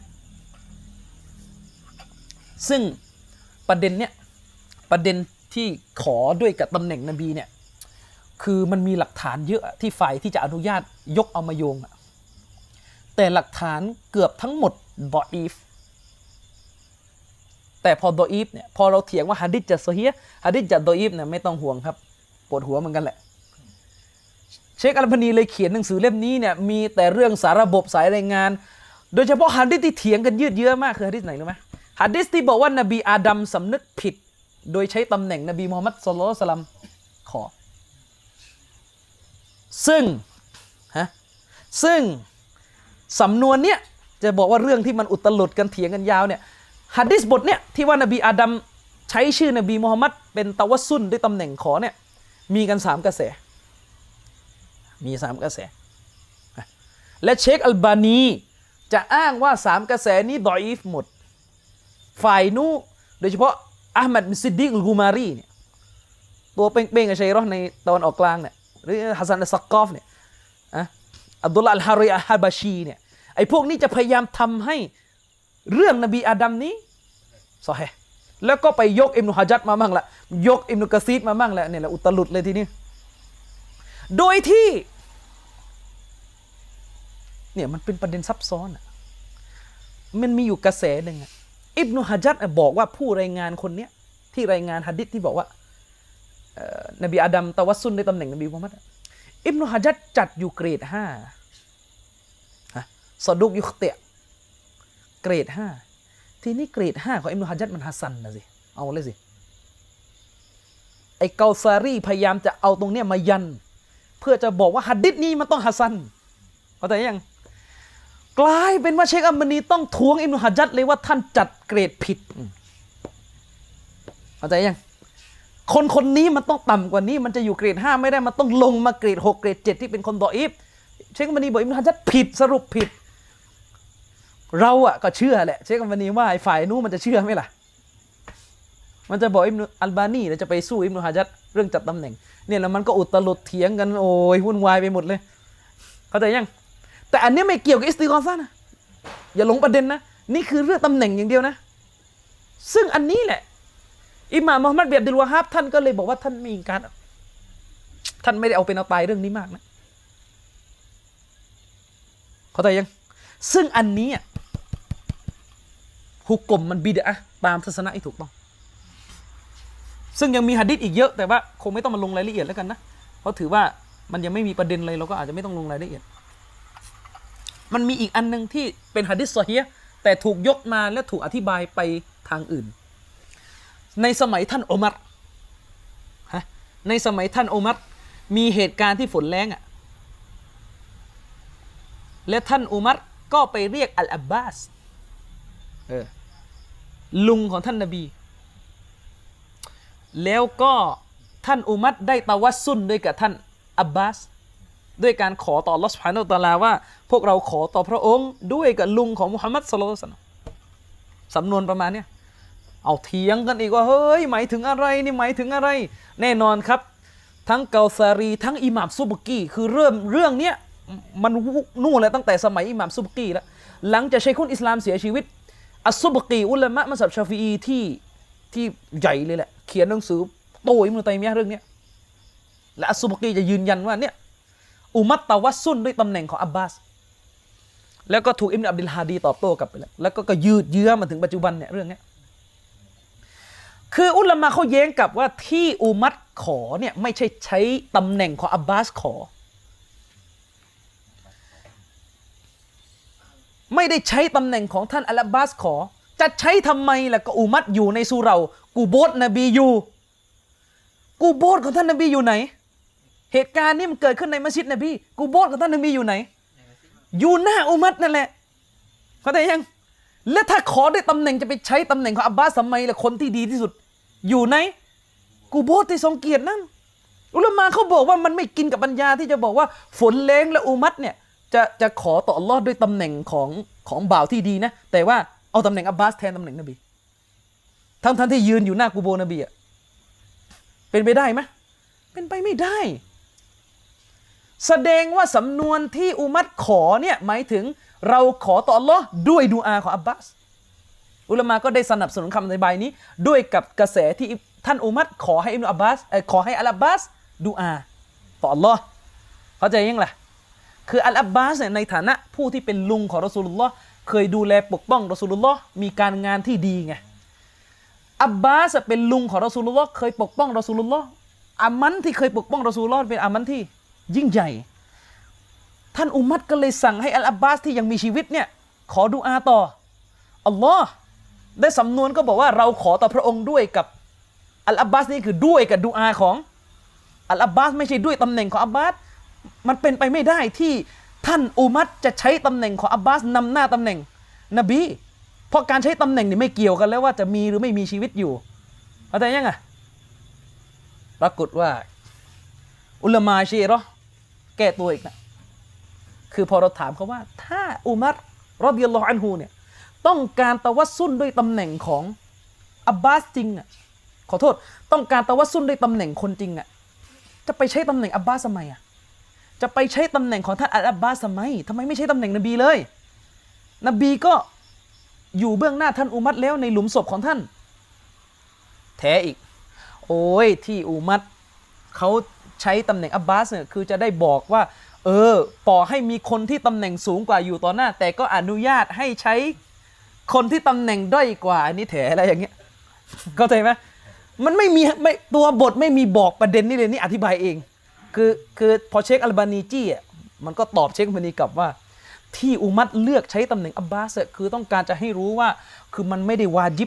ซึ่งประเด็นเนี้ยประเด็นที่ขอด้วยกับตำแหน่งนบีเนี่ยคือมันมีหลักฐานเยอะที่ฝ่ายที่จะอนุญาตยกเอามาโยงแต่หลักฐานเกือบทั้งหมดดออีฟแต่พอดออีฟเนี่ยพอเราเถียงว่าหะดีษจะซอฮีฮ์หะดีษจะดออีฟเนี่ยไม่ต้องห่วงครับปวดหัวเหมือนกันแหละเชคอัลบานีเลยเขียนหนังสือเล่มนี้เนี่ยมีแต่เรื่องสารระบบสายรายงานโดยเฉพาะหะดีษที่เถียงกันยืดเยื้อมากคือหะดีษไหนรู้ไหมหะดีษที่บอกว่านบีอาดัมสำนึกผิดโดยใช้ตำแหน่งนบีมุฮัมมัดศ็อลลัลลอฮุอะลัยฮิวะซัลลัมขอซึ่งสำนวนเนี้ยจะบอกว่าเรื่องที่มันอุตลุดกันเถียงกันยาวเนี่ยหะดีษบทเนี้ยที่ว่านบีอาดัมใช้ชื่อนบีมุฮัมมัดเป็นตะวัสซุลด้วยตำแหน่งขอเนี่ยมีกัน3 กระแสมี3 กระแสและเชคอัลบานีจะอ้างว่า3 กระแสนี้ดออีฟหมดฝ่ายนู้โดยเฉพาะอะห์มัดบินซิดดีกอัลกุมารีเนี่ยตัวเป้งๆกับชัยเราะห์ในตะวันออกกลางเนี่ยหรือฮัสซันอัสซักกอฟเนี่ยอับดุลลาห์อัลฮาริอัลฮะบาชีเนี่ยไอ้พวกนี้จะพยายามทำให้เรื่องนบีอาดัมนี้ซอฮีฮ์แล้วก็ไปยกอิบนุฮะญัรมามั่งละยกอิบนุกะซีรมามั่งละเนี่ยแหละอุตลุดเลยทีนี้โดยที่เนี่ยมันเป็นประเด็นซับซ้อนมันมีอยู่กระแสหนึ่งอิบนุฮะญัรบอกว่าผู้รายงานคนเนี้ยที่รายงานหะดีษที่บอกว่านบีอาดัมตะวัสซุลในตำแหน่งนบีมุฮัมมัดอิบนุฮะญัรจัดอยู่เกรด5ซอดุกยุคเตะเกรด5ทีนี้เกรด5ของอิบนุฮะญัรมันฮัสซันนะสิเอาเลยสิไอ้เกาซารีพยายามจะเอาตรงเนี้ยมายันเพื่อจะบอกว่าหะดีษนี้มันต้องฮัสซันเข้าใจยังกลายเป็นว่าเชคอัลบานีต้องทวงอิบนุฮะญัรเลยว่าท่านจัดเกรดผิดเข้าใจยังคนนี้มันต้องต่ำกว่านี้มันจะอยู่เกรด5ไม่ได้มันต้องลงมาเกรด6เกรด7ที่เป็นคนดออีฟเชคอัลบานีบอกอิบนุฮะญัรผิดสรุปผิดเราก็เชื่อแหละเชคอัลบานีว่าไอ้ฝ่ายนู้นมันจะเชื่อไหมล่ะมันจะบอกอิบนุอัลบานีแล้วจะไปสู้อิบนุฮะญัรเรื่องจัดตำแหน่งเนี่ยแล้วมันก็อุตลุดเถียงกันโอ้ยวุ่นวายไปหมดเลยเข้าใจยังแต่อันนี้ไม่เกี่ยวกับอิสติฆอซะห์นะอย่าหลงประเด็นนะนี่คือเรื่องตำแหน่งอย่างเดียวนะซึ่งอันนี้แหละอิหม่ามมุฮัมมัดบินอับดุลวะฮาบท่านก็เลยบอกว่าท่านมีการท่านไม่ได้เอาเป็นเอาตายเรื่องนี้มากนะเข้าใจยังซึ่งอันนี้ฮุกกลมมันบิดอะห์ตามทัศนะที่ถูกต้องซึ่งยังมีหะดีษอีกเยอะแต่ว่าคงไม่ต้องมาลงรายละเอียดแล้วกันนะเพราะถือว่ามันยังไม่มีประเด็นเลยเราก็อาจจะไม่ต้องลงรายละเอียดมันมีอีกอันนึงที่เป็นหะดีษซอฮีฮ์แต่ถูกยกมาและถูกอธิบายไปทางอื่นในสมัยท่านอุมัรในสมัยท่านอุมัรมีเหตุการณ์ที่ฝนแล้งและท่านอุมัรก็ไปเรียกอัลอับบาสลุงของท่านนบีแล้วก็ท่านอุมัรได้ตะวัสซุลด้วยกับท่านอับบาสด้วยการขอต่ออัลเลาะห์ซุบฮานะฮูวะตะอาลาว่าพวกเราขอต่อพระองค์ด้วยกับลุงของมุฮัมมัดศ็อลลัลลอฮุอะลัยฮิวะซัลลัมสำนวนประมาณนี้เอาเถียงกันอีกว่าเฮ้ยหมายถึงอะไรนี่หมายถึงอะไรแน่นอนครับทั้งเกาซารีทั้งอิหม่ามซุบกีคือเริ่มเรื่องเนี้ยมันนู่นเลยตั้งแต่สมัยอิหม่ามซุบกีแล้วหลังจากชัยคุลอิสลามเสียชีวิตอัสซุบกีอุลามะมัซฮับชาฟิอีที่ใหญ่เลยแหละเขียนหนังสือโตอิบนุตัยมียะห์เรื่องนี้และอัสซุบกีจะยืนยันว่าเนี่ยอุมัตตะวัสซุลด้วยตำแหน่งของอับบาสแล้วก็ถูกอิบนุอับดุลฮาดีตอบโต้กลับไปแล้วก็ยืดเยื้อมาถึงปัจจุบันเนี่ยเรื่องนี้คืออุลามะเขาแย้งกับว่าที่อุมัตขอเนี่ยไม่ใช่ใช้ตำแหน่งของอับบาสขอไม่ได้ใช้ตำแหน่งของท่านอัลอับบาสขอจะใช้ทำไมล่ะก็อุมัตอยู่ในสุเราะห์กูโบร์นบีอยู่กูโบร์ของท่านนบีอยู่ไหนเหตุการณ์นี้มันเกิดขึ้นในมัสยิดนบีกูโบร์ของท่านนบีอยู่ไหนอยู่หน้าอุมัตนั่นแหละเข้าใจยังและถ้าขอได้ตำแหน่งจะไปใช้ตำแหน่งของอับบาสทำไมล่ะคนที่ดีที่สุดอยู่ในกูโบร์ที่ทรงเกียรตินั่นอุลามะเขาบอกว่ามันไม่กินกับปัญญาที่จะบอกว่าฝนแรงและอุมัตเนี่ยจะขอต่ออัลลอฮ์ด้วยตำแหน่งของบ่าวที่ดีนะแต่ว่าเอาตำแหน่งอับบาสแทนตำแหน่งนบีทั้งที่ยืนอยู่หน้ากูโบนบีเป็นไปได้ไหมเป็นไปไม่ได้แสดงว่าสำนวนที่อุมัตขอเนี่ยหมายถึงเราขอต่ออัลลอฮ์ด้วยดุอาของอับบาสอุลามะก็ได้สนับสนุนคำอธิบายนี้ด้วยกับกระแสที่ท่านอุมัตขอให้อิบนุอับบาสขอให้อัลอับบาสดุอาต่ออัลลอฮ์เข้าใจยังล่ะคืออัลอับบาสเนี่ยในฐานะผู้ที่เป็นลุงของรอซูลุลลอฮ์เคยดูแลปกป้องรอซูลุลลอฮ์มีการงานที่ดีไงอับบาสเป็นลุงของรอซูลุลลอฮ์เคยปกป้องรอซูลุลลอฮ์อามันที่เคยปกป้องรอซูลุลลอฮ์เป็นอามันที่ยิ่งใหญ่ท่านอุมัตก็เลยสั่งให้อัลอับบาสที่ยังมีชีวิตเนี่ยขอดุอาต่ออัลลอฮ์ได้สำนวนก็บอกว่าเราขอต่อพระองค์ด้วยกับอัลอับบาสนี่คือด้วยกับดุอาของอัลอับบาสไม่ใช่ด้วยตำแหน่งของอับบาสมันเป็นไปไม่ได้ที่ท่านอุมัตจะใช้ตำแหน่งของอับบาสนำหน้าตำแหน่งนบีเพราะการใช้ตำแหน่งนี่ไม่เกี่ยวกันแล้วว่าจะมีหรือไม่มีชีวิตอยู่เข้าใจยังไงปรากฏว่าอุลามะชีเราะห์แก้ตัวอีกนะคือพอเราถามเขาว่าถ้าอุมัรรอฎิยัลลอฮุอันฮุเนี่ยต้องการตะวัสซุลด้วยตำแหน่งของอับบาสจริงอ่ะขอโทษต้องการตะวัสซุลด้วยตำแหน่งคนจริงอ่ะจะไปใช้ตำแหน่งอับบาสทำไมอ่ะจะไปใช้ตำแหน่งของท่านอับบาสทำไมไม่ใช่ตำแหน่งนบีเลยนบีก็อยู่เบื้องหน้าท่านอุมัรแล้วในหลุมศพของท่านแท้อีกโอ้ยที่อุมัรเขาใช้ตำแหน่งอับบาสเนี่ยคือจะได้บอกว่าต่อให้มีคนที่ตำแหน่งสูงกว่าอยู่ต่อหน้าแต่ก็อนุญาตให้ใช้คนที่ตำแหน่งด้อยกว่าอันนี้แถอะไรอย่างเงี้ยเข้าใจไหมมันไม่มีตัวบทไม่มีบอกประเด็นนี้เลยนี่อธิบายเองคือพอเชคอัลบานีจี้อ่ะมันก็ตอบเชคอัลบานีกลับว่าที่อุมัตเลือกใช้ตำแหน่งอับบาสคือต้องการจะให้รู้ว่าคือมันไม่ได้วาญิบ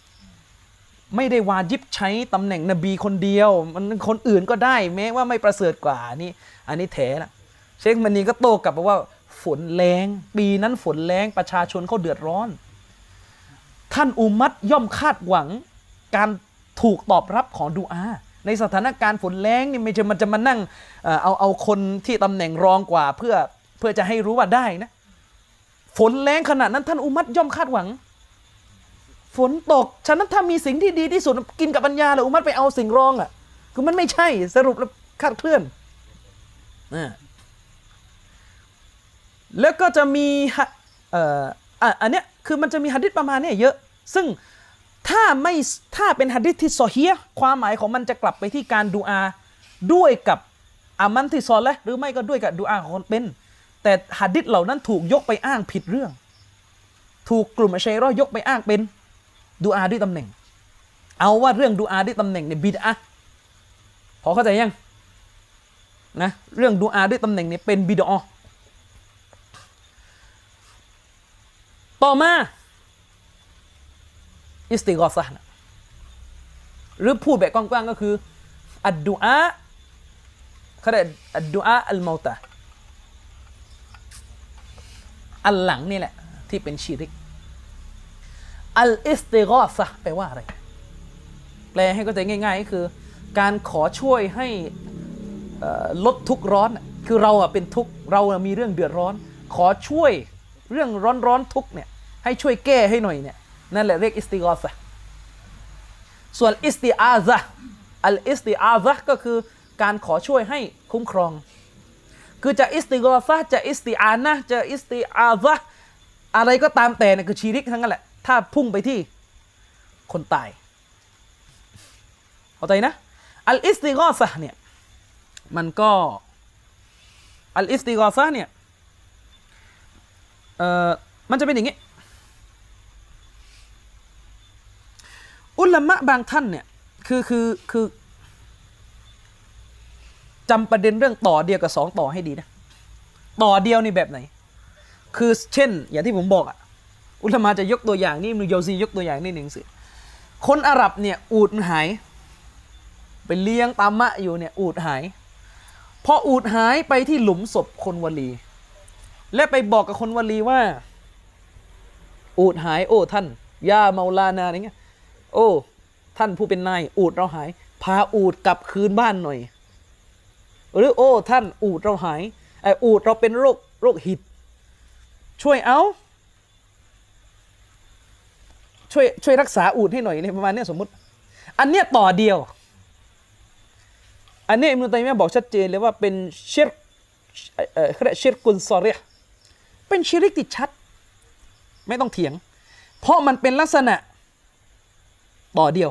ใช้ตำแหน่งนบีคนเดียวมันคนอื่นก็ได้แม้ว่าไม่ประเสริฐกว่านี่อันนี้แถละเชคอัลบานีก็โต้กลับว่าฝนแรงปีนั้นฝนแรงประชาชนเขาเดือดร้อนท่านอุมัตย่อมคาดหวังการถูกตอบรับของดุอาในสถานการณ์ฝนแรงนี่ไม่ใช่มันจะมานั่งเอาคนที่ตำแหน่งรองกว่าเพื่อจะให้รู้ว่าได้นะฝนแรงขนาดนั้นท่านอุมัตย่อมคาดหวังฝนตกฉะนั้นถ้ามีสิ่งที่ดีที่สุดกินกับปัญญาแล้วอุมัตไปเอาสิ่งรองอ่ะคือมันไม่ใช่สรุปแล้วคาดเคลื่อนแล้วก็จะมีอันเนี้ยคือมันจะมีหะดีษประมาณนี้เยอะซึ่งถ้าเป็นหะดีษที่ซอฮีฮ์ความหมายของมันจะกลับไปที่การดุอาด้วยกับอามันที่ซอเลห์หรือไม่ก็ด้วยกับดุอาของคนเป็นแต่หะดีษเหล่านั้นถูกยกไปอ้างผิดเรื่องถูกกลุ่มอัชชัยเราะห์ยกไปอ้างเป็นดุอาด้วยตำแหน่งเอาว่าเรื่องดุอาด้วยตำแหน่งเนี่ยบิดอะห์พอเข้าใจยังนะเรื่องดุอาด้วยตำแหน่งเนี่ยเป็นบิดอะห์ต่อมาอิสติฆอซะห์นะหรือพูดแบบกว้างๆก็คืออัดดุอาเขาเรียกอัดดุอาอัลเมาตะอันหลังนี่แหละที่เป็นชิริกอัลอิสติฆอซะห์แปลว่าอะไรแปลให้เข้าใจง่ายๆก็คือการขอช่วยให้ลดทุกข์ร้อนคือเราเป็นทุกข์เรามีเรื่องเดือดร้อนขอช่วยเรื่องร้อนทุกข์เนี่ยให้ช่วยแก้ให้หน่อยเนี่ยนั่นแหละเรียกอิสติฆอซะห์ส่วนอิสติอาซะห์อัลอิสติอาซะห์ก็คือการขอช่วยให้คุ้มครองคือจะอิสติฆอซะห์จะอิสติอานะห์จะอิสติอาซะห์อะไรก็ตามแต่เนี่ยคือชิริกทั้งนั้นแหละถ้าพุ่งไปที่คนตายเข้าใจนะอัลอิสติฆอซะห์เนี่ยมันก็อัลอิสติฆอซะห์เนี่ยมันจะเป็นอย่างนี้อุลามะบางท่านเนี่ยคือจำประเด็นเรื่องต่อเดียวกับ2ต่อให้ดีนะต่อเดียวนี่แบบไหนคือเช่นอย่างที่ผมบอกอุลามะจะยกตัวอย่างนี่อิบนุญาวซียกตัวอย่างนี่หนึ่งสิคนอาหรับเนี่ยอูฐหายไปเลี้ยงตามมะอยู่เนี่ยอูฐหายพออูฐหายไปที่หลุมศพคนวลีและไปบอกกับคนวลีว่าอูฐหายโอ้ท่านยาเมาลานาอย่างเงี้ยโอ้ท่านผู้เป็นนายอูฐเราหายพาอูฐกลับคืนบ้านหน่อยหรือโอ้ท่านอูฐเราหายอูฐเราเป็นโรคหิดช่วยช่วยรักษาอูฐให้หน่อยในประมาณนี้สมมุติอันเนี้ยต่อเดียวอันนี้อิบนุตัยมียะห์บอกชัดเจนเลยว่าเป็นชิรกเขาเรียกชิรกุนซอริฮ์เป็นชิริกที่ชัดไม่ต้องเถียงเพราะมันเป็นลักษณะต่อเดียว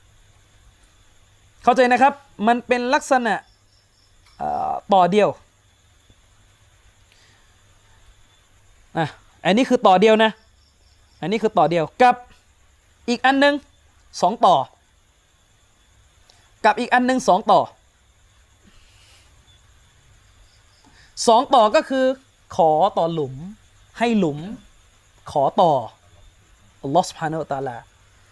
เข้าใจนะครับมันเป็นลักษณะต่อเดียวอันนี้คือต่อเดียวนะอันนี้คือต่อเดียวกับอีกอันนึง2ต่อกับอีกอันนึง2ต่อ2ต่อก็คือขอต่อหลุมให้หลุมขอต่ออัลลอฮฺซุบฮานะฮูวะตะอาลา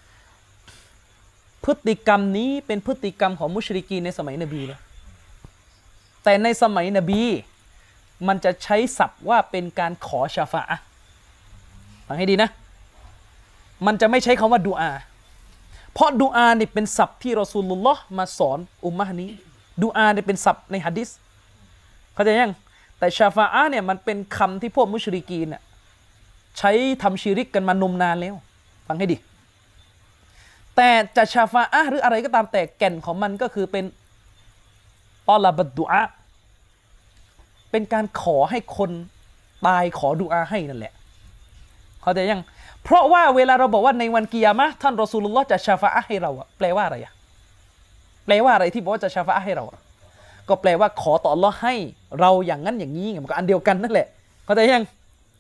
พฤติกรรมนี้เป็นพฤติกรรมของมุชริกีนในสมัยนบีนะแต่ในสมัยนบีมันจะใช้ศัพท์ว่าเป็นการขอชาฟาอะห์ฟังให้ดีนะมันจะไม่ใช้คำว่าดุอาเพราะดุอานี่เป็นศัพท์ที่รอซูลุลลอฮ์มาสอนอุมมะห์นี้ดุอานี่เป็นศัพท์ในหะดีษเข้าใจยังแต่ชาฟาอะห์เนี่ยมันเป็นคำที่พวกมุชริกีนน่ะใช้ทำชิริกกันมานมนานแล้วฟังให้ดีแต่จะชาฟาอะห์หรืออะไรก็ตามแต่แก่นของมันก็คือเป็นตอลาบัดดุอาเป็นการขอให้คนตายขอดุอาให้นั่นแหละเข้าใจยังเพราะว่าเวลาเราบอกว่าในวันกิยามะห์ท่านรอซูลุลลอฮ์จะชาฟาอะห์ให้เราแปลว่าอะไรแปลว่าอะไรที่บอกว่าจะชาฟาอะห์ให้เราก็แปลว่าขอต่ออัลเลาะห์ให้เราอย่างนั้นอย่างนี้มันก็อันเดียวกันนั่นแหละเข้าใจยัง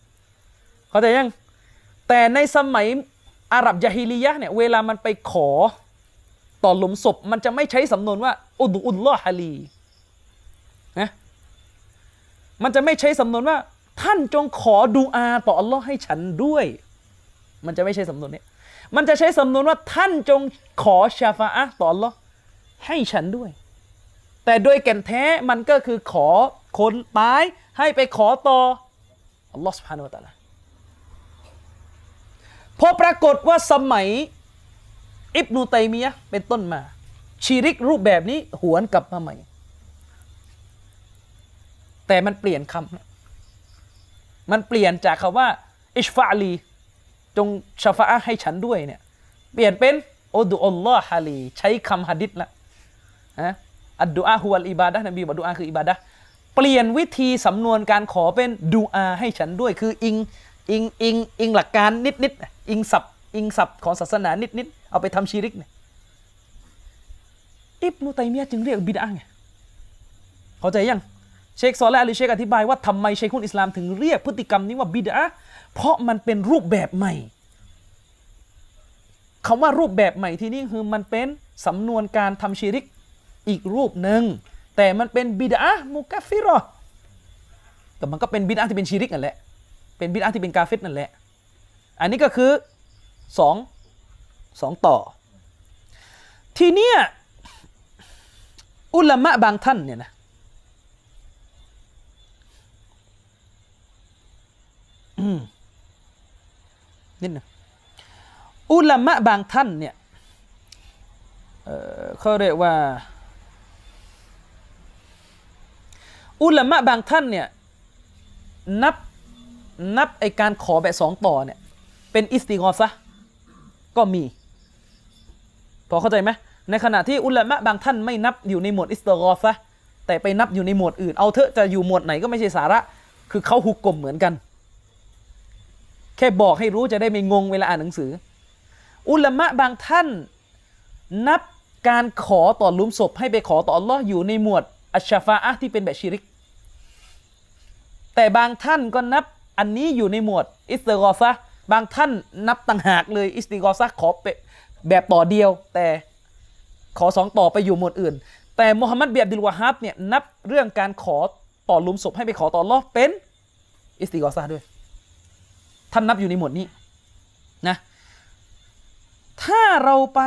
แต่ในสมัยอาหรับญะฮีลียะห์เนี่ยเวลามันไปขอต่อหลุมศพมันจะไม่ใช้สำนวนว่าอุดุลลอฮะลีนะมันจะไม่ใช้สำนวนว่าท่านจงขอดุอาต่ออัลลอฮ์ให้ฉันด้วยมันจะไม่ใช่สำนวนนี้มันจะใช้สำนวนว่าท่านจงขอชาฟาอะห์ต่ออัลลอฮ์ให้ฉันด้วยแต่โดยแก่นแท้มันก็คือขอคนตายให้ไปขอต่ออัลลอฮ์ซุบฮานะฮูวะตะอาลาพอปรากฏว่าสมัยอิบนุตัยมียะห์เป็นต้นมาชิริกรูปแบบนี้หวนกลับมาใหม่แต่มันเปลี่ยนคำมันเปลี่ยนจากคำว่าอิชฟะลีจงชาฟาอะห์ให้ฉันด้วยเนี่ยเปลี่ยนเป็นอุดุอัลลอฮะลีใช้คำหะดีษละอัดดุอาฮุวัลอิบาดะห์นบีบอกดุอาคืออิบาดะห์เปลี่ยนวิธีสำนวนการขอเป็นดุอาให้ฉันด้วยคืออิงหลักการนิดอิงศัพท์ของศาสนานิดเอาไปทำชิริกเนี่ยอิบนุตัยมียะห์จึงเรียกบิดอะห์ไงเข้าใจยังเชคซอเลห์ อัลเชคอธิบายว่าทำไมชัยคุลอิสลามถึงเรียกพฤติกรรมนี้ว่าบิดอะห์เพราะมันเป็นรูปแบบใหม่คำว่ารูปแบบใหม่ที่นี่คือมันเป็นสำนวนการทำชิริกอีกรูปหนึ่งแต่มันเป็นบิดอะห์มุกัฟฟิเราะห์แต่มันก็เป็นบิดอะห์ที่เป็นชิริกนั่นแหละเป็นบิดอะห์ที่เป็นกาเฟรนั่นแหละอันนี้ก็คือสองต่อทีเนี้ยอุลามะบางท่านเนี่ยนะนิดนึงอุลามะบางท่านเนี่ยเขาเรียกว่าอุลามะบางท่านเนี่ยนับไอการขอแบบสองต่อเนี่ยเป็นอิสติฆอซะห์ก็มีพอเข้าใจไหมในขณะที่อุลามะบางท่านไม่นับอยู่ในหมวดอิสติฆอซะห์แต่ไปนับอยู่ในหมวดอื่นเอาเถอะจะอยู่หมวดไหนก็ไม่ใช่สาระคือเขาฮุกกลมเหมือนกันแค่บอกให้รู้จะได้ไม่งงเวลาอ่านหนังสืออุลามะบางท่านนับการขอต่อหลุมศพให้ไปขอต่ออัลลอฮ์อยู่ในหมวดอัชชาฟาอะห์ที่เป็นแบบชิริกแต่บางท่านก็นับอันนี้อยู่ในหมวดอิสติฆอซะห์บางท่านนับต่างหากเลยอิสติฆอซะห์ขอแบบต่อเดียวแต่ขอสองต่อไปอยู่หมวดอื่นแต่มุฮัมมัดบินอับดุลวะฮับเนี่ยนับเรื่องการขอต่อหลุมศพให้ไปขอต่ออัลเลาะห์เป็นอิสติฆอซะห์ด้วยท่านนับอยู่ในหมวดนี้นะถ้าเราไป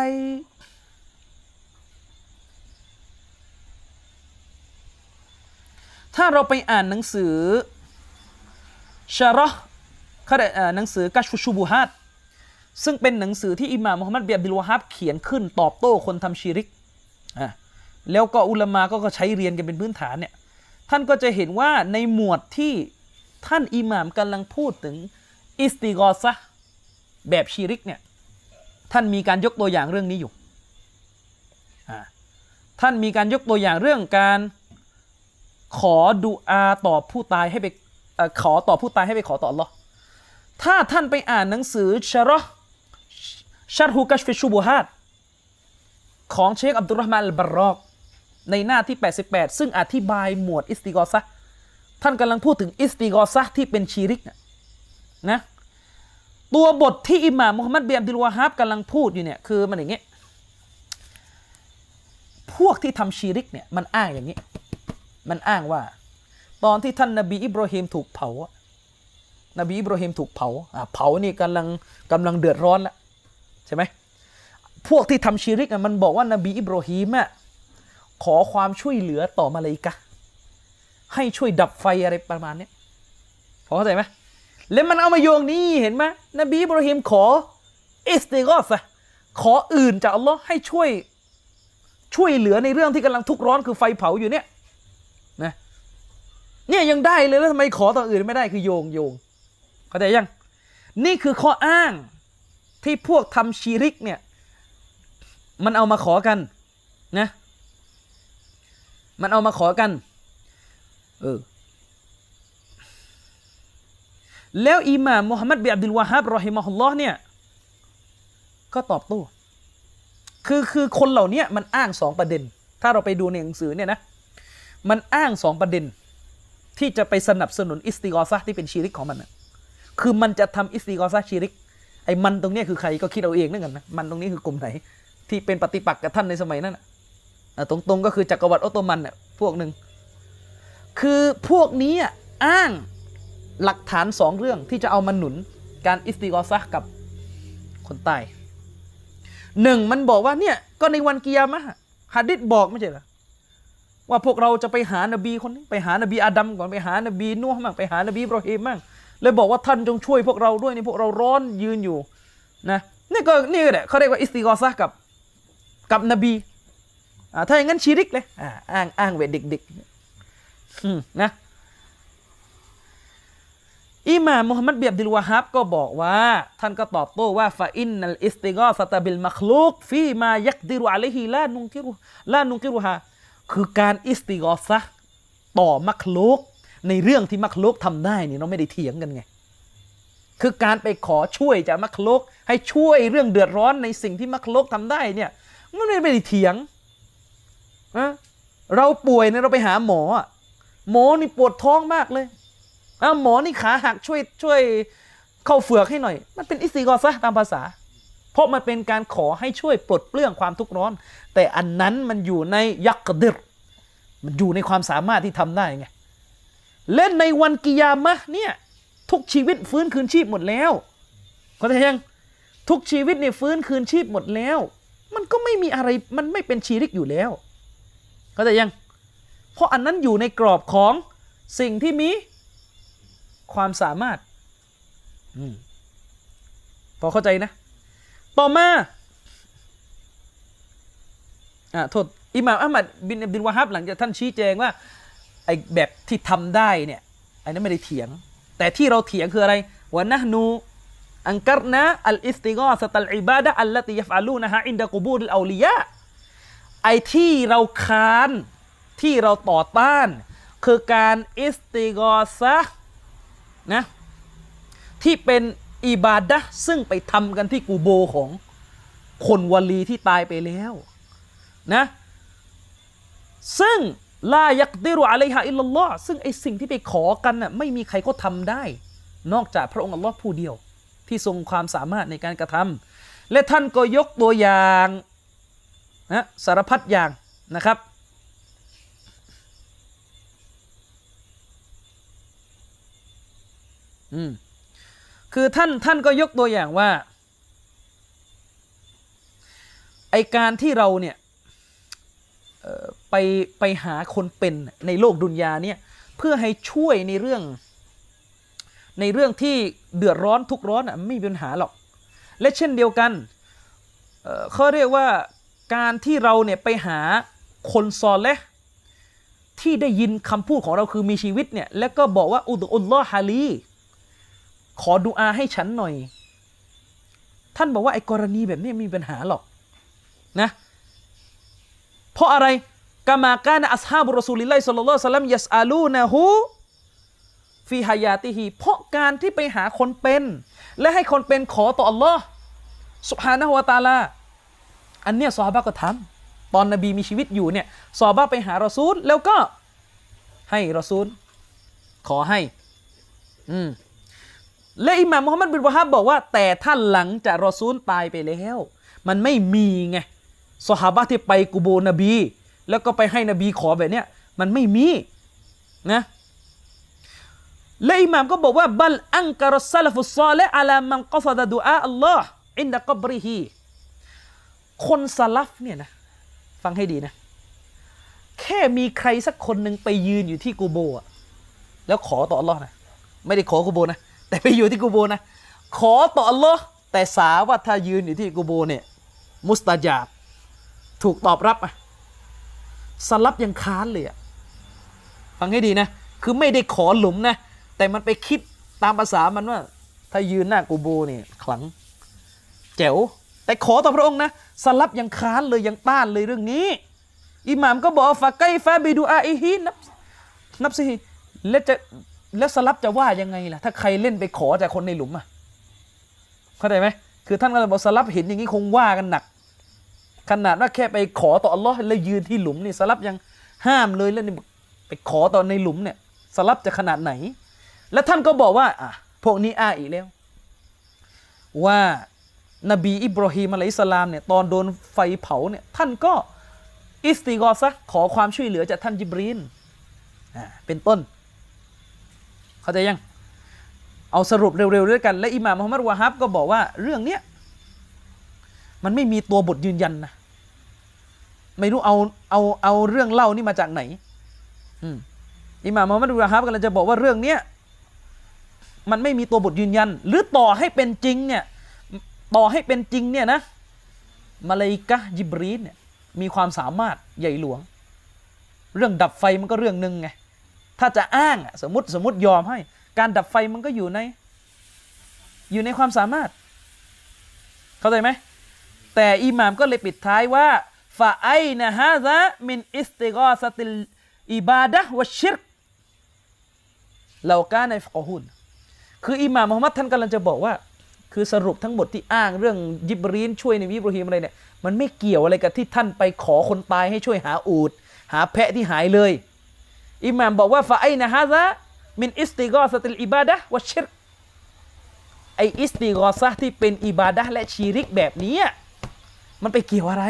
อ่านหนังสือชะเราะห์หนังสือกัชฟุชูบูฮาตซึ่งเป็นหนังสือที่อิหม่ามมุฮัมมัดบินอับดุลวะฮับเขียนขึ้นตอบโต้คนทำชิริกแล้วก็อุลามะก็ใช้เรียนกันเป็นพื้นฐานเนี่ยท่านก็จะเห็นว่าในหมวดที่ท่านอิหม่ามกำลังพูดถึงอิสติฆอซะห์แบบชิริกเนี่ยท่านมีการยกตัวอย่างเรื่องนี้อยู่ท่านมีการยกตัวอย่างเรื่องการขอดุอาต่อผู้ตายให้ไปขอต่อผู้ตายให้ไปขอต่ออัลเลาะห์ถ้าท่านไปอ่านหนังสือชะเราะห์ชัรฮุกัชฟิชูบูฮาตของเชคอับดุลเราะห์มานอัลบารรอกในหน้าที่88ซึ่งอธิบายหมวดอิสติฆอซะห์ท่านกำลังพูดถึงอิสติฆอซะห์ที่เป็นชิริกนะตัวบทที่อิหม่ามมุฮัมมัดบินอับดุลวะฮับกำลังพูดอยู่เนี่ยคือมันอย่างเงี้ยพวกที่ทำชิริกเนี่ยมันอ้างอย่างนี้มันอ้างว่าตอนที่ท่านนบีอิบราฮิมถูกเผานบีอิบราฮิมถูกเผานี่กำลังเดือดร้อนแล้วใช่ไหมพวกที่ทำชิริกมันบอกว่านบีอิบราฮิมขอความช่วยเหลือต่อมาลาอิกะฮ์ให้ช่วยดับไฟอะไรประมาณนี้พอเข้าใจไหมแล้วมันเอามาโยงนี่เห็นไหมนบีอิบราฮิมขออิสติฆอซะห์ขออื่นจากอัลลอฮ์ให้ช่วยเหลือในเรื่องที่กำลังทุกข์ร้อนคือไฟเผาอยู่เนี่ยนะเนี่ยยังได้เลยแล้วทำไมขอต่ออื่นไม่ได้คือโยงเข้าใจยังนี่คือข้ออ้างที่พวกทำชิริกเนี่ยมันเอามาขอกันนะมันเอามาขอกันแล้วอิหม่ามมุฮัมมัดบินอับดุลวะฮับรอฮิมะฮุลลอฮ์เนี่ยก็ตอบโต้คือคนเหล่านี้มันอ้างสองประเด็นถ้าเราไปดูในหนังสือเนี่ยนะมันอ้างสองประเด็นที่จะไปสนับสนุนอิสติฆอซะห์ที่เป็นชิริกของมันคือมันจะทำอิสติฆอซะห์ชิริกไอ้มันตรงนี้คือใครก็คิดเอาเองนั่นกันนะมันตรงนี้คือกลุ่มไหนที่เป็นปฏิปักษ์กับท่านในสมัยนั้นตรงๆก็คือจักรวรรดิออตโตมันเนี่ยพวกหนึ่งคือพวกนี้อ้างหลักฐานสองเรื่องที่จะเอามาหนุนการอิสติฆอซะห์กับคนตายหนึ่งมันบอกว่าเนี่ยก็ในวันกิยามะฮ์หะดีษบอกไม่ใช่เหรอว่าพวกเราจะไปหานบีคนนี้ไปหานบีอาดัมก่อนไปหานบีนูห์มั่งไปหานบีอิบราฮิมมั่งเลยบอกว่าท่านจงช่วยพวกเราด้วยนี่พวกเราร้อนยืนอยู่นะนี่แหละเขาเรียกว่าอิสติฆอซะห์กับนบีถ้าอย่างนั้นชิริกเลยอ้างเวทเด็กๆนะอิหม่ามมุฮัมมัดบินอับดุลวะฮับก็บอกว่าท่านก็ตอบโต้ว่าฟาอินนัลอิสติฆอซะตะบิลมักลูกฟีมายักดิรุอะลัยฮิลานุนกิรุฮาคือการอิสติฆอซะห์ต่อมักลูกในเรื่องที่มักลูกทำได้นี่เราไม่ได้เถียงกันไงคือการไปขอช่วยจากมักลูกให้ช่วยเรื่องเดือดร้อนในสิ่งที่มักลูกทำได้เนี่ยมันไม่ได้เถียงเราป่วยเนี่ยเราไปหาหมอนี่ปวดท้องมากเลยหมอนี่ขาหักช่วยเข้าเฝือกให้หน่อยมันเป็นอิสติฆอซะห์ตามภาษาเพราะมันเป็นการขอให้ช่วยปลดเปลื้องความทุกข์ร้อนแต่อันนั้นมันอยู่ในยักดิรมันอยู่ในความสามารถที่ทำได้ไงเล่นในวันกิยามะห์เนี่ยทุกชีวิตฟื้นคืนชีพหมดแล้วเข้าใจยังทุกชีวิตเนี่ยฟื้นคืนชีพหมดแล้วมันก็ไม่มีอะไรมันไม่เป็นชีริกอยู่แล้วเข้าใจยังเพราะอันนั้นอยู่ในกรอบของสิ่งที่มีความสามารถพอเข้าใจนะต่อมาโทษอิหม่ามอะห์มัดบินอับดุลวะฮับหลังจากท่านชี้แจงว่าไอ้แบบที่ทำได้เนี่ยอันนั้นไม่ได้เถียงแต่ที่เราเถียงคืออะไรวะนะห์นูอันกัรนะอัลอิสติฆอซะตัลอิบาดะฮ์อัลลตียัฟอะลูนะฮะอินดะกุบูริลเอาลิยะไอ้ที่เราค้านที่เราต่อต้านคือการอิสติฆอซะห์นะที่เป็นอิบาดะห์ซึ่งไปทำกันที่กูโบของคนวลีที่ตายไปแล้วนะซึ่งลายักดิรุอะลัยฮาอิลลัลลอฮ์ซึ่งไอสิ่งที่ไปขอกันน่ะไม่มีใครก็ทำได้นอกจากพระองค์อัลลอฮ์ผู้เดียวที่ทรงความสามารถในการกระทำและท่านก็ยกตัวอย่างนะสารพัดอย่างนะครับคือท่านก็ยกตัวอย่างว่าไอการที่เราเนี่ยไปหาคนเป็นในโลกดุนยาเนี่ยเพื่อให้ช่วยในเรื่องที่เดือดร้อนทุกร้อนไม่มีปัญหาหรอกและเช่นเดียวกันเขาเรียกว่าการที่เราเนี่ยไปหาคนซอเลห์ที่ได้ยินคำพูดของเราคือมีชีวิตเนี่ยแล้วก็บอกว่าอุดอุลลอฮาลีขอดุอาให้ฉันหน่อยท่านบอกว่าไอ้กรณีแบบนี้ไม่มีปัญหาหรอกนะเพราะอะไรกะมากานะอัศฮาบุรอซูลิลลาฮิศ็อลลัลลอฮุอะลัยฮิวะซัลลัมยัสอาลูนะฮูฟีฮายาติฮีเพราะการที่ไปหาคนเป็นและให้คนเป็นขอต่ออัลลอฮ์ซุบฮานะฮูวะตะอาลาอันเนี้ยซอฮาบะห์ก็ทำตอนนบีมีชีวิตอยู่เนี่ยซอฮาบะห์ไปหารอซูลแล้วก็ให้รอซูลขอให้และอิหม่ามมุฮัมมัดบินวะฮับบอกว่าแต่ถ้าหลังจากรอซูลตายไปแล้วมันไม่มีไงซอฮาบะห์ที่ไปกุโบร์นบีแล้วก็ไปให้นบีขอแบบเนี้ยมันไม่มีนะและอิหม่ามก็บอกว่าบัลอันกะรัสซะลฟุศอลิฮ์อะลามันกอซะดะดุอาอัลลอฮ์อินดะกับริฮีคนซะลัฟเนี่ยนะฟังให้ดีนะแค่มีใครสักคนหนึ่งไปยืนอยู่ที่กูโบร์แล้วขอต่ออัลลอฮ์นะไม่ได้ขอกูโบร์นะแต่ไปอยู่ที่กูโบร์นะขอต่ออัลลอฮ์แต่สาว่าถ้ายืนอยู่ที่กูโบร์เนี่ยมุสตะญาบถูกตอบรับสลับยังค้านเลยฟังให้ดีนะคือไม่ได้ขอหลุมนะแต่มันไปคิดตามภาษามันว่าถ้ายืนหน้ากูโบเนี่ยขลังแจ๋วแต่ขอต่อพระองค์นะสลับยังค้านเลยยังต้านเลยเรื่องนี้อิหม่ามก็บอกฟะไกฟะบิดุอาอิฮินับซิแล้วสลับจะว่ายังไงล่ะถ้าใครเล่นไปขอจากคนในหลุมเข้าใจไหมคือท่านก็เลยบอกสลับเห็นอย่างนี้คงว่ากันหนักขนาดว่าแค่ไปขอต่ออัลลอฮ์แล้วยืนที่หลุมนี่สลับยังห้ามเลยแล้วนี่ไปขอต่อในหลุมเนี่ยสลับจะขนาดไหนแล้วท่านก็บอกว่าพวกนี้อีกแล้วว่านบีอิบรอฮีมอะลัยฮิสสลามเนี่ยตอนโดนไฟเผาเนี่ยท่านก็อิสติฆอซะห์ขอความช่วยเหลือจากท่านญิบรีลเป็นต้นเข้าใจยังเอาสรุปเร็วๆด้วยกันและอิหม่ามมุฮัมมัดวะฮับก็บอกว่าเรื่องเนี้ยมันไม่มีตัวบทยืนยันนะไม่รู้เอาเรื่องเล่านี่มาจากไหนอิหม่ามมุฮัมมัดวะฮับกำลังจะบอกว่าเรื่องเนี้ยมันไม่มีตัวบทยืนยันหรือต่อให้เป็นจริงเนี่ยนะมาลาอิกะฮ์ญิบรีลเนี่ยมีความสามารถใหญ่หลวงเรื่องดับไฟมันก็เรื่องนึงไงถ้าจะอ้างสมมติยอมให้การดับไฟมันก็อยู่ในความสามารถเข้าใจไหมแต่อิหม่ามก็เลยปิดท้ายว่าฟะไอนะฮาซะมินอิสติฆอซะติลอิบาดะฮ์วัชชิรกเรากาในฟะกอฮุนคืออิหม่ามมุฮัมมัดท่านกำลังจะบอกว่าคือสรุปทั้งหมดที่อ้างเรื่องญิบรีลช่วยนบีอิบรอฮีมอะไรเนี่ยมันไม่เกี่ยวอะไรกับที่ท่านไปขอคนตายให้ช่วยหาอูฐหาแพะที่หายเลยอิหม่ามบอกว่าฟะไอนะฮาซะมินอิสติฆอซะติลอิบาดะฮ์วัชชิรกไออิสติฆอซะห์ที่เป็นอิบาดะห์และชีริกแบบนี้มันไปเกี่ยวอะไร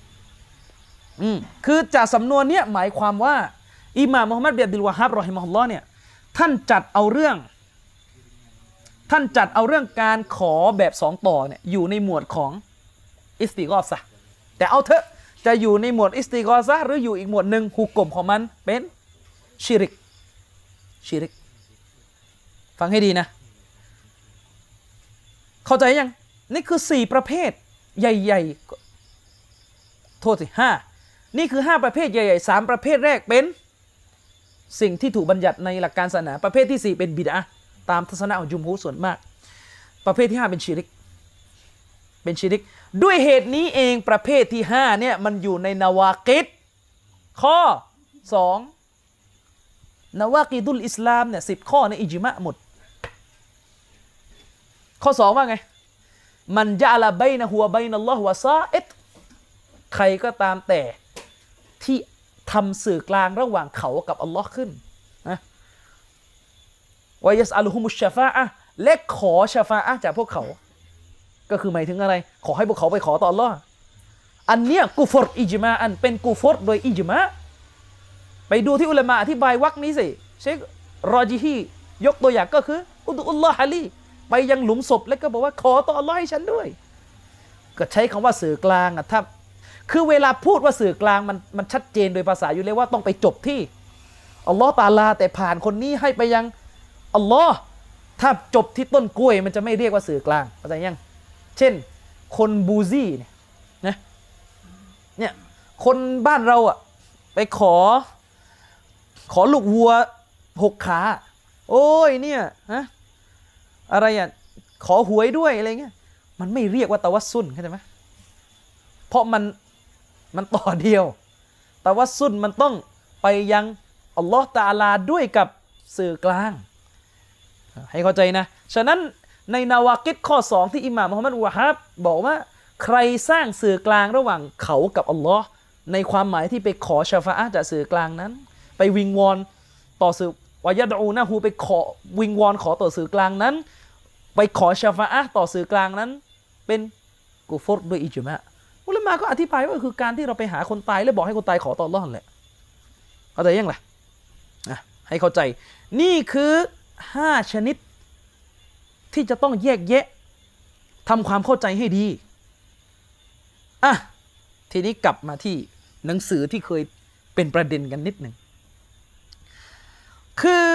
คือจากสำนวนเนี้ยหมายความว่าอิหม่ามมุฮัมมัดบินอับดุลวะฮับรอฮิมะฮุลลอฮ์เนี่ยท่านจัดเอาเรื่องท่านจัดเอาเรื่องการขอแบบสองต่อเนี่ยอยู่ในหมวดของอิสติฆอซะห์แต่เอาเถอะจะอยู่ในหมวดอิสติฆอซะห์หรืออยู่อีกหมวดหนึ่งหุกกลมของมันเป็นชิริกฟังให้ดีนะเข้าใจยังนี่คือ4ประเภทใหญ่ๆโทษสิ5นี่คือ5ประเภทใหญ่ๆ3ประเภทแรกเป็นสิ่งที่ถูกบัญญัติในหลักการศาสนาประเภทที่4เป็นบิดอะห์ตามทัศนะของจุมฮูรส่วนมากประเภทที่5เป็นชิริกด้วยเหตุนี้เองประเภทที่5เนี่ยมันอยู่ในนาวากิดข้อ2นาวากิดุลอิสลามเนี่ย10ข้อในอิจมะหมดข้อ2ว่าไงมันจะละบัยนะฮัวบัยนัลลอฮ์วะซาอิดใครก็ตามแต่ที่ทำสื่อกลางระหว่างเขากับอัลลอฮ์ขึ้นนะวะยัสอัลุฮุมุชชะฟาอะห์และขอชะฟาอะห์จากพวกเขาก็คือหมายถึงอะไรขอให้พวกเขาไปขอต่ออัลลอฮ์อันเนี้ยกุฟรอิจมาอันเป็นกุฟรโดยอิจมาไปดูที่อุลามะอธิบายวรรคนี้สิเชครอจิฮียกตัวอย่างก็คืออุดุลลอฮะลีไปยังหลุมศพแล้วก็บอกว่าขอต่ออัลลอฮ์ให้ฉันด้วยก็ใช้คำว่าสื่อกลางถ้าคือเวลาพูดว่าสื่อกลางมันชัดเจนโดยภาษาอยู่เลยว่าต้องไปจบที่อัลลอฮ์ตะอาลาแต่ผ่านคนนี้ให้ไปยังอัลลอฮ์ถ้าจบที่ต้นกล้วยมันจะไม่เรียกว่าสื่อกลางเข้าใจยังเช่นคนบูซี่เนี่ยคนบ้านเราไปขอลูกวัว6 ขาโอ้ยเนี่ยอะไรขอหวยด้วยอะไรเงี้ยมันไม่เรียกว่าตะวัสซุลเข้าใจไหมเพราะมันต่อเดียวตะวัสซุลมันต้องไปยังอัลลอฮ์ตะอาลาด้วยกับสื่อกลางให้เข้าใจนะฉะนั้นในนาวากิดข้อ2ที่อิหม่ามมุฮัมมัดวะฮับบอกว่าใครสร้างสื่อกลางระหว่างเขากับอัลลอฮ์ในความหมายที่ไปขอชะฟาอะห์จากสื่อกลางนั้นไปวิงวอนต่อสื่อวะยะดอูนะฮูไปขอวิงวอนขอต่อสื่อกลางนั้นไปขอชะฟาอะห์ต่อสื่อกลางนั้นเป็นกุฟรด้วยอิจมะอุลามะก็อธิบายว่าคือการที่เราไปหาคนตายแล้วบอกให้คนตายขอต่ออัลเลาะห์นั่นแหละเข้าใจยังล่ะให้เข้าใจนี่คือ5ชนิดที่จะต้องแยกแยะทำความเข้าใจให้ดีทีนี้กลับมาที่หนังสือที่เคยเป็นประเด็นกันนิดหนึ่งคือ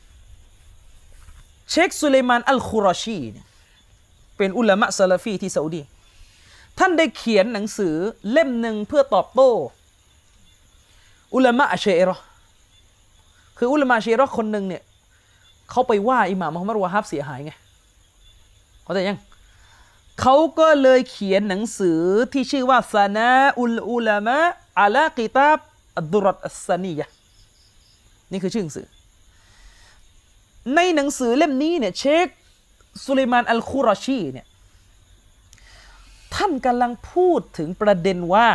เชคซุลัยมานอัลคุรอชีเนี่ยเป็นอุลามะซะลาฟีที่ซาอุดีท่านได้เขียนหนังสือเล่มหนึ่งเพื่อตอบโต้อุลามะอัชชัยเราะห์คืออุลามะอัชชัยเราะห์คนหนึ่งเนี่ยเขาไปว่าอิหม่ามมุฮัมมัดวะฮับเสียหายไงเข้าใจยังเขาก็เลยเขียนหนังสือที่ชื่อว่าซานาอุลอุลามะอะลากิตาบอัดดุรัตอัสซานียะห์นี่คือชื่อหนังสือในหนังสือเล่มนี้เนี่ยเชคซุลัยมานอัลคุรอชีเนี่ยท่านกำลังพูดถึงประเด็นว่า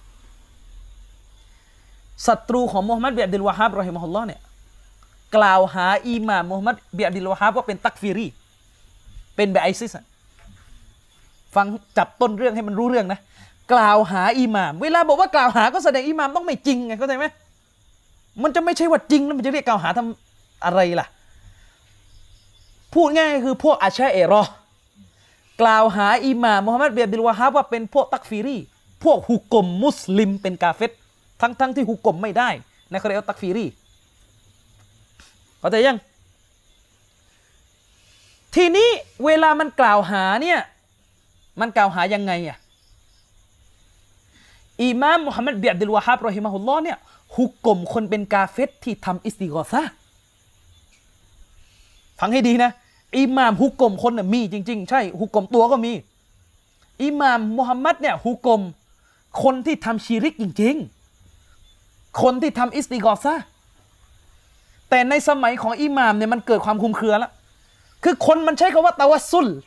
ศัตรูของมุฮัมมัดบินอับดุลวะฮับรอฮิมะฮุลลอฮ์เนี่ยกล่าวหาอิหม่ามมุฮัมมัดบินอับดุลวะฮับว่าเป็นตักฟีรีเป็นแบบไอซิสฟังจับต้นเรื่องให้มันรู้เรื่องนะกล่าวหาอิหม่ามเวลาบอกว่ากล่าวหาก็แสดงอิหม่ามต้องไม่จริงไงเข้าใจไหมมันจะไม่ใช่ว่าจริงแล้วมันจะเรียกกล่าวหาทำอะไรล่ะพูดง่ายคือพวกอัชอะอิเราะห์กล่าวหาอิหม่ามมุฮัมมัดบินอับดุลวะฮับว่าเป็นพวกตักฟีรีพวกฮุกกลมมุสลิมเป็นกาเฟรทั้งที่ฮุกกลมไม่ได้นะเขาเรียกว่าตักฟีรีเข้าใจยังทีนี้เวลามันกล่าวหาเนี่ยมันกล่าวหายังไงอิหม่ามมุฮัมมัดบินอับดุลวะฮับรอฮิมะฮุลลอฮ์เนี่ยฮุกกลมคนเป็นกาเฟรที่ทำอิสติฆอซะห์ฟังให้ดีนะอิหม่ามฮุกกลมคนน่ะมีจริงๆใช่ฮุกกลมตัวก็มีอิหม่ามมุฮัมมัดเนี่ยฮุกกลมคนที่ทำชิริกจริงๆคนที่ทำอิสติฆอซะห์แต่ในสมัยของอิหม่ามเนี่ยมันเกิดความคลุมเครือแล้วคือคนมันใช้คำว่าตะวัสซุล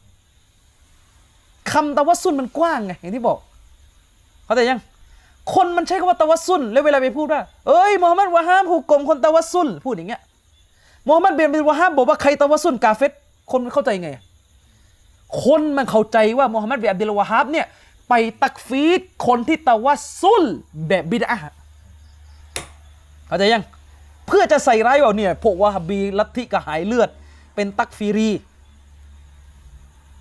คำตะวัสซุลมันกว้างไงอย่างที่บอกเข้าใจยังคนมันใช้คำว่าตะวัสซุลแล้วเวลาไปพูดว่าเอ้ยมุฮัมมัดวะฮับฮุกกลมคนตะวัสซุลพูดอย่างเงี้ยมุฮัมมัดบินอับดุลวะฮับบอกว่าใครตะวัสซุลกาเฟรคนมันเข้าใจไงคนมันเข้าใจว่ามุฮัมมัดบินอับดุลวะฮับเนี่ยไปตักฟีรคนที่ตะวัสซุลแบบบิดอะห์เข้าใจยังเพื่อจะใส่ร้ายว่าเนี่ยพวกวะฮับบีลัทธิกระหายเลือดเป็นตักฟีรี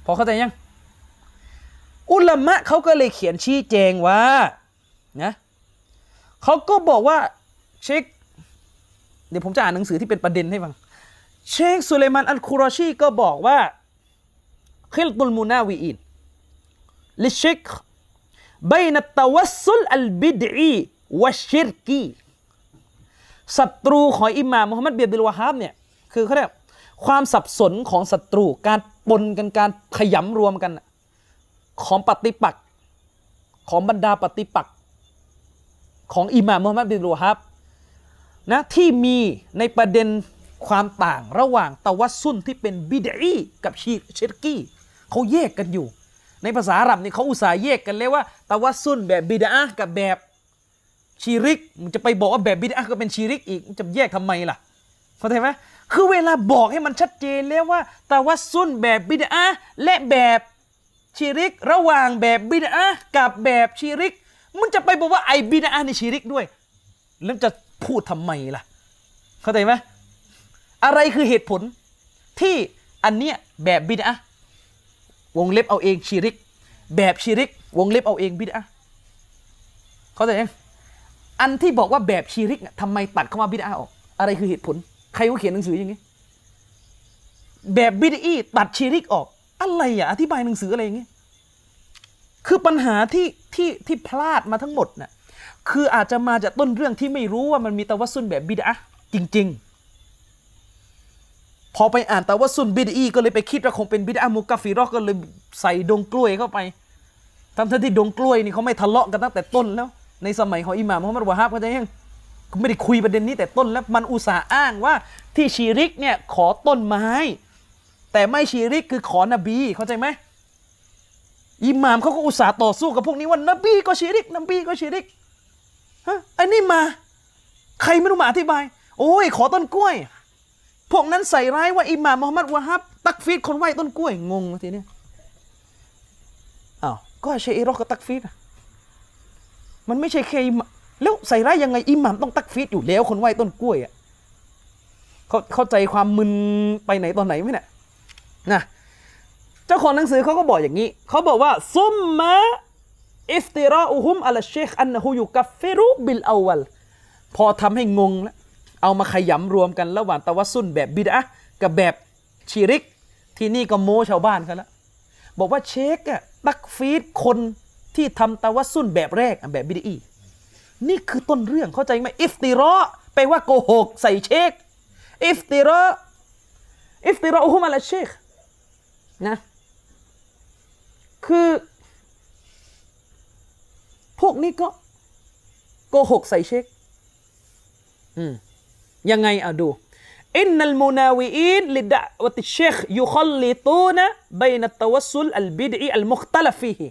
พอเข้าใจยังอุลามะเขาก็เลยเขียนชี้แจงว่านะเขาก็บอกว่าเชคเดี๋ยวผมจะอ่านหนังสือที่เป็นประเด็นให้ฟังเชคสุลัยมานอัลคุรอชีก็บอกว่าคิลตุลมุนาวีอินลิชิกبين التوسل البدعي والشركي ศัตรูของอิหม่ามมุฮัมมัดบินอับดุลวะฮาบเนี่ยคือเขาเรียกความสับสนของศัตรูการปนกันการขยำรวมกันของปฏิปักษ์ของบรรดาปฏิปักษ์ของอิหม่ามมุฮัมมัดบินอับดุลวะฮาบนะที่มีในประเด็นความต่างระหว่างตะวัสซุลที่เป็นบิดอีกับชิรกีเขาแยกกันอยู่ในภาษาอาหรับนี่เขาอุตส่าห์แยกกันเลยว่าตะวัสซุลแบบบิดอะห์กับแบบชิริกมันจะไปบอกว่าแบบบิดอะห์ก็เป็นชิริกอีกมันจะแยกทำไมล่ะเข้าใจไหมคือเวลาบอกให้มันชัดเจนแล้วว่าตะวัสซุลแบบบิดอะห์และแบบชิริกระหว่างแบบบิดอะห์กับแบบชิริกมันจะไปบอกว่าไอ้บิดอะห์นี่ชิริกด้วยแล้วจะพูดทำไมล่ะเข้าใจไหมอะไรคือเหตุผลที่อันเนี้ยแบบบิดอะห์วงเล็บเอาเองชิริกแบบชิริกวงเล็บเอาเองบิดอะห์เข้าใจยังอันที่บอกว่าแบบชิริกทำไมตัดคำว่าบิดอะห์ออกอะไรคือเหตุผลใครเขาเขียนหนังสืออย่างนี้แบบบิดอีตัดชิริกออกอะไรอ่ะอธิบายหนังสืออะไรอย่างนี้คือปัญหาที่พลาดมาทั้งหมดน่ะคืออาจจะมาจากต้นเรื่องที่ไม่รู้ว่ามันมีตะวัสซุลแบบบิดอะห์จริงๆพอไปอ่านตะวัสซุลบิดอีก็เลยไปคิดว่าคงเป็นบิดอะห์มุกัฟฟิเราะห์ก็เลยใส่ดงกล้วยเข้าไปทั้งที่ดงกล้วยนี่เขาไม่ทะเลาะกันตั้งแต่ต้นแล้วในสมัยของอิหม่ามมุฮัมมัดวะฮาบเขาจะยังไม่ได้คุยประเด็นนี้แต่ต้นแล้วมันอุตส่าห์อ้างว่าที่ชีริกเนี่ยขอต้นไม้แต่ไม่ชีริกคือขอนบีเข้าใจไหมอิหม่ามเขาก็อุตส่าห์ต่อสู้กับพวกนี้ว่านบีก็ชีริกนบีก็ชีริกฮะอันนี้มาใครไม่รู้มาอธิบายโอ้ยขอต้นกล้วยพวกนั้นใส่ร้ายว่าอิหม่ามมุฮัมมัดวะฮับตักฟีรคนไหว้ต้นกล้วยงงทีนี้อ้าวก็เชอิรอก็ตักฟีรมันไม่ใช่แค่แล้วใส่ร้ายยังไงอิหม่ามต้องตักฟีรอยู่แล้วคนไหว้ต้นกล้วยอ่ะเข้าใจความมึนไปไหนตอนไหนไหมเนี่ยนะเจ้าของหนังสือเขาก็บอกอย่างนี้เขาบอกว่าซุมมะอิฟติราอุฮุมอัลเชคอันฮุยุกัฟฟิรุบิลอวัลพอทำให้งงแล้วเอามาขยำรวมกันระหว่างตะวัสซุลแบบบิดอะห์กับแบบชิริกที่นี่ก็โม้ชาวบ้านกันแล้วบอกว่าเชคอะตักฟีดคนที่ทำตะวัสซุลแบบแรกแบบบิดอีนี่คือต้นเรื่องเข้าใจไหมอิฟติราแปลว่าโกหกใส่เชคอิฟติราอุฮุมอัลเชคนะคือพวกนี้ก็โกหกใส่เชคยังไงอ่ะดูอินนัลมุนาวีอินลิดะวะติเชคยุคัลลิตูนะบัยนัตตะวัสซุลอัลบิดอีอัลมุคตะลัฟฟีฮิ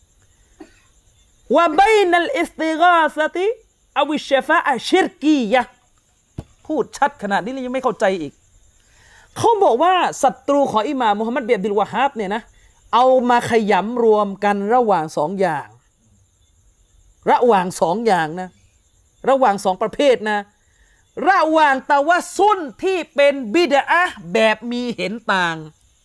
วะบัยนัลอิสติฆาซะติอวิชชะฟาอะฮ์ชิรกียะห์พูดชัดขนาดนี้ยังไม่เข้าใจอีกเขาบอกว่าศัตรูของอิหม่ามมุฮัมมัดบินอับดุลวะฮาบเนี่ยนะเอามาขยำรวมกันระหว่างสองอย่างนะระหว่างสองประเภทนะระหว่างตะวัสซุลที่เป็นบิดอะห์แบบมีเห็นต่าง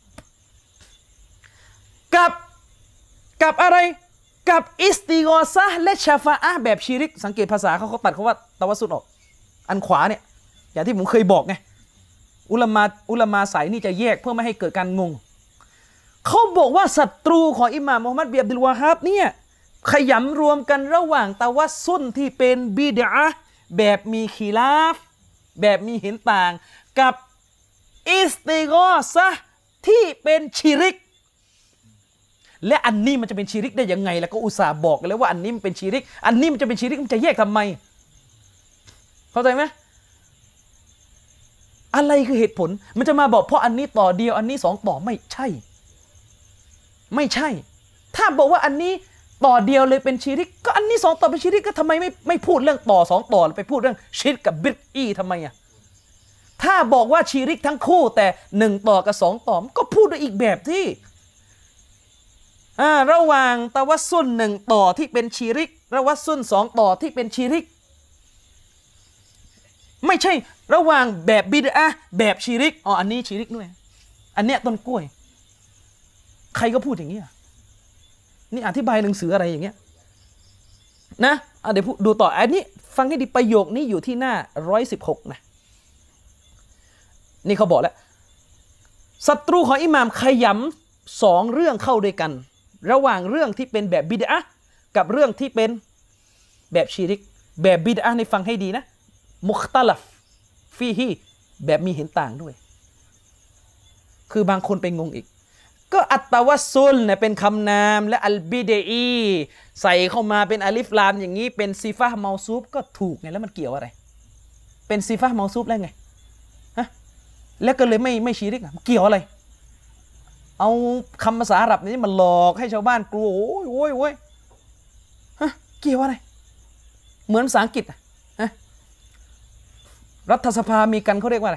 กับอะไรกับอิสติฆอซะห์และชะฟาอะห์แบบชิริกสังเกตภาษาเขาตัดคำว่าตะวัสซุลออกอันขวาเนี่ยอย่างที่ผมเคยบอกไงอุลามาสายนี่จะแยกเพื่อไม่ให้เกิดการงงเขาบอกว่าศัตรูของอิหม่ามมุฮัมมัดบินอับดุลวะฮาบเนี่ยขยำรวมกันระหว่างตะวัสซุลที่เป็นบิดอะห์แบบมีขีลาฟแบบมีเห็นต่างกับอิสติฆอซะห์ที่เป็นชิริกและอันนี้มันจะเป็นชิริกได้ยังไงแล้วก็อุตส่าห์บอกกันแล้วว่าอันนี้มันเป็นชิริกอันนี้มันจะเป็นชิริกมันจะแยกทำไมเข้าใจไหมอะไรคือเหตุผลมันจะมาบอกเพราะอันนี้ต่อเดียวอันนี้สองต่อไม่ใช่ถ้าบอกว่าอันนี้ต่อเดียวเลยเป็นชิริกก็อันนี้สองต่อเป็นชิริกก็ทำไมไม่พูดเรื่องต่อสองต่อไปพูดเรื่องชิรกกับบิดอีทำไมอ่ะถ้าบอกว่าชิริกทั้งคู่แต่หนึ่งต่อกับสองต่อก็พูดด้วยอีกแบบที่ระหว่างตะวัสซุลหนึ่งต่อที่เป็นชิริกตะวัสซุลสองต่อที่เป็นชิริกไม่ใช่ระหว่างแบบบิดอะห์แบบชิริกอันนี้ชิริกด้วยอันเนี้ยต้นกล้วยใครก็พูดอย่างนี้นี่อธิบายหนังสืออะไรอย่างเงี้ยนะเดี๋ยวดูต่ออันนี้ฟังให้ดีประโยคนี้อยู่ที่หน้า116นะนี่เขาบอกแล้วศัตรูของอิหม่ามขยำสองเรื่องเข้าด้วยกันระหว่างเรื่องที่เป็นแบบบิดอะห์กับเรื่องที่เป็นแบบชิริกแบบบิดอะห์ในฟังให้ดีนะมุคตะลัฟฟีฮีแบบมีเห็นต่างด้วยคือบางคนไปงงอีกก็อัตตะวัสซุลเนี่ยเป็นคำนามและอัลบิดอีใส่เข้ามาเป็นอาลิฟลามอย่างนี้เป็นซีฟะห์เมาซูฟก็ถูกไงแล้วมันเกี่ยวอะไรเป็นซีฟะห์เมาซูฟแล้วไงฮะแล้วก็เลยไม่ชิริกเกี่ยวอะไรเอาคำภาษาอาหรับนี้มาหลอกให้ชาวบ้านกลัวโอ้ยฮะเกี่ยวอะไรเหมือนภาษาอังกฤษฮะรัฐสภามีกันเขาเรียกว่าอะไร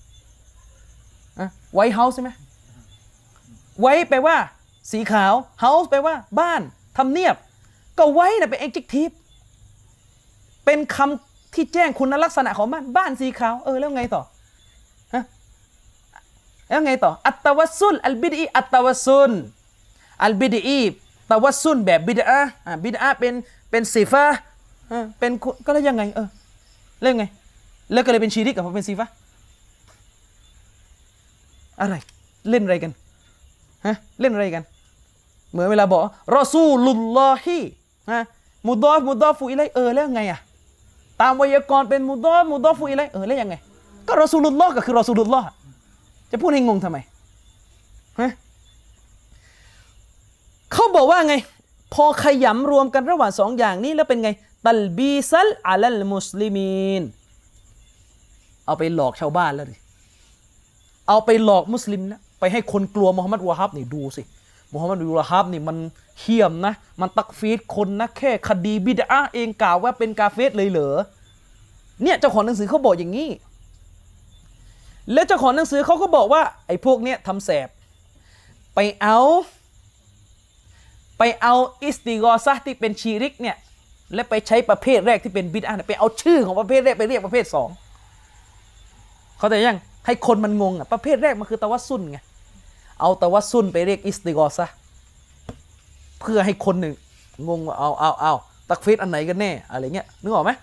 ไวท์เฮาส์ใช่ไหมไว้แปลว่าสีขาวเฮาส์แปลว่าบ้านทำเนียบก็ไว้น่ะเป็น adjective เป็นคำที่แจ้งคุณลักษณะของบ้านสีขาวแล้วไงต่อฮะแล้วไงต่ออัตตะวัสซุลอัลบิดอีอัตตะวัสซุลอัลบิดอีตะวัสซุลแบบบิดอะห์บิดอะห์เป็นซีฟะห์เป็นก็แล้วยังไงแล้วไงแล้วก็เลยเป็นชีริกกับเป็นซีฟะห์อะไรเล่นอะไรกันเล่นอะไรกันเหมือนเวลาบอกรอซูลุลลอฮิมุดอฟูอิลัยแล้วไงตามไวยากรณ์เป็นมุดอฟูอิลัยแล้วยังไงก็รอซูลุลลอฮ์ก็คือรอซูลุลลอฮ์จะพูดให้งงทำไมเขาบอกว่าไงพอขยำรวมกันระหว่างสองอย่างนี้แล้วเป็นไงตัลบีซัลอะลัลมุสลิมีนเอาไปหลอกชาวบ้านแล้วดิเอาไปหลอกมุสลิมนะไปให้คนกลัวมุฮัมมัดวะฮับนี่ดูสิมุฮัมมัดวะฮับนี่มันเหี้ยมนะมันตักฟีดคนนะแค่คดีบิดอะห์เองกล่าวว่าเป็นกาเฟรเลยเหรอเนี่ยเจ้าของหนังสือเขาบอกอย่างนี้แล้วเจ้าของหนังสือเขาก็บอกว่าไอ้พวกเนี้ยทำแสบไปเอาอิสติกอซะห์ที่เป็นชีริกเนี่ยและไปใช้ประเภทแรกที่เป็นบิดอะห์ไปเอาชื่อของประเภทแรกไปเรียกประเภทสองเขาแต่ยังให้คนมันงงประเภทแรกมันคือตะวัสซุลไงเอาตะวัสซุลไปเรียกอิสติกอซะห์เพื่อให้คนหนึ่งงงว่าเอาตักฟีดอันไหนกันแน่อะไรเงี้ยนึกออกไหม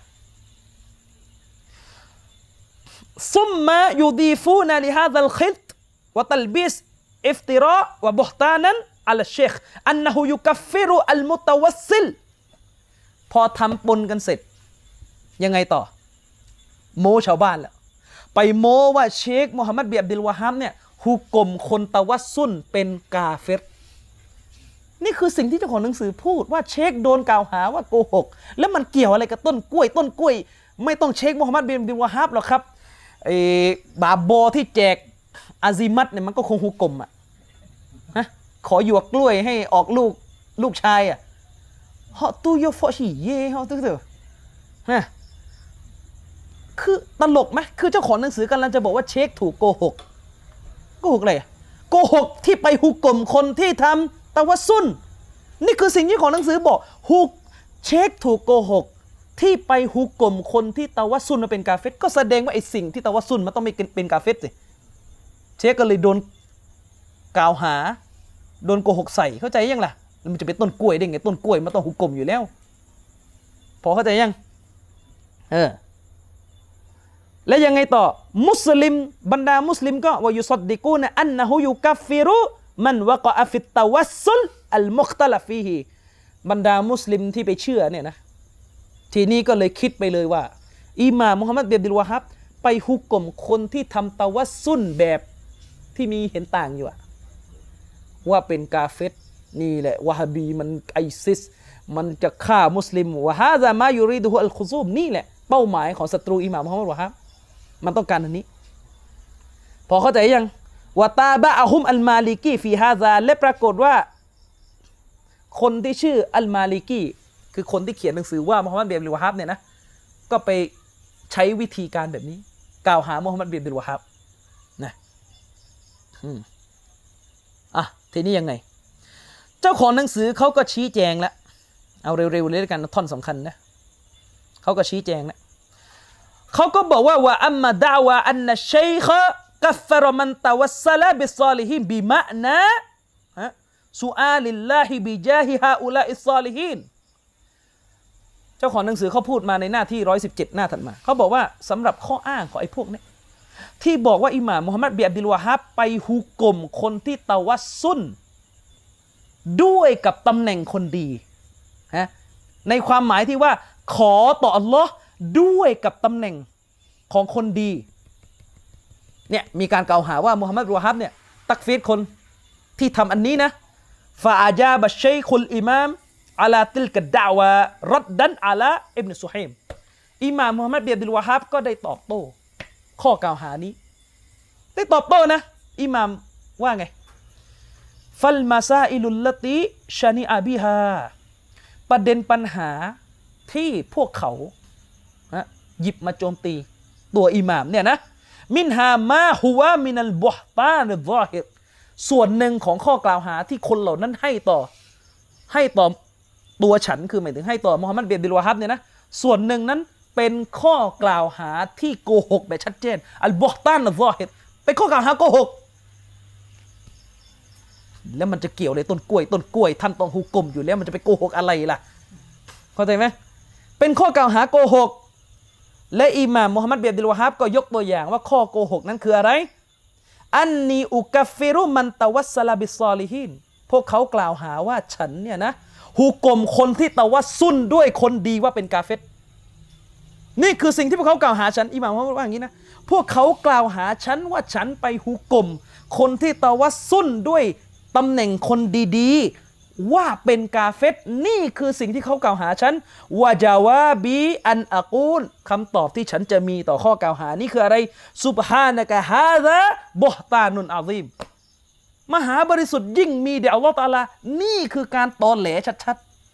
ซุมมายูดีฟูนาลิฮาซัลคิตวะตัลบิสอิฟติราะวะบุฮตานันอัลเชคอันนะฮูยุกัฟฟิรุอัลมุตะวัสซิลพอทำปนกันเสร็จยังไงต่อโมชาวบ้านแล้วไปโมว่าเชคมูฮัมหมัดบินอับดุลวะฮับเนี่ยฮุกมคนตะวัสซุลเป็นกาเฟรนี่คือสิ่งที่เจ้าของหนังสือพูดว่าเชคโดนกล่าวหาว่าโกหกแล้วมันเกี่ยวอะไรกับต้นกล้วยไม่ต้องเชคมูฮัมหมัดบินอับดุลวะฮับหรอกครับบาโบที่แจกอาซิมัตเนี่ยมันก็คงฮุกมขอหยวกกล้วยให้ออกลูกชายเฮาตู้โยฟอชีเย่เฮาตู้เถอะนะคือตลกไหมคือเจ้าของหนังสือกำลังจะบอกว่าเชคถูกโกหกอะไรโกหกที่ไปฮุกมคนที่ทำตะวัสซุลนี่คือสิ่งที่ของหนังสือบอกเชคถูกโกหกที่ไปฮุกมคนที่ตะวัสซุลมาเป็นกาเฟรก็แสดงว่าไอ้สิ่งที่ตะวัสซุลมันต้องไม่เป็นกาเฟรสิเชคก็เลยโดนกล่าวหาโดนโกหกใส่เข้าใจยังล่ะมันจะเป็นต้นกล้วยได้ไงต้นกล้วยมันต้องฮุกมอยู่แล้วพอเข้าใจยังและยังไงต่อมุสลิมบรรดามุสลิมก็ว่ายุศดดิกูนะอันนะฮูยุกัฟฟิรุมันวะกะฟิตตะวัสซุลอัลมุคตะลัฟฟีฮีบรรดามุสลิมที่ไปเชื่อเนี่ยนะทีนี้ก็เลยคิดไปเลยว่าอิหม่ามมุฮัมมัดบินอับดุลวะฮับไปฮุกมคนที่ทำตะวัสซุลแบบที่มีเห็นต่างอยู่ว่าเป็นกาเฟรนี่แหละวะฮาบีมันไอซิสมันจะฆ่ามุสลิมวะฮาซามายูริดุฮุอัลคุซูมนี่แหละเป้าหมายของศัตรูอิหม่ามมุฮัมมัดวะฮับมันต้องการอันนี้พอเข้าใจยังวะตาบะอะฮุมอัลมาลิกีฟีฮาซาและปรากฏว่าคนที่ชื่ออัลมาลิกีคือคนที่เขียนหนังสือว่ามุฮัมมัดบินอับดุลวะฮับเนี่ยนะก็ไปใช้วิธีการแบบนี้กล่าวหามุฮัมมัดบินอับดุลวะฮับนะทีนี้ยังไงเจ้าของหนังสือเขาก็ชี้แจงแล้วเอาเร็วๆเลยกันท่อนสำคัญนะเขาก็ชี้แจงแล้วเขาก็บอกว่าว่าอัมมาดาวะอันนัชชัยคกัฟฟรมันตะวัสซะละบิศอลิฮินบิมะนะซุอาลิลลาฮิบิจาฮิฮาอุลาอิศซอลิฮีนเจ้าของหนังสือเขาพูดมาในหน้าที่117หน้าถัดมาเขาบอกว่าสำหรับข้ออ้างของไอ้พวกนี้ที่บอกว่าอิหม่ามมุฮัมมัดบินอับดุลวะฮับไปฮุกมคนที่ตะวัสซุลด้วยกับตำแหน่งคนดีฮะในความหมายที่ว่าขอต่ออัลลอฮ์ด้วยกับตำแหน่งของคนดีเนี่ยมีการกล่าวหาว่ามุฮัมมัดบินวะฮับเนี่ยตักฟีรคนที่ทำอันนี้นะฟาอาจาบัชชัยคุลอิมามอาลาติลกัดดาวะรัดดันอาลาอิบนุซุฮัยมอิหม่ามมุฮัมมัดบินอับดุลวะฮับก็ได้ตอบโต้ข้อกล่าวหานี้ได้ตอบโต้นะอิหม่ามว่าไงฟัลมาซาอิลุลลติชานิอาบิฮาประเด็นปัญหาที่พวกเขาหยิบมาโจมตีตัวอิหม่ามเนี่ยนะมินฮามาฮุวามินัลบุฮตานิซอฮิรส่วนหนึ่งของข้อกล่าวหาที่คนเหล่านั้นให้ต่อตัวฉันคือหมายถึงให้ต่อมุฮัมมัดบินอับดุลวะฮับเนี่ยนะส่วนหนึ่งนั้นเป็นข้อกล่าวหาที่โกหกแบบชัดเจนอัลบุฮตานิซอฮิรเป็นข้อกล่าวหาโกหกแล้วมันจะเกี่ยวเลยต้นกล้วยท่านต้องฮุกมอยู่แล้วมันจะไปโกหกอะไรล่ะเข้าใจไหมเป็นข้อกล่าวหาโกหกและอิหม่ามมุฮัมมัดบินอับดุลวะฮับก็ยกตัวอย่างว่าข้อโกหกนั้นคืออะไรอันนีอุกัฟฟิรุมันตะวัสสลาบิศอลิฮีนพวกเขากล่าวหาว่าฉันเนี่ยนะฮุกมคนที่ตะวัสซุลด้วยคนดีว่าเป็นกาเฟรนี่คือสิ่งที่พวกเขากล่าวหาฉันอิหม่ามว่าอย่างนี้นะพวกเขากล่าวหาฉันว่าฉันไปฮุกมคนที่ตะวัสซุลด้วยตำแหน่งคนดีๆว่าเป็นกาเฟรนี่คือสิ่งที่เขากล่าวหาฉันวะจาวาบีอันอะกูลคำตอบที่ฉันจะมีต่อข้อกล่าวหานี้คืออะไรซุบฮานะกะฮาซาบุฮตานุนอะซีมมหาบริสุทธิ์ยิ่งมีแด่อัลลอฮฺตะอาลานี่คือการตอแหลชัด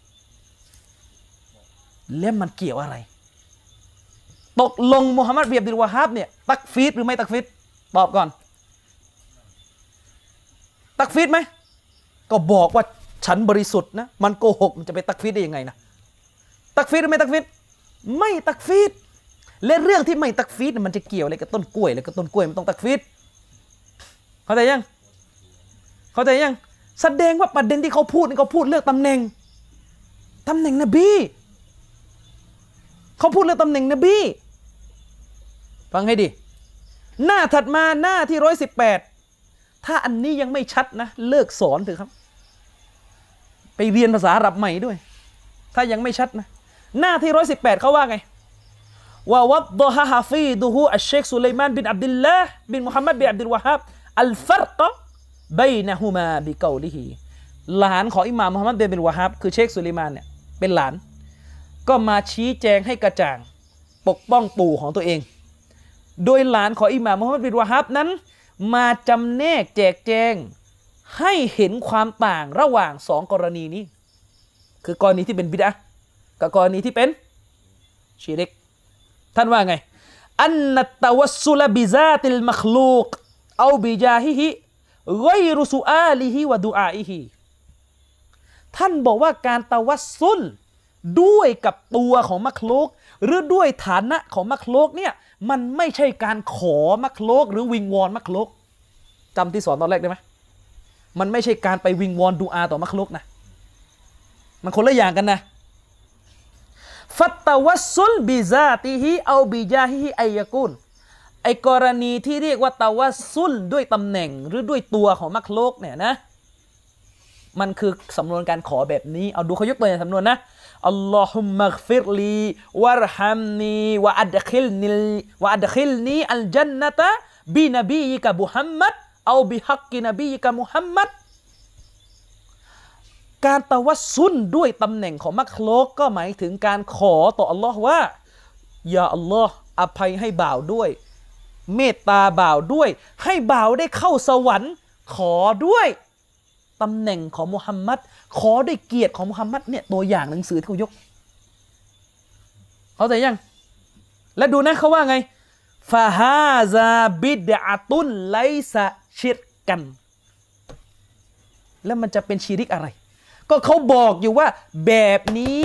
ๆแล้วมันเกี่ยวอะไรตกลงมุฮัมมัดบินอับดุลวะฮับเนี่ยตักฟีรหรือไม่ตักฟีรตอบก่อนตักฟีรไหมก็บอกว่าฉันบริสุทธิ์นะมันโกหกมันจะไปตักฟีรได้ยังไงนะตักฟีรหรือไม่ตักฟีรไม่ตักฟีรและเรื่องที่ไม่ตักฟีรมันจะเกี่ยวอะไรกับต้นกล้วยแล้วก็ต้นกล้วยมันต้องตักฟีรเข้าใจยังแสดงว่าประเด็นที่เขาพูดนี่เขาพูดเรื่องตำแหน่งนบีเขาพูดเรื่องตำแหน่งนบีฟังให้ดีหน้าถัดมาหน้าที่118ถ้าอันนี้ยังไม่ชัดนะเลิกสอนเถอะครับไปเรียนภาษาอาหรับใหม่ด้วยถ้ายังไม่ชัดนะหน้าที่118เขาว่าไงว่าวัดดะฮะฮาฟีดุฮูอัชเชคซุลัยมานบินอับดุลลาห์บินมุฮัมมัดบินอับดุลวะฮับอัลฟัรกะบัยนะฮุมาบิกอลิฮิหลานของอิหม่ามมุฮัมมัดบินอับดุลวะฮับคือเชคซุลัยมานเนี่ยเป็นหลานก็มาชี้แจงให้กระจ่างปกป้องปู่ของตัวเองโดยหลานของอิหม่ามมุฮัมมัดบินวะฮับนั้นมาจำแนกแจกแจงให้เห็นความต่างระหว่างสองกรณีนี้คือกรณีที่เป็นบิดอะห์กับกรณีที่เป็นชิริกท่านว่าไงอันนัตตะวัสซุลบิซาติลมัคลูกเอาบิจาฮิฮิฆอยรุซุอาลิฮิวะดุอาอิฮิท่านบอกว่าการตะวัสซุลด้วยกับตัวของมัคลูกหรือด้วยฐานะของมัคลูกเนี่ยมันไม่ใช่การขอมัคลูกหรือวิงวอนมัคลูกจำที่สอนตอนแรกได้ไหมมันไม่ใช่การไปวิงวอนดุอาต่อมัคลุกนะมันคนละอย่างกันนะฟัตตะวัสซุลบิซาติฮิเอาบิจาฮิฮิอัยยะกูลไอกรณีที่เรียกว่าตะวัสซุลด้วยตำแหน่งหรือด้วยตัวของมัคลุกเนี่ยนะมันคือสำนวนการขอแบบนี้เอาดูเขายกตัวอย่างสำนวนนะอัลลอฮุมมัฆฟิรลีวะรฮัมนีวะอัดคิลนีอัลญันนะตะบินบียิกะมุฮัมมัดเอาบิฮักกินบีกับมุฮัมมัดการตะวัสซุลด้วยตำแหน่งของมัคลุกก็หมายถึงการขอต่ออัลลอฮ์ว่ายาอัลลอฮ์อภัยให้บ่าวด้วยเมตตาบ่าวด้วยให้บ่าวได้เข้าสวรรค์ขอด้วยตำแหน่งของมุฮัมมัดขอด้วยเกียรติของมุฮัมมัดเนี่ยตัวอย่างหนังสือที่เขายกเข้าใจยังและดูนะเขาว่าไงฟาฮาซาบิดอะตุนไลซะชิรกันแล้วมันจะเป็นชิริกอะไรก็เขาบอกอยู่ว่าแบบนี้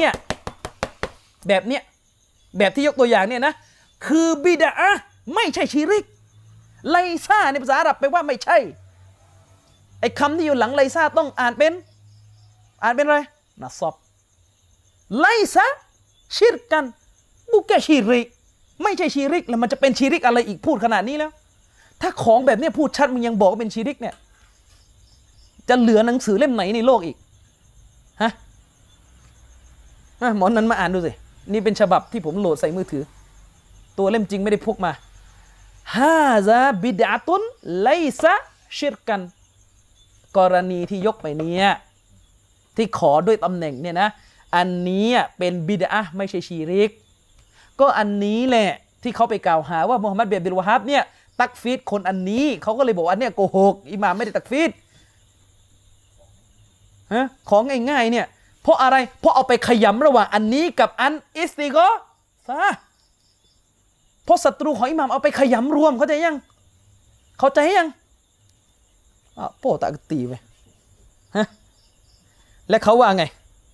แบบที่ยกตัวอย่างเนี่ยนะคือบิดอะไม่ใช่ชิริกไลซะในภาษาอาหรับแปลว่าไม่ใช่ไอ้คำที่อยู่หลังไลซาต้องอ่านเป็นอะไรนะซอบไลซาชิรกันบุกแกชีริกไม่ใช่ชีริกแล้วมันจะเป็นชีริกอะไรอีกพูดขนาดนี้แล้วถ้าของแบบนี้พูดชัดมึงยังบอกว่าเป็นชีริกเนี่ยจะเหลือหนังสือเล่มไหนในโลกอีกฮะหมอนั้นมาอ่านดูสินี่เป็นฉบับที่ผมโหลดใส่มือถือตัวเล่มจริงไม่ได้พกมาฮาซาบิดอะตุนไลซะชิรกันกรณีที่ยกไปเนี่ยที่ขอด้วยตำแหน่งเนี่ยนะอันนี้เป็นบิดอะห์ไม่ใช่ชีริกก็อันนี้แหละที่เขาไปกล่าวหาว่ามุฮัมมัดบินอับดุลวะฮับเนี่ยตักฟีดคนอันนี้เขาก็เลยบอกว่าอันเนี้ยโกหกอิหม่ามไม่ได้ตักฟีดฮะของง่ายๆเนี่ยเพราะอะไรเพราะเอาไปขยำระหว่างอันนี้กับอันอิสติกอซะเพราะศัตรูของอิหม่ามเอาไปขยำรวมเข้าใจยังโป้ตะกตีไปฮะและเขาว่าไง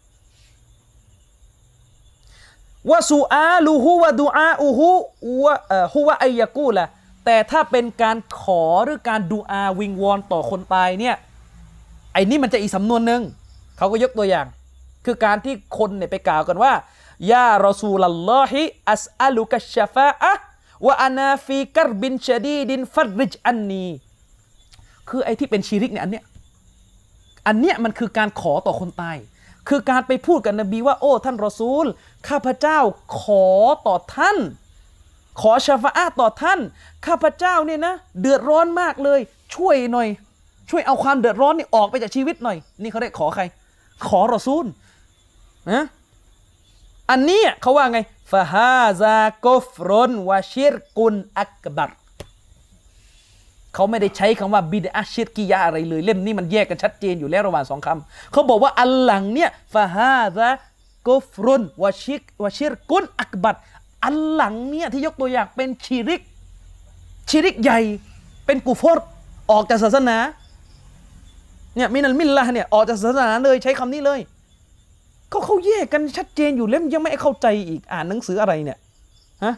ว่าซูอาลูฮูวะดูอาอูฮูวะฮุวะอัยยะกูละแต่ถ้าเป็นการขอหรือการดูอาวิงวอนต่อคนตายเนี่ยไอ้นี่มันจะอีกสำนวนหนึ่งเขาก็ยกตัวอย่างคือการที่คนเนี่ยไปกล่าวกันว่ายารอซูลัลลอฮิอัสอะลุกัชชะฟาอะห์วะอานาฟีกัรบินชะดีดินฟัรริจอันนีคือไอ้ที่เป็นชีริกเนี่ยอันเนี้ยมันคือการขอต่อคนตายคือการไปพูดกับนบีว่าโอ้ท่านรอซูลข้าพเจ้าขอต่อท่านขอชะฟาอะห์ต่อท่านข้าพเจ้าเนี่ยนะเดือดร้อนมากเลยช่วยหน่อยช่วยเอาความเดือดร้อนนี่ออกไปจากชีวิตหน่อยนี่เขาได้ขอใครขอรอซูลนะอันนี้เขาว่าไงฟะฮาซากุฟรุนวะชิรกุนอักบัรเขาไม่ได้ใช้คำว่าบิดอะห์ชิรกียะอะไรเลยเล่มนี้มันแยกกันชัดเจนอยู่แล้วระหว่างสองคำเขาบอกว่าอันหลังเนี่ยฟะฮาซากุฟรุนวะชิรกุนอักบัรอันหลังเนี่ยที่ยกตัวอย่างเป็นชีริกใหญ่เป็นกุฟรออกจากศาสนาเนี่ยมินัลมิลละห์เนี่ยออกจากศาสนาเลยใช้คำนี้เลยก็เขาแยกกันชัดเจนอยู่เล่มยังไม่เข้าใจอีกอ่านหนังสืออะไรเนี่ยฮะ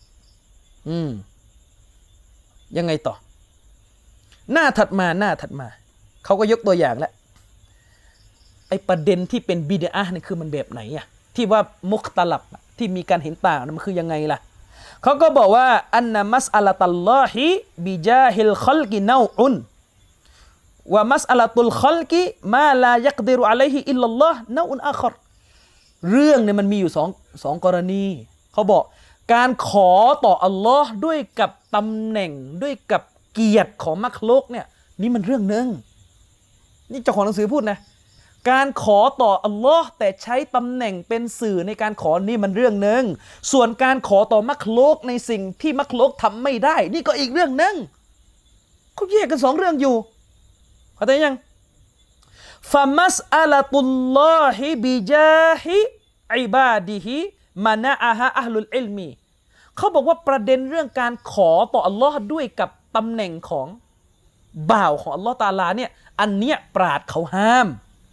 ยังไงต่อหน้าถัดมาเขาก็ยกตัวอย่างแล้วไอ้ประเด็นที่เป็นบิดอะห์เนี่ยคือมันแบบไหนอะที่ว่ามุคตะลับที่มีการเห็นต่างมันคือยังไงล่ะเขาก็บอกว่าอันนะมัสอะละตัลลอฮิบิจาฮิลคอลกินาอุนว่ามัสอะละตุลคอลกิมาลายักดิรุอะลัยฮิอิลลัลลอฮ์นาอุนอาคอรเรื่องเนี่ยมันมีอยู่สองกรณีเขาบอกการขอต่ออัลลอฮ์ด้วยกับตำแหน่งด้วยกับเกียรติของมักลุกเนี่ยนี่มันเรื่องนึงนี่เจ้าของหนังสือพูดนะการขอต่ออัลลอฮ์แต่ใช้ตำแหน่งเป็นสื่อในการขอนี่มันเรื่องนึงส่วนการขอต่อมักลุกในสิ่งที่มักลุกทำไม่ได้นี่ก็อีกเรื่องนึงเขาแยกกันสองเรื่องอยู่เข้าใจยังฟะมัสอะละตุลลอฮิบิจาฮิอิบาดิฮิมะนะอะฮะอะห์ลุลอิลมีเขาบอกว่าประเด็นเรื่องการขอต่ออัลลอฮ์ด้วยกับตำแหน่งของบ่าวของอัลลอฮ์ตะอาลาเนี่ยอันเนี้ยปราชญ์เขาห้าม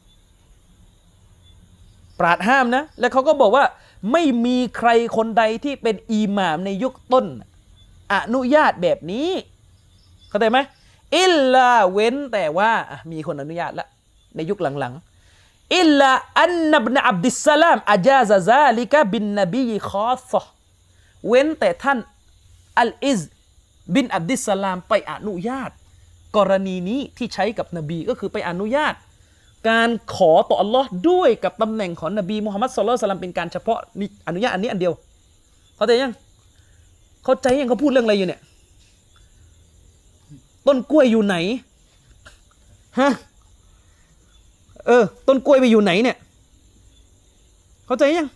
นะและเขาก็บอกว่าไม่มีใครคนใดที่เป็นอิหม่ามในยุคต้นอนุญาตแบบนี้เข้าใจไหมอิลลาเว้นแต่ว่ามีคนอนุญาตแล้วในยุคหลังๆอิลลาอันนับนะอับดิสสลามอาจาซะซาลิกะบินนบีคอสซะเว้นแต่ท่านอัลอิซบินอับดิสสลามไปอนุญาตกรณีนี้ที่ใช้กับนบีก็คือไปอนุญาตการขอต่ออัลลอฮ์ด้วยกับตำแหน่งของนบีมุฮัมมัดศ็อลลัลลอฮุอะลัยฮิวะซัลลัมเป็นการเฉพาะนี่อนุญาตอันนี้อันเดียวเข้าใจยังเขาพูดเรื่องอะไรอยู่เนี่ยต้นกล้วยอยู่ไหนฮะต้นกล้วยไปอยู่ไหนเนี่ยเข้าใจยัง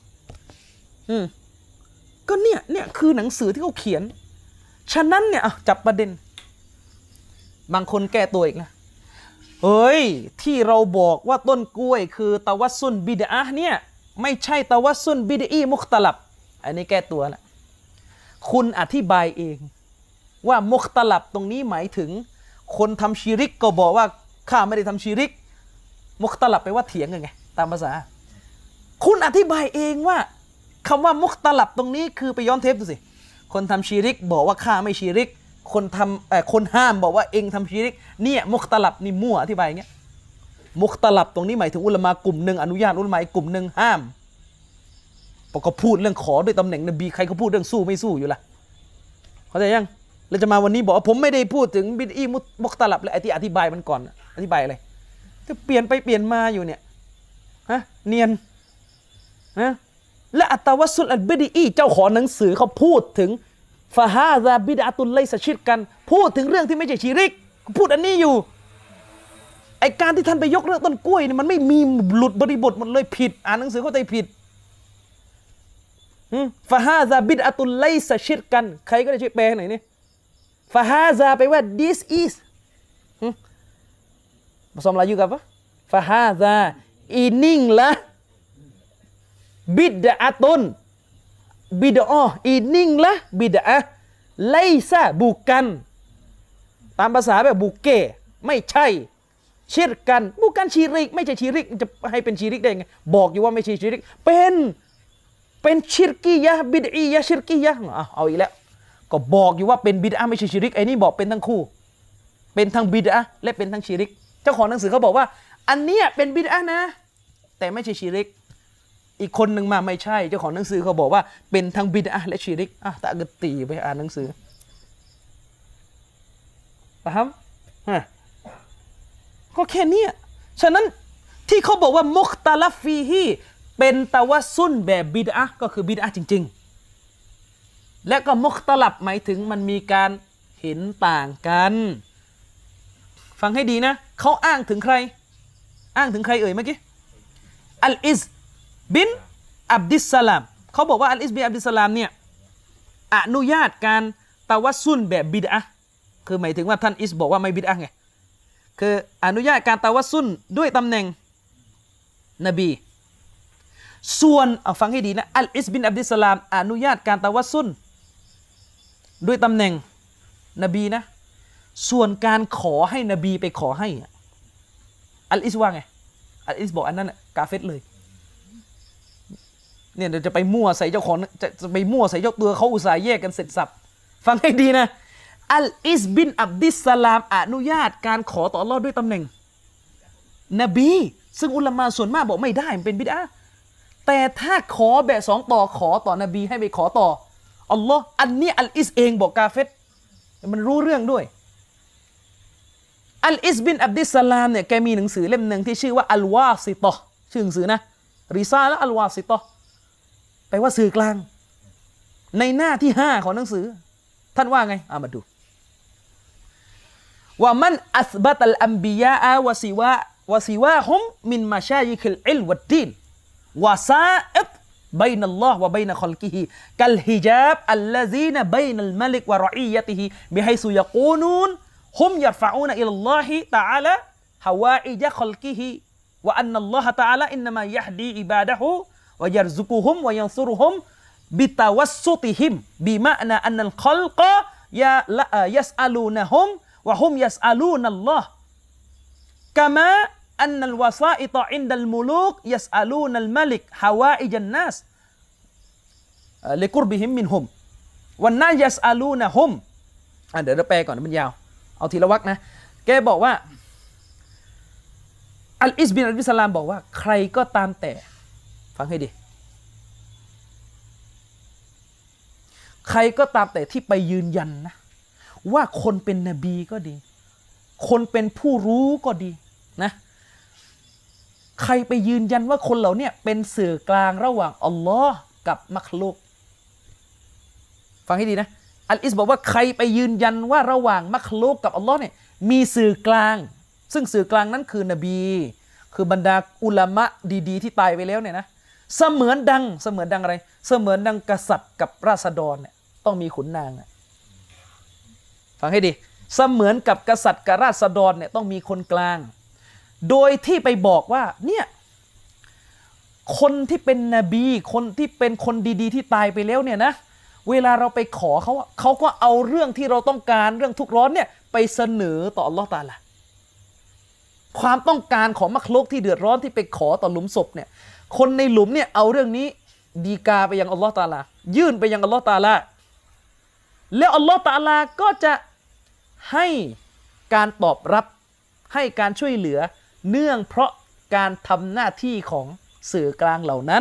ก็เนี่ยคือหนังสือที่เขาเขียนฉะนั้นเนี่ยจับประเด็นบางคนแก้ตัวอีกนะเฮ้ยที่เราบอกว่าต้นกล้วยคือตะวัสซุนบิดอะห์เนี่ยไม่ใช่ตะวัสซุนบิดอีมุคตะลับอันนี้แก้ตัวละคุณอธิบายเองว่ามุคตะลับตรงนี้หมายถึงคนทำชิริกก็บอกว่าข้าไม่ได้ทำชิริกมุคตะลับไปว่าเถียงกันไงตามภาษาคุณอธิบายเองว่าคำว่ามุคตะลับตรงนี้คือไปย้อนเทปดูสิคนทำชิริกบอกว่าข้าไม่ชิริกคนทำคนห้ามบอกว่าเองทำชิริกเนี่ยมุคตลับนี่มั่วอธิบายอย่างเงี้ยมุคตลับตรงนี้หมายถึงอุลามะกลุ่มหนึ่งอนุญาตอุลามะอีกกลุ่มหนึ่งห้ามพอก็พูดเรื่องขอด้วยตำแหน่งนบีใครเขาพูดเรื่องสู้ไม่สู้อยู่ล่ะเข้าใจยังแล้วจะมาวันนี้บอกว่าผมไม่ได้พูดถึงบิดอีมุคตลับเลยอธิบายมันก่อนอธิบายอะไรจะเปลี่ยนไปเปลี่ยนมาอยู่เนี่ยฮะเนียนนะและอัตตวัสสุลอัลบิดอีเจ้าของหนังสือเขาพูดถึงฟาฮาซาบิดอะตุลไลซะชิรกันพูดถึงเรื่องที่ไม่ใช่ชิริกพูดอันนี้อยู่ไอการที่ท่านไปยกเรื่องต้นกล้วยนี่มันไม่มีหลุดบริบทหมดเลยผิดอ่านหนังสือเข้าใจผิดฟาฮาซาบิดอะตุลไลซะชิรกันใครก็ได้ช่วยแปลหน่อยนี่ฟาฮาซาไปว่า this is ผสมอะไรอยู่กับวะฟาฮาซาอีนิ่งละบิดอะตุนบิดอะอีนิ่งละบิดอะไลซะบุกันตามภาษาแบบบุกเก้ไม่ใช่ชิรกันบุกันชิริกไม่ใช่ชิริกจะให้เป็นชิริกได้ไงบอกอยู่ว่าไม่ใช่ชิริกเป็นชิรกียะบิดอียะชิรกียะเอาอีกแล้วก็บอกอยู่ว่าเป็นบิดอะไม่ใช่ชิริกไอ้นี่บอกเป็นทั้งคู่เป็นทั้งบิดอะและเป็นทั้งชิริกเจ้าของหนังสือเขาบอกว่าอันเนี้ยเป็นบิดอะนะแต่ไม่ใช่ชิริกอีกคนหนึ่งมาไม่ใช่เจ้าของหนังสือเขาบอกว่าเป็นทั้งบิดอะและชิริกตะกตีไปอ่านหนังสือนะครับก็แค่นี้ฉะนั้นที่เขาบอกว่ามุคตะลัฟฟีฮีเป็นตะวัสซุนแบบบิดอะก็คือบิดอะจริงๆและก็มุคตะลับหมายถึงมันมีการเห็นต่างกันฟังให้ดีนะเขาอ้างถึงใครเอ่ยเมื่อกี้อัลอิซบินอับดิสสลามเขาบอกว่าอัลอิซบินอับดิสสลามเนี่ยอนุญาตการตะวัสซุนแบบบิดอะคือหมายถึงว่าท่านอิสบอกว่าไม่บิดอะไงคืออนุญาตการตะวัสซุนด้วยตำแหน่งนบีส่วนฟังให้ดีนะอัลอิสบินอับดิสสลามอนุญาตการตะวัสซุนด้วยตำแหน่งนบีนะส่วนการขอให้นบีไปขอให้อัลอิสว่าไงอัลอิสบอกอันนั้นกาเฟรเลยเนี่ยเดี๋ยวจะไปมั่วใส่เจ้าของจะไปมั่วใส่เจ้าตัวเขาอุตส่าห์แยกกันเสร็จสับฟังให้ดีนะอัลอิสบินอับดิสสลามอนุญาตการขอต่ออัลเลาะห์ด้วยตำแหน่งนบีซึ่งอุลามะส่วนมากบอกไม่ได้มันเป็นบิดอะห์แต่ถ้าขอแบบสองต่อขอต่อนบีให้ไปขอต่ออัลลอฮ์อันนี้อัลอิสเองบอกกาเฟรมันรู้เรื่องด้วยอัลอิสบินอับดิสสลามเนี่ยแกมีหนังสือเล่มหนึ่งที่ชื่อว่าอัลวาซิตะชื่อหนังสือนะริซาละอัลวาซิตะแปลว่าสื่อกลางในหน้าที่5ของหนังสือท่านว่าไงมาดูว่ามันอัสบัตัลอัมบิยาอะวะซิวาฮุมมินมะชายิคิลอิลวัดดีนวะซาอิดبين الله وبين خلقه كالحجاب الذين بين الملك ورعيته بحيث يقولون هم يرفعون إلى الله تعالى حوائج خلقه وأن الله تعالى إنما يهدي عباده ويرزقهم وينصرهم بتوسطهم بمعنى أن الخلق يسألونهم وهم يسألون الله كما أن الوسائط عند الملوك يسألون الملك حوائج الناس لقربهم منهم والناس يسألونهم เดี๋ยวเราแปลก่อนมันยาวเอาทีละวรรคนะแกบอกว่าอัลอิสบินอับดิสสลามบอกว่าใครก็ตามแต่ฟังให้ดีใครก็ตามแต่ที่ไปยืนยันนะว่าคนเป็นนบีก็ดีคนเป็นผู้รู้ก็ดีนะใครไปยืนยันว่าคนเหล่านี้เป็นสื่อกลางระหว่างอัลลอฮ์กับมักลุกฟังให้ดีนะอัลอิสบอกว่าใครไปยืนยันว่าระหว่างมักลุกกับอัลลอฮ์เนี่ยมีสื่อกลางซึ่งสื่อกลางนั้นคือนบีคือบรรดาอุลามะดีๆที่ตายไปแล้วเนี่ยนะเสมือนดังอะไรเสมือนดังกษัตริย์กับราษฎรเนี่ยต้องมีขุนนางฟังให้ดีเสมือนกับกษัตริย์กับราษฎรเนี่ยต้องมีคนกลางโดยที่ไปบอกว่าเนี่ยคนที่เป็นนบีคนที่เป็นคนดีๆที่ตายไปแล้วเนี่ยนะเวลาเราไปขอเขาก็เอาเรื่องที่เราต้องการเรื่องทุกข์ร้อนเนี่ยไปเสนอต่ออัลลอฮ์ตะอาลาความต้องการของมักลุกที่เดือดร้อนที่ไปขอต่อหลุมศพเนี่ยคนในหลุมเนี่ยเอาเรื่องนี้ดีกาไปยังอัลลอฮ์ตะอาลายื่นไปยังอัลลอฮ์ตะอาลาแล้วอัลลอฮ์ตะอาลาก็จะให้การตอบรับให้การช่วยเหลือเนื่องเพราะการทำหน้าที่ของสื่อกลางเหล่านั้น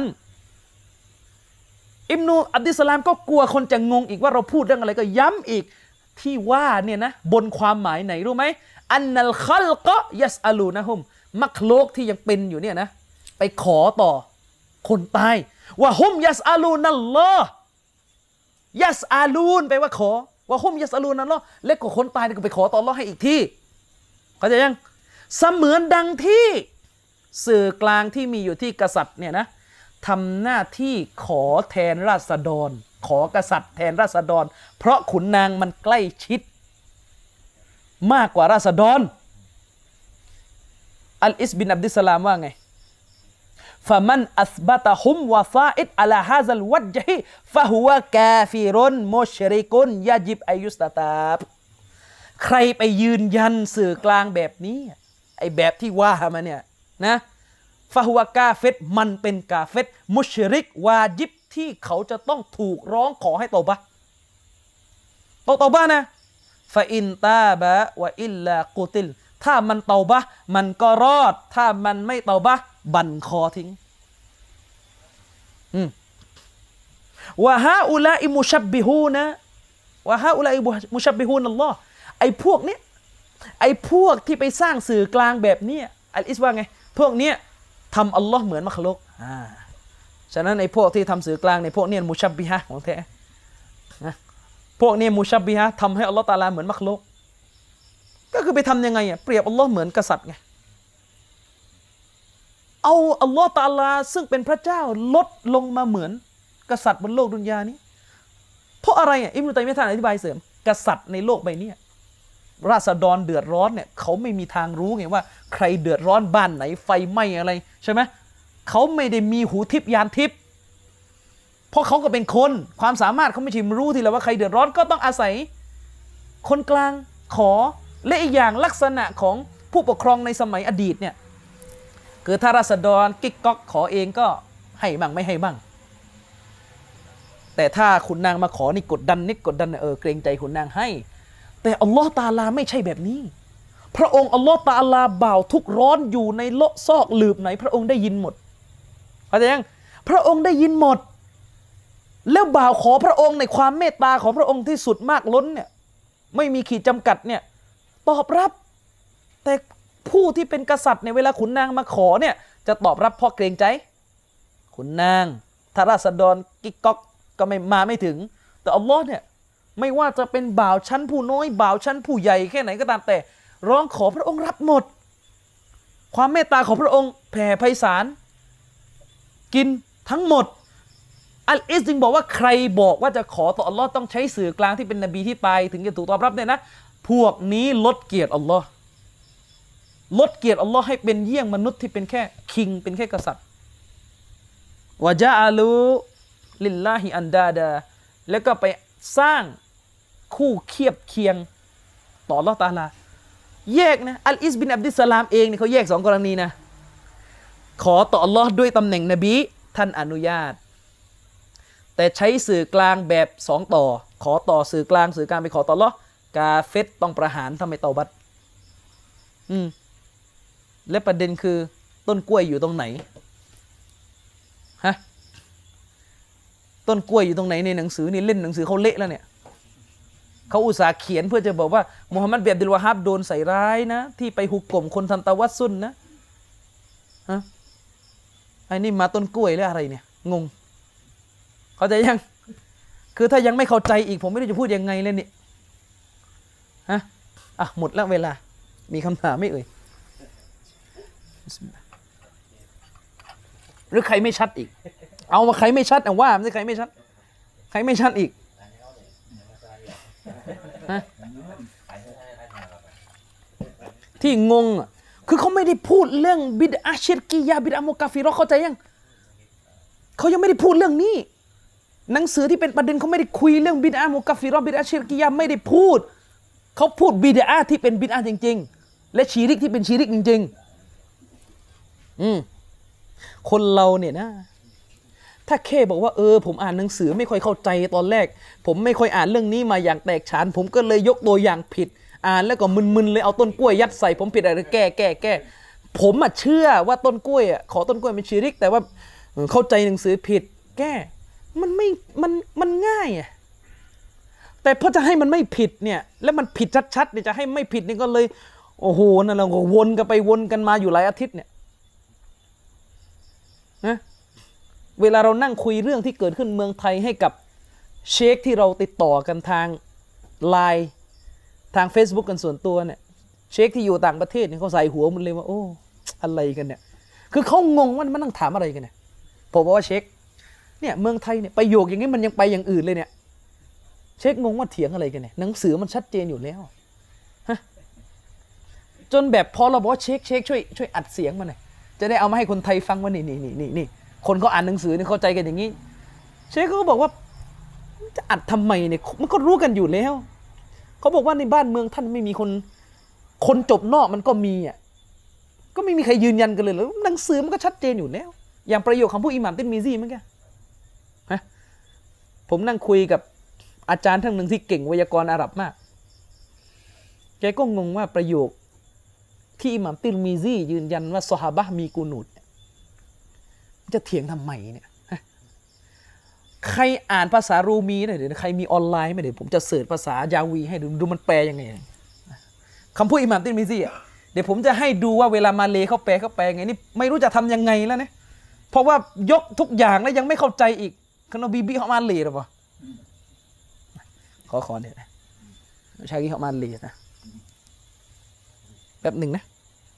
อิบนุอับดิสสลามก็กลัวคนจะงงอีกว่าเราพูดเรื่องอะไรก็ย้ำอีกที่ว่าเนี่ยนะบนความหมายไหนรู้ไหมอันนัลคัลกะยัสอาลูนะฮุมมักโลกที่ยังเป็นอยู่เนี่ยนะไปขอต่อคนตายว่าฮุมยัสอาลูนัลลอฮ์ยัสอาลูนแปลว่าขอว่าฮุมยัสอาลูนัลลอฮ์และก็คนตายก็ไปขอต่ออัลเลาะห์ให้อีกที่เข้าใจยังเสมือนดังที่สื่อกลางที่มีอยู่ที่กษัตริย์เนี่ยนะทำหน้าที่ขอแทนราษฎรขอกษัตริย์แทนราษฎรเพราะขุนนางมันใกล้ชิดมากกว่าราษฎรอัลอิสบินอับดิสสลามว่าไงฟะมันอัสบะตะฮุมวะซาอิดอะลาฮาซัลวัจฮิฟะฮุวะกาฟิรุนมุชริกุนยะญิบอายุสตะตาบใครไปยืนยันสื่อกลางแบบนี้ไอ้แบบที่ว่ามาเนี่ยนะฟะฮุวะกาเฟตมันเป็นกาเฟตมุชริกวาญิบที่เขาจะต้องถูกร้องขอให้ตอบัตอบันะฟะอินตาบะวะอิลลากุติลถ้ามันเตาบะมันก็รอดถ้ามันไม่เตาบะบั่นคอทิ้งวะฮาอุลาอิมุชับบิฮูนะวะฮาอุลาอิมุชับบิฮูนัลลอฮ์ไอ้พวกเนี้ยไอ้พวกที่ไปสร้างสื่อกลางแบบนี้อัลอิสว่าไงพวกเนี้ยทำอัลลอฮ์เหมือนมักลุกฉะนั้นไอ้พวกที่ทำสื่อกลางในพวกเนี้ยมุชับบิฮะของแท้นะพวกนี้มุชับบิฮะทำให้อัลลอฮ์ตะอาลาเหมือนมักลุกก็คือไปทำยังไงเปรียบอัลลอฮ์เหมือนกษัตริย์ไงเอาอัลลอฮ์ตะอาลาซึ่งเป็นพระเจ้าลดลงมาเหมือนกษัตริย์บนโลกดุนยานี้เพราะอะไรอิบนุตัยมียะห์ท่านอธิบายเสริมกษัตริย์ในโลกใบนี้ราษฎรเดือดร้อนเนี่ยเขาไม่มีทางรู้ไงว่าใครเดือดร้อนบ้านไหนไฟไหม้อะไรใช่ไหมเขาไม่ได้มีหูทิพยานทิพย์เพราะเขาก็เป็นคนความสามารถเขาไม่ใช่รู้ทีละว่าใครเดือดร้อนก็ต้องอาศัยคนกลางขอและอีกอย่างลักษณะของผู้ปกครองในสมัยอดีตเนี่ยคือถ้าราษฎรกิ๊กก๊อกขอเองก็ให้บ้างไม่ให้บ้างแต่ถ้าขุนนางมาขอนี่กดดันนิดกดดันเกรงใจขุนนางให้แต่อัลลอฮ์ตะอาลาไม่ใช่แบบนี้พระองค์อัลลอฮ์ตะอาลาบ่าวทุกร้อนอยู่ในโลกซอกหลืบไหนพระองค์ได้ยินหมดเข้าใจยังพระองค์ได้ยินหมดแล้วบ่าวขอพระองค์ในความเมตตาของพระองค์ที่สุดมากล้นเนี่ยไม่มีขีดจำกัดเนี่ยตอบรับแต่ผู้ที่เป็นกษัตริย์ในเวลาขุนนางมาขอเนี่ยจะตอบรับเพราะเกรงใจขุนนางถ้าราษฎรกิ๊กก๊อกก็ไม่ถึงแต่อัลลอฮ์เนี่ยไม่ว่าจะเป็นบ่าวชั้นผู้น้อยบ่าวชั้นผู้ใหญ่แค่ไหนก็ตามแต่ร้องขอพระองค์รับหมดความเมตตาของพระองค์แผ่ไพศาลกินทั้งหมดอัลอิสจึงบอกว่าใครบอกว่าจะขอต่ออัลลอฮ์ต้องใช้สื่อกลางที่เป็นนบีที่ตายถึงจะถูกตอบรับเนี่ยนะพวกนี้ลดเกียรติอัลลอฮ์ลดเกียรติอัลลอฮ์ให้เป็นเยี่ยงมนุษย์ที่เป็นแค่คิงเป็นแค่กษัตริย์วะจาอาลูลิลลาฮิอันดาดาแล้วก็ไปสร้างคู่เคียบเคียงต่ออัลเลาะห์ตะอาลาแยกนะอัลอิสบินอับดิสสลามเองเนี่ยเขาแยกสองกรณีนะขอต่ออัลลอฮ์ด้วยตำแหน่งนบีท่านอนุญาตแต่ใช้สื่อกลางแบบสองต่อขอต่อสื่อกลางไปขอต่ออัลเลาะห์กาเฟรต้องประหารทำไมเตาบัตและประเด็นคือต้นกล้วยอยู่ตรงไหนฮะต้นกล้วยอยู่ตรงไหนในหนังสือนี่เล่นหนังสือเขาเละแล้วเนี่ยเขาอุตส่าห์เขียนเพื่อจะบอกว่ามุฮัมมัดบินอับดุลวะฮับโดนใส่ร้ายนะที่ไปหุกกลมคนทำตะวัสซุนนะฮะไอ้นี่มาต้นกล้วยหรืออะไรเนี่ยงงเข้าใจยังคือถ้ายังไม่เข้าใจอีกผมไม่รู้จะพูดยังไงเลยนี่ฮะหมดแล้วเวลามีคำถามไหมเอ่ยหรือใครไม่ชัดอีกเอามาใครไม่ชัดว่าไม่ใช่ใครไม่ชัดใครไม่ชัดอีกที่งงคือเขาไม่ได้พูดเรื่องบิดอะห์ชิรกียะห์บิดอะห์มุกาฟิเราะห์เข้าใจยังเขายังไม่ได้พูดเรื่องนี้หนังสือที่เป็นประเด็นเขาไม่ได้คุยเรื่องบิดอะห์มุกาฟิเราะห์บิดอะห์ชิรกียะห์ไม่ได้พูดเขาพูดบิดอะห์ที่เป็นบิดอะห์จริงๆและชีริกที่เป็นชีริกจริงๆคนเราเนี่ยนะถ้าแค่บอกว่าผมอ่านหนังสือไม่ค่อยเข้าใจตอนแรกผมไม่ค่อยอ่านเรื่องนี้มาอย่างแตกฉานผมก็เลยยกตัวอย่างผิดอ่านแล้วก็มึนๆเลยเอาต้นกล้วยยัดใส่ผมผิดอะไรแก้ผมเชื่อว่าต้นกล้วยขอต้นกล้วยเป็นชิริกแต่ว่าเข้าใจหนังสือผิดแก้มันไม่มันง่ายแต่พอจะให้มันไม่ผิดเนี่ยแล้วมันผิดชัดๆเนี่ยจะให้ไม่ผิดนี่ก็เลยโอ้โหนั่นเราก็วนกันไปวนกันมาอยู่หลายอาทิตย์เนี่ยนะเวลาเรานั่งคุยเรื่องที่เกิดขึ้นเมืองไทยให้กับเชคที่เราติดต่อกันทางไลน์ทาง Facebook กันส่วนตัวเนี่ยเชคที่อยู่ต่างประเทศเนี่ยเขาใส่หัวมันเลยว่าโอ้อะไรกันเนี่ยคือเขางงว่ามันนั่งถามอะไรกันเนี่ยผมบอกว่าเชคเนี่ยเมืองไทยเนี่ยประโยคอย่างนี้มันยังไปอย่างอื่นเลยเนี่ยเชคงงว่าเถียงอะไรกันเนี่ยหนังสือมันชัดเจนอยู่แล้วฮะจนแบบพอเราบอกว่าเชคช่วยอัดเสียงมาหน่อยจะได้เอามาให้คนไทยฟังว่านี่คนเขาอ่านหนังสือเนี่ยเข้าใจกันอย่างนี้เชคเขาก็บอกว่าจะอัดทำไมเนี่ยมันก็รู้กันอยู่แล้วเขาบอกว่าในบ้านเมืองท่านไม่มีคนจบนอกมันก็มีก็ไม่มีใครยืนยันกันเลยแล้วหนังสือมันก็ชัดเจนอยู่แล้วอย่างประโยคคำพูดอิหม่ามติรมิซีเมื่อกี้ผมนั่งคุยกับอาจารย์ท่านหนึ่งที่เก่งไวยากรณ์อาหรับมากแกก็งงว่าประโยคที่อิหม่ามติรมิซียืนยันว่าซอฮาบะห์มีกูนูตจะเถียงทำไมเนี่ยใครอ่านภาษารูมีหน่อยเดี๋ยวใครมีออนไลน์ไหมเดี๋ยวผมจะเสิร์ชภาษายาวีให้ดูมันแปลยังไงคำพูดอิหม่ามติรมิซีเดี๋ยวผมจะให้ดูว่าเวลามาเลเขาแปลไงนี่ไม่รู้จะทำยังไงแล้วเนี่ยเพราะว่ายกทุกอย่างแล้วยังไม่เข้าใจอีกขนมบีบีเขามาเลหรือเปล่าขอเนี่ยชากีเขามาเลนะแป๊บหนึ่งนะ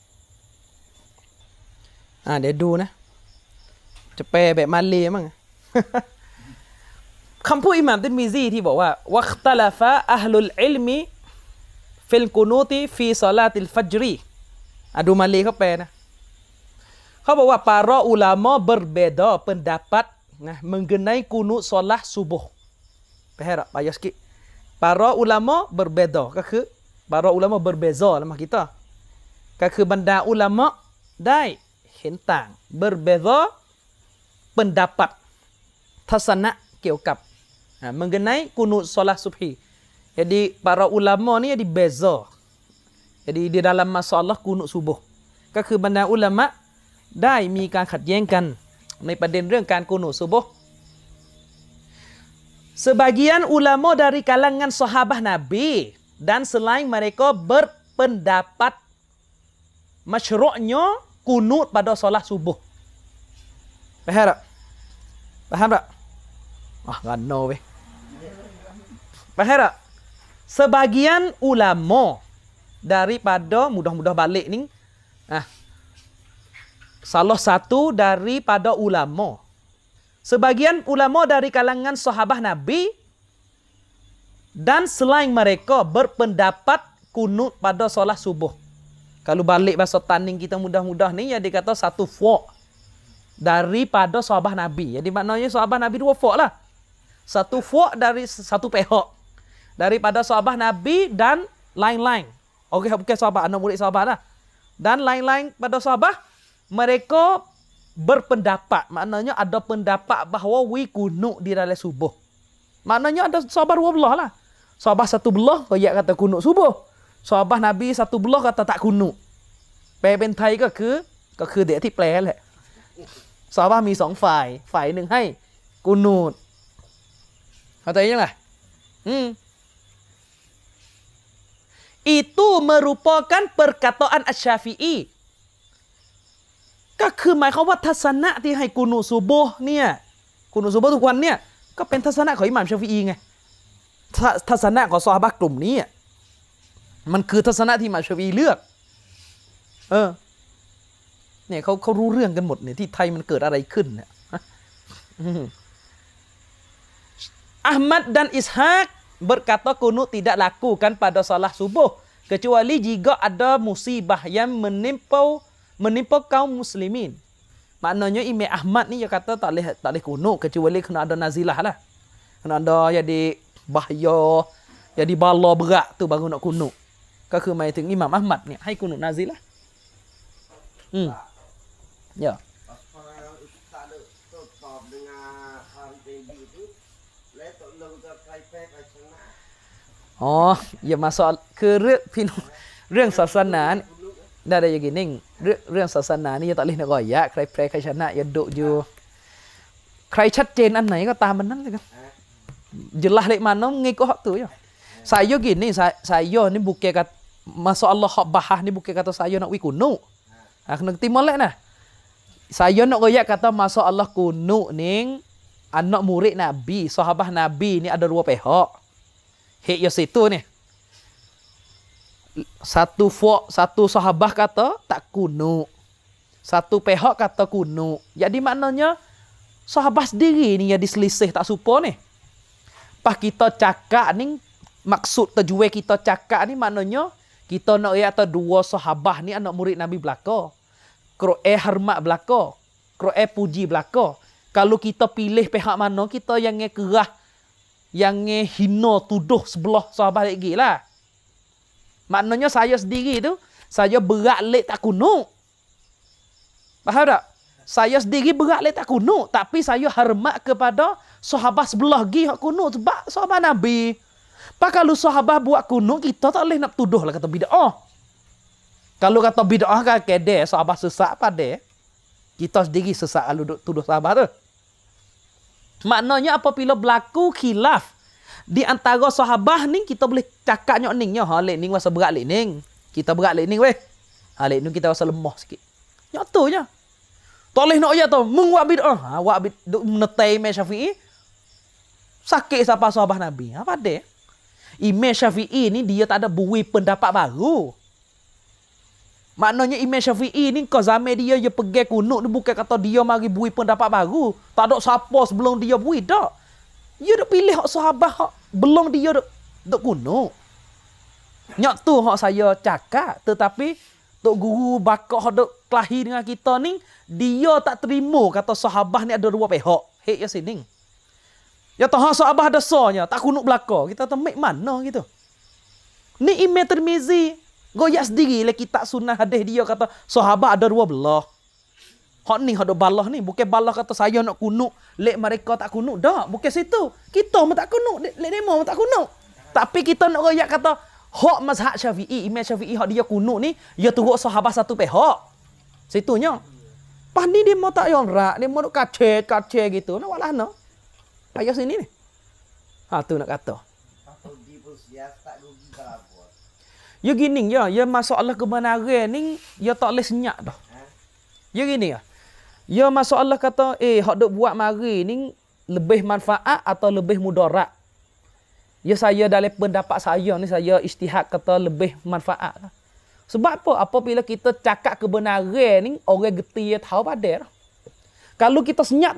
เดี๋ยวดูนะจะแปลแบบมาเลมั้งคำพูดอิหม่ามติรมิซีที่บอกว่าวัคตะลาฟะอะฮลุลอิลมิฟิลกุนูติฟีศอลาติลฟัจรีดูมาเลเขาแปลนะเขาบอกว่า para ulama berbeda pendapat mengenai kunut solat subuh ไปให้เราไปยัสกิ para ulama berbeda ก็คือ para ulama berbeza แล้วมาkita ก็คือบรรดาอุลามะได้เห็นต่าง berbeza pendapat ทัศนะเกี่ยวกับmengenai kunut solat subhi jadi para ulama ni jadi beza jadi di dalam masalah kunut subuh ก็คือบรรดาอุลามะได้มีการขัดแย้งกันในประเด็นเรื่องการกุนูตซุบฮ์ sebagian ulama dari kalangan sahabat Nabi dan selain mereka berpendapat masyru'nya kunut pada solat subuh paham tak nggak know weh paham tak sebagian ulama daripada mudah-mudah balik ni salah satu daripada ulama sebagian ulama dari kalangan sahabat Nabi dan selain mereka berpendapat kunut pada solat subuh. Kalau balik bahasa tanding kita mudah-mudah ni ya dikata satu fuk daripada sahabat Nabi. Jadi maknanya sahabat Nabi dua fuk lah. Satu fuk dari satu pihak daripada sahabat Nabi dan lain-lain. Okey, bukan sahabat, anak murid sahabat lah. Dan lain-lain pada sahabat mereka berpendapat, maknanya ada pendapat bahawa wi kunut di dalam subuh. Maknanya ada sahabat dua belah lah. Sahabat satu belah kayak kata kunut subuh. Sahabat Nabi satu belah kata tak kunut. แปลเป็นไทยก็คือเดี๋ยวที่แปลแหละซอฮาบะห์มีสองฝ่ายหนึ่งให้กุนูตเข้าใจยังไงitu merupakan perkataan Asy-Syafi'i ก็คือหมายความว่าทัศนะที่ให้กุนูตซุบฮ์เนี่ยกุนูตซุบฮ์ทุกวันเนี่ยก็เป็นทัศนะของอิหม่ามชาฟิอีไงทัศนะของซอฮาบะห์กลุ่มนี้มันคือทัศนะที่อิหม่ามชาฟิอีเลือกเนี่ยเขารู้เรื่องกันหมดเนี่ยที่ไทยมันเกิดอะไรขึ้นเนี่ยAhmad dan Ishaq berkata kunut tidak lakukan pada salat subuh kecuali jika ada musibah yang menimpa kaum muslimin. Maknanya Imam Ahmad ni dia kata tak boleh kunut kecuali kena ada nazilah lah. Kena ada jadi bahaya, jadi bala berat tu baru nak kunut. ก็คือหมายถึงอิหม่ามอะห์มัดเนี่ยให้กุนุตนาซิละya อ๋ออย่ามาสอนคือเรื่องพี่น้องเรื่องศาสนาได้อย่างนี้นิ่งเรื่องศาสนานี่อย่าตัดลิ้นก่อยยะใครแพ้ใครชนะอย่าดุอยู่ใครชัดเจนอันไหนก็ตามมันนั้นเลยkan jelas lek mana ngikut hak tu ya saya gini saya ni bukan kata masuk Allah hak bahah ni bukan kata saya nak wi kuno kena timol lek nah saya nak royak kata masuk Allah kuno ning anak murid Nabi sahabat Nabi ni ada dua pihak hek ya situ ni satu sahabat kata tak kuno satu pihak kata kuno jadi maknanya sahabat sendiri ni yang diselisih tak supo ni pas kita cakap ni maksud tujuan kita cakap ni maknanya kita nak ayat dua sahabat ni anak murid Nabi belaka kroe hormat belaka kroe puji belaka kalau kita pilih pihak mana kita yang kerah yang hina tuduh sebelah sahabat lagi lah maknanya saya sendiri tu saya berat lek tak kuno faham tak saya sendiri berat lek tak kuno tapi saya hormat kepada sahabat sebelah lagi hak kuno sebab sahabat Nabi. Pak kalau sahabat buat kuno kita tak boleh nak tuduh lah kata bid'ah. Kalau kata bid'ah kan kede sahabat sesat pada kita sendiri sesat kalau duk tuduh sahabat tu. Maknanya apabila berlaku khilaf di antara sahabat ni kita boleh cakap nyok ningnya ha lek ning wasa berat lek ning. Kita berat lek ning weh. Ha lek ning kita wasa lemah sikit. Nyok tu je. Tak boleh nak ya tu mung buat bid'ah. Ha buat bid'ah menetai Imam Syafi'i. Sakit siapa sahabat Nabi. Apa dia? Imam Syafi'i ni dia tak ada bui pendapat baru. Maknanya Imam Syafi'i ni kau zaman dia pergi kunut ni bukan kata dia mari bui pendapat baru. Tak ada siapa sebelum dia bui dak. Dia dak pilih hak sahabat hak belum dia dak kunut. Nyak tu hak saya cakap tetapi tok guru bakak hak dak kelahi dengan kita ni dia tak terima kata sahabat ni ada dua pihak. Hek ya sini. Ya tahu sahabat ada sonya, tak kunuk belaka. Kita temik mana gitu. Ni Imam Tirmizi goyak sendiri lah kitab sunnah hadis dia kata sahabat ada dua belah. Hak ni hak balah ni bukan balah kata saya nak kunuk, lek mereka tak kunuk dak, bukan situ. Kita pun tak kunuk, lek demo pun tak kunuk. Tapi kita nak goyak kata hak mazhab Syafi'i, Imam Syafi'i hak dia kunuk ni, dia turut sahabat satu pihak. Situnya. Pas ni dia mau tak yang rak, dia mau kace gitu. Nak walah no. Ayah sini ni. Ha tu nak kata. Ya gini ya, ya masalah kebenaran ni ya tak boleh senyap dah. Ya gini ya. Ya masalah kata hak dok buat mari ni lebih manfaat atau lebih mudarat. Ya saya dalam pendapat saya ni saya ijtihad kata lebih manfaat. Sebab apa? Apabila kita cakap kebenaran ni orang geti tahu pada. Kalau kita senyap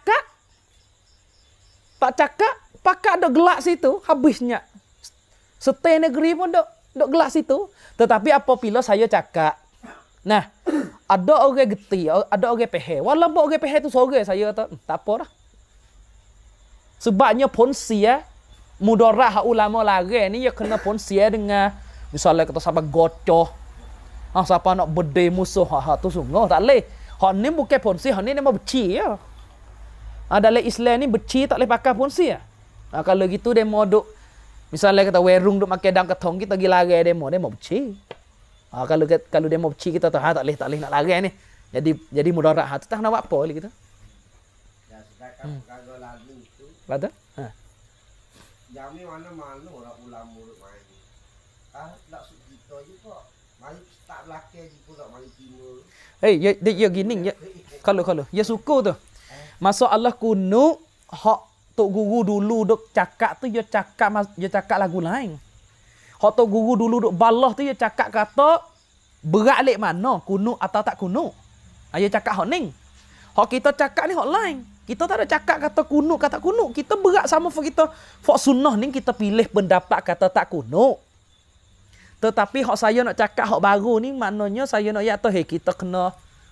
tak cakap, pakat ada gelak situ, habisnya. Stay negeri pun dok gelak situ. Tetapi apabila saya cakap, nah, ada orang geti, ada orang pehe. Walaupun orang pehe tu sore, saya kata, tak apa dah. Sebabnya ponsia, mudarat ulama lari ni, ya kena ponsia dengan, misalnya kata sahabat gocoh, siapa nak berdeh musuh, tu sungguh, tak boleh. Hak ni bukan ponsia, hak ni nama beci ya. Dalam Islam ni beci tak boleh pakai ponsi ya. Kalau gitu demo duk misalnya kata werung duk makan dang ketong kita pergi lari demo beci. Kalau demo beci kita tahu tak boleh nak lari ni. Jadi mudarat tu tak nak buat apa lagi kita. Ya sedangkan kalau lagu itu. Betul? Jami mana-mana orang ulama main. Nak kita je kok. Mari tak belakang je pula mari timur. Ya gini ya. Kalau ya suku tu. Masuk Allah kuno hak tok guru dulu duk cakap tu dia cakap lagu lain. Hak tok guru dulu duk balah tu dia cakap kata berat lek mana kuno atau tak kuno. Dia cakap hak ning. Hak kita cakap ni hak lain. Kita tak ada cakap kata kuno kata kuno. Kita berat sama kita hak sunnah ni kita pilih pendapat kata tak kuno. Tetapi hak saya nak cakap hak baru ni maknanya saya nak ya tahu kita kena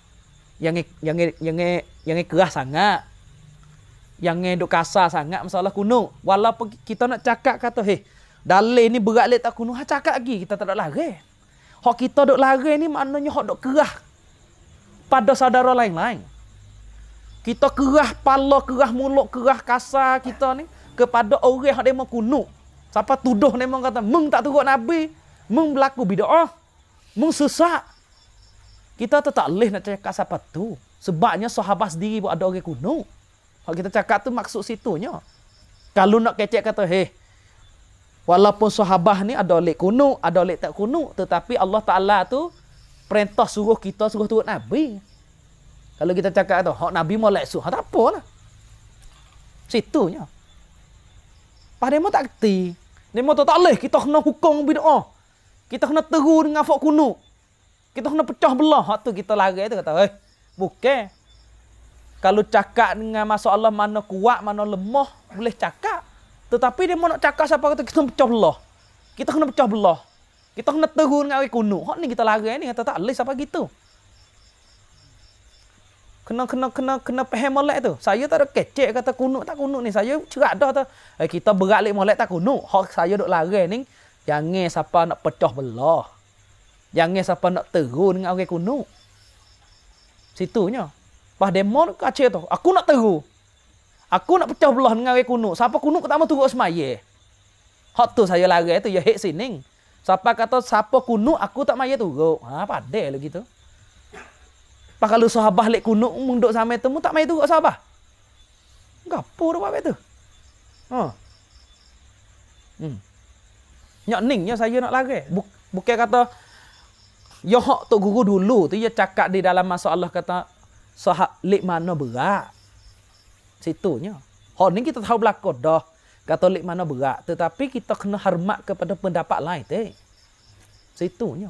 yang keras sangat. Yang duk kasar sangat masalah kuno. Walaupun kita nak cakap kata dalil ni berat lek tak kuno, cakap lagi kita tak ada lari. Hak kita duk lari ni maknanya hak duk kerah pada saudara lain-lain. Kita kerah pala, kerah mulut, kerah kasar kita ni kepada orang yang demo kuno. Siapa tuduh ni memang kata, mung tak turut Nabi, mung berlaku bid'ah, mung sesak. Kita tu tak boleh nak cakap siapa tu. Sebabnya sahabat sendiri pun ada orang kuno. Kalau kita cakap tu maksud situnya. Kalau nak kecek kata, walaupun sahabat ni ada lek kuno, ada lek tak kuno, tetapi Allah Ta'ala tu perintah suruh kita suruh turut Nabi. Kalau kita cakap tu, hak Nabi mau lek suruh, tak apalah. Situnya. Pada demo tak kerti. Demo tu tak boleh, kita kena hukum bid'ah. Kita kena teru dengan fak kuno. Kita kena pecah belah. Hak tu kita lari tu kata, bukan. Kalau cakap dengan masalah mana kuat, mana lemah, boleh cakap. Tetapi dia mau nak cakap siapa kata kita pecah belah. Kita kena pecah belah. Kita kena teru dengan orang kuno. Hak ni kita lari ni kata tak boleh siapa gitu. Kena faham molek tu. Saya tak ada kecek kata kuno tak kuno ni. Saya cerak dah tu. Kita berat lek molek tak kuno. Hak saya duk lari ni, jangan siapa nak pecah belah. Jangan siapa nak teru dengan orang kuno. Situnya. Pas demo kacau tu. Aku nak teru. Aku nak pecah belah dengan orang kuno. Siapa kuno aku tak mau turut semaya. Hak tu saya lari tu ya hek sining. Siapa kata siapa kuno aku tak maya turut. Padai lah gitu. Pas kalau sahabat lek kuno munduk sampai tu tak maya turut sahabat. Gapo dah buat tu. Nyak ningnya saya nak lari. Bukan kata ya hak tok guru dulu tu dia cakap di dalam masalah kata sahab lek mana berat. Situnya. Hak ni kita tahu belakang dah. Katolik mana berat. Tetapi kita kena hormat kepada pendapat lain. Situnya.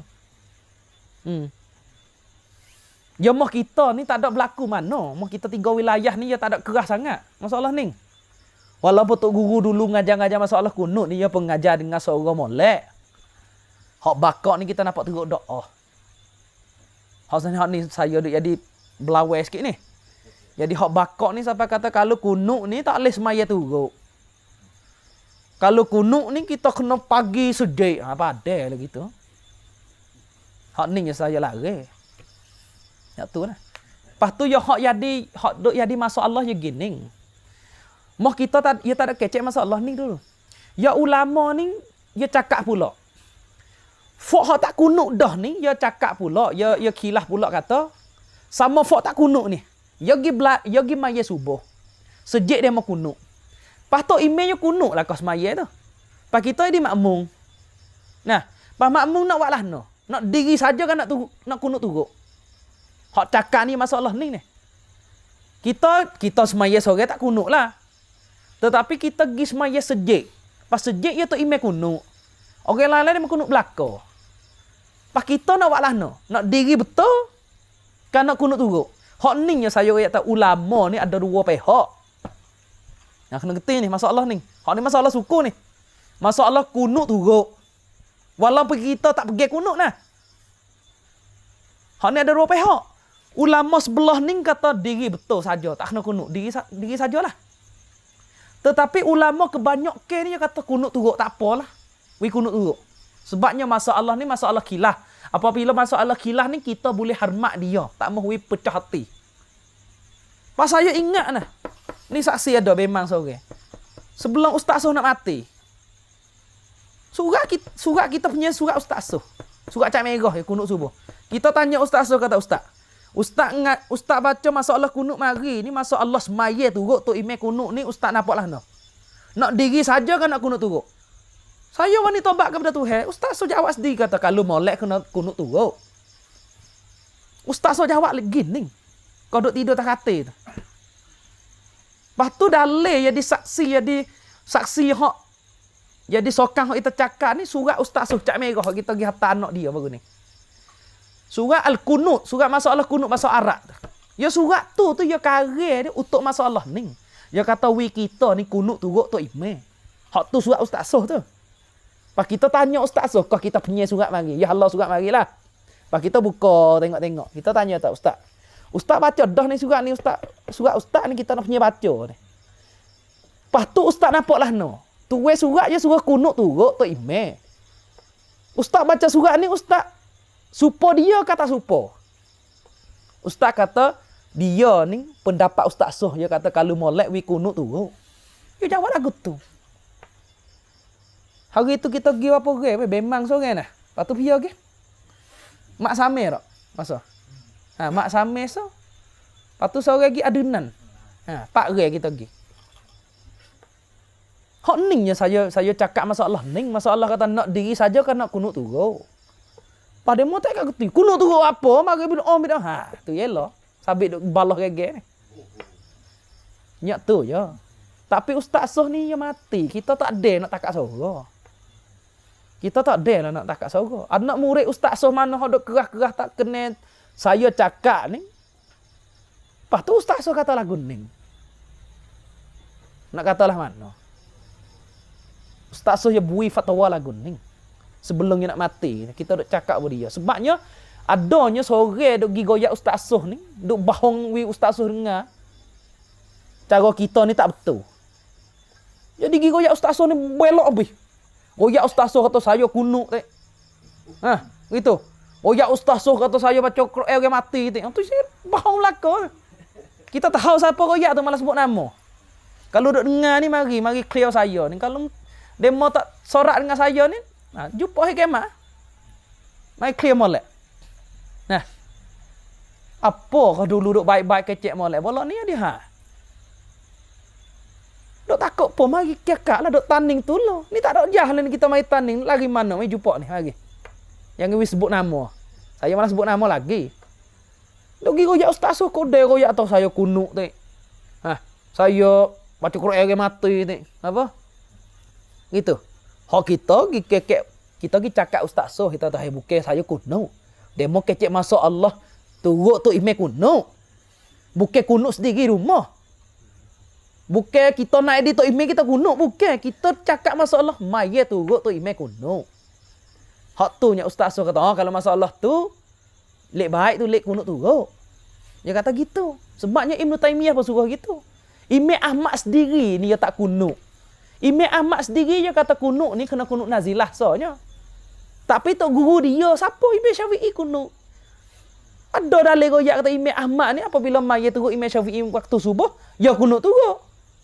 Ya mah kita ni tak ada berlaku mana. Mah kita 3 wilayah ni ya tak ada keras sangat. Masalah ni. Walaupun tok guru dulu ngajar-ngajar masalah kunut ni. Ya pengajar dengan seorang molek. Hak bakak ni kita nampak teruk doa. Hak ni saya duk jadi belawai sikit ni. Jadi hak bakak ni sampai kata kalau kunut ni tak boleh semaya turut. Kalau kunuk ni kita kena pagi sejik. Padai lah gitu. Hak ni yang saya lari. Ya tu lah. Lepas tu ya hak jadi masalah ya gini. Mah kita tak ada kecek masalah ni dulu. Ya ulama ni ya cakap pula. Fok hak tak kunuk dah ni ya cakap pula, ya khilaf pula kata sama fok tak kunuk ni. Ya gi maya subuh. Sejik dia mau kunuk. Pas tu emailnya kunuk lah kau semaya tu. Pas kita di makmum. Nah, pas makmum nak buat lah no. Nak diri saja kan nak kunuk turut. Hak cakap ni masalah ni. Kita semaya sore tak kunuk lah. Tetapi kita pergi semaya sejik. Pas sejik ya tu email kunuk. Orang lain-lain dia kunuk belakang. Pas kita nak buat lah no. Nak diri betul kan nak kunuk turut. Hak ni yang saya kata ulama ni ada 2 pihak. Yang kena kerti ni masalah ni. Hak ni masalah suku ni. Masalah kunut turut. Walaupun kita tak pergi kunut nah. Hak ni ada 2 pihak. Ulama sebelah ni kata diri betul saja, tak kena kunut. Diri sajalah. Tetapi ulama kebanyakan ni kata kunut turut tak apalah. Wi kunut turut. Sebabnya masalah ni masalah khilaf. Apabila masalah khilaf ni kita boleh hormat dia, tak mahu wi pecah hati. Pas saya ingat nah. Ni saksi ada memang sore. Sebelum Ustaz Soh nak mati. Surat kita punya surat Ustaz Soh. Surat cat merah ya kunut subuh. Kita tanya Ustaz Soh kata Ustaz baca masalah kunut mari ni masalah semaya turut tu email kunut ni Ustaz nampaklah no. Nak diri saja kan nak kunut turut. Saya wani tobat kepada Tuhan. Ustaz Soh jawab sendiri kata kalau molek kena kunut turut. Ustaz Soh jawab lagi ni. Kau duk tidur tak kata tu. Lepas tu dalil jadi saksi hak jadi sokang hak kita cakap ni surat Ustaz Soh cat merah kita pergi hantar anak dia baru ni. Surat al-kunut, surat masalah kunut bahasa Arab. Ya surat tu ya karya dia untuk masalah ni. Ya kata wi kita ni kunut turut tu email. Hak tu surat Ustaz Soh tu. Pas kita tanya Ustaz Soh, kau kita punya surat mari. Ya Allah surat marilah. Pas kita buka tengok-tengok. Kita tanya tak Ustaz. Ustaz baca dah ni surat ni Ustaz. Surat Ustaz ni kita nak punya baca ni. Lepas tu Ustaz nampaklah no. Tulis surat je surat kunut turut tu email. Ustaz baca surat ni Ustaz supo dia kata supo. Ustaz kata dia ni pendapat Ustaz Soh dia kata kalau molek wi kunut turut. Dia jawab lagu tu. Hari tu kita pergi apa ge, bemang sore nah. Lepas tu pergi ke. Mak same tak? Masa. Mak same so. Lepas tu sore lagi adunan. Pak re kita pergi. Hak ning je saya cakap masalah ning, masalah kata nak diri saja kan nak kunut turun. Pada mu tak kat geti. Kunut turun apa? Mari bila bidah. Tu yelah. Sabit duk balah gege ni. Nyak tu je. Tapi ustaz soh ni yang mati. Kita tak ada nak takat sorga. Kita tak ada lah nak takat sorga. Anak murid ustaz soh mana hok duk kerah-kerah tak kena saya cakap ni. Lepas tu ustaz soh kata lagu ning. Nak katalah mana? Ustaz soh ya bui fatwa lagu ning. Sebelum dia nak mati, kita duk cakap dengan dia. Sebabnya adanya sore duk gi goyak ustaz soh ni, duk bahong wi ustaz soh dengar. Cara kita ni tak betul. Jadi gi goyak ustaz soh ni belok habis. Goyak ustaz soh kata saya kunuk tak. Gitu. Goyak ustaz soh kata saya baca Quran orang mati tak. Tu saya bahong laka. Kita tahu siapa goyak tu malah sebut nama. Kalau duk dengar ni mari clear saya ni. Kalau demo tak sorak dengan saya ni, jumpa hari kiamat. Mari clear molek. Nah. Apa kau dulu duk baik-baik kecek molek bolak ni dia Duk takut apa mari kakak lah duk tanding tu lah. Ni tak ada jalan ni kita mari tanding lagi mana mari jumpa ni lagi. Yang ni sebut nama. Saya malah sebut nama lagi. Duk gi royak ustaz so kode royak atau saya kunuk tak. Saya baca Quran orang mati tak. Apa? Gitu. Hak kita gi kekek kita gi cakap ustaz so kita tahu bukan saya kuno. Demo kecek masuk Allah turut tu imej kuno. Bukan kuno sendiri rumah. Bukan kita nak edit tu imej kita kuno, bukan. Kita cakap masuk Allah mai turut tu imej kuno. Hak tu nya ustaz so kata, kalau masuk Allah tu lek baik tu lek kuno turut. Dia kata gitu. Sebabnya Ibnu Taimiyah pun suruh gitu. Imej Ahmad sendiri ni dia tak kuno. Imam Ahmad sendiri je kata kunuk ni kena kunuk nazilah soalnya. Tapi tok guru dia siapa Imam Syafi'i kunuk. Ada dalil royak kata Imam Ahmad ni apabila mai turut Imam Syafi'i waktu subuh, ya kunuk turut.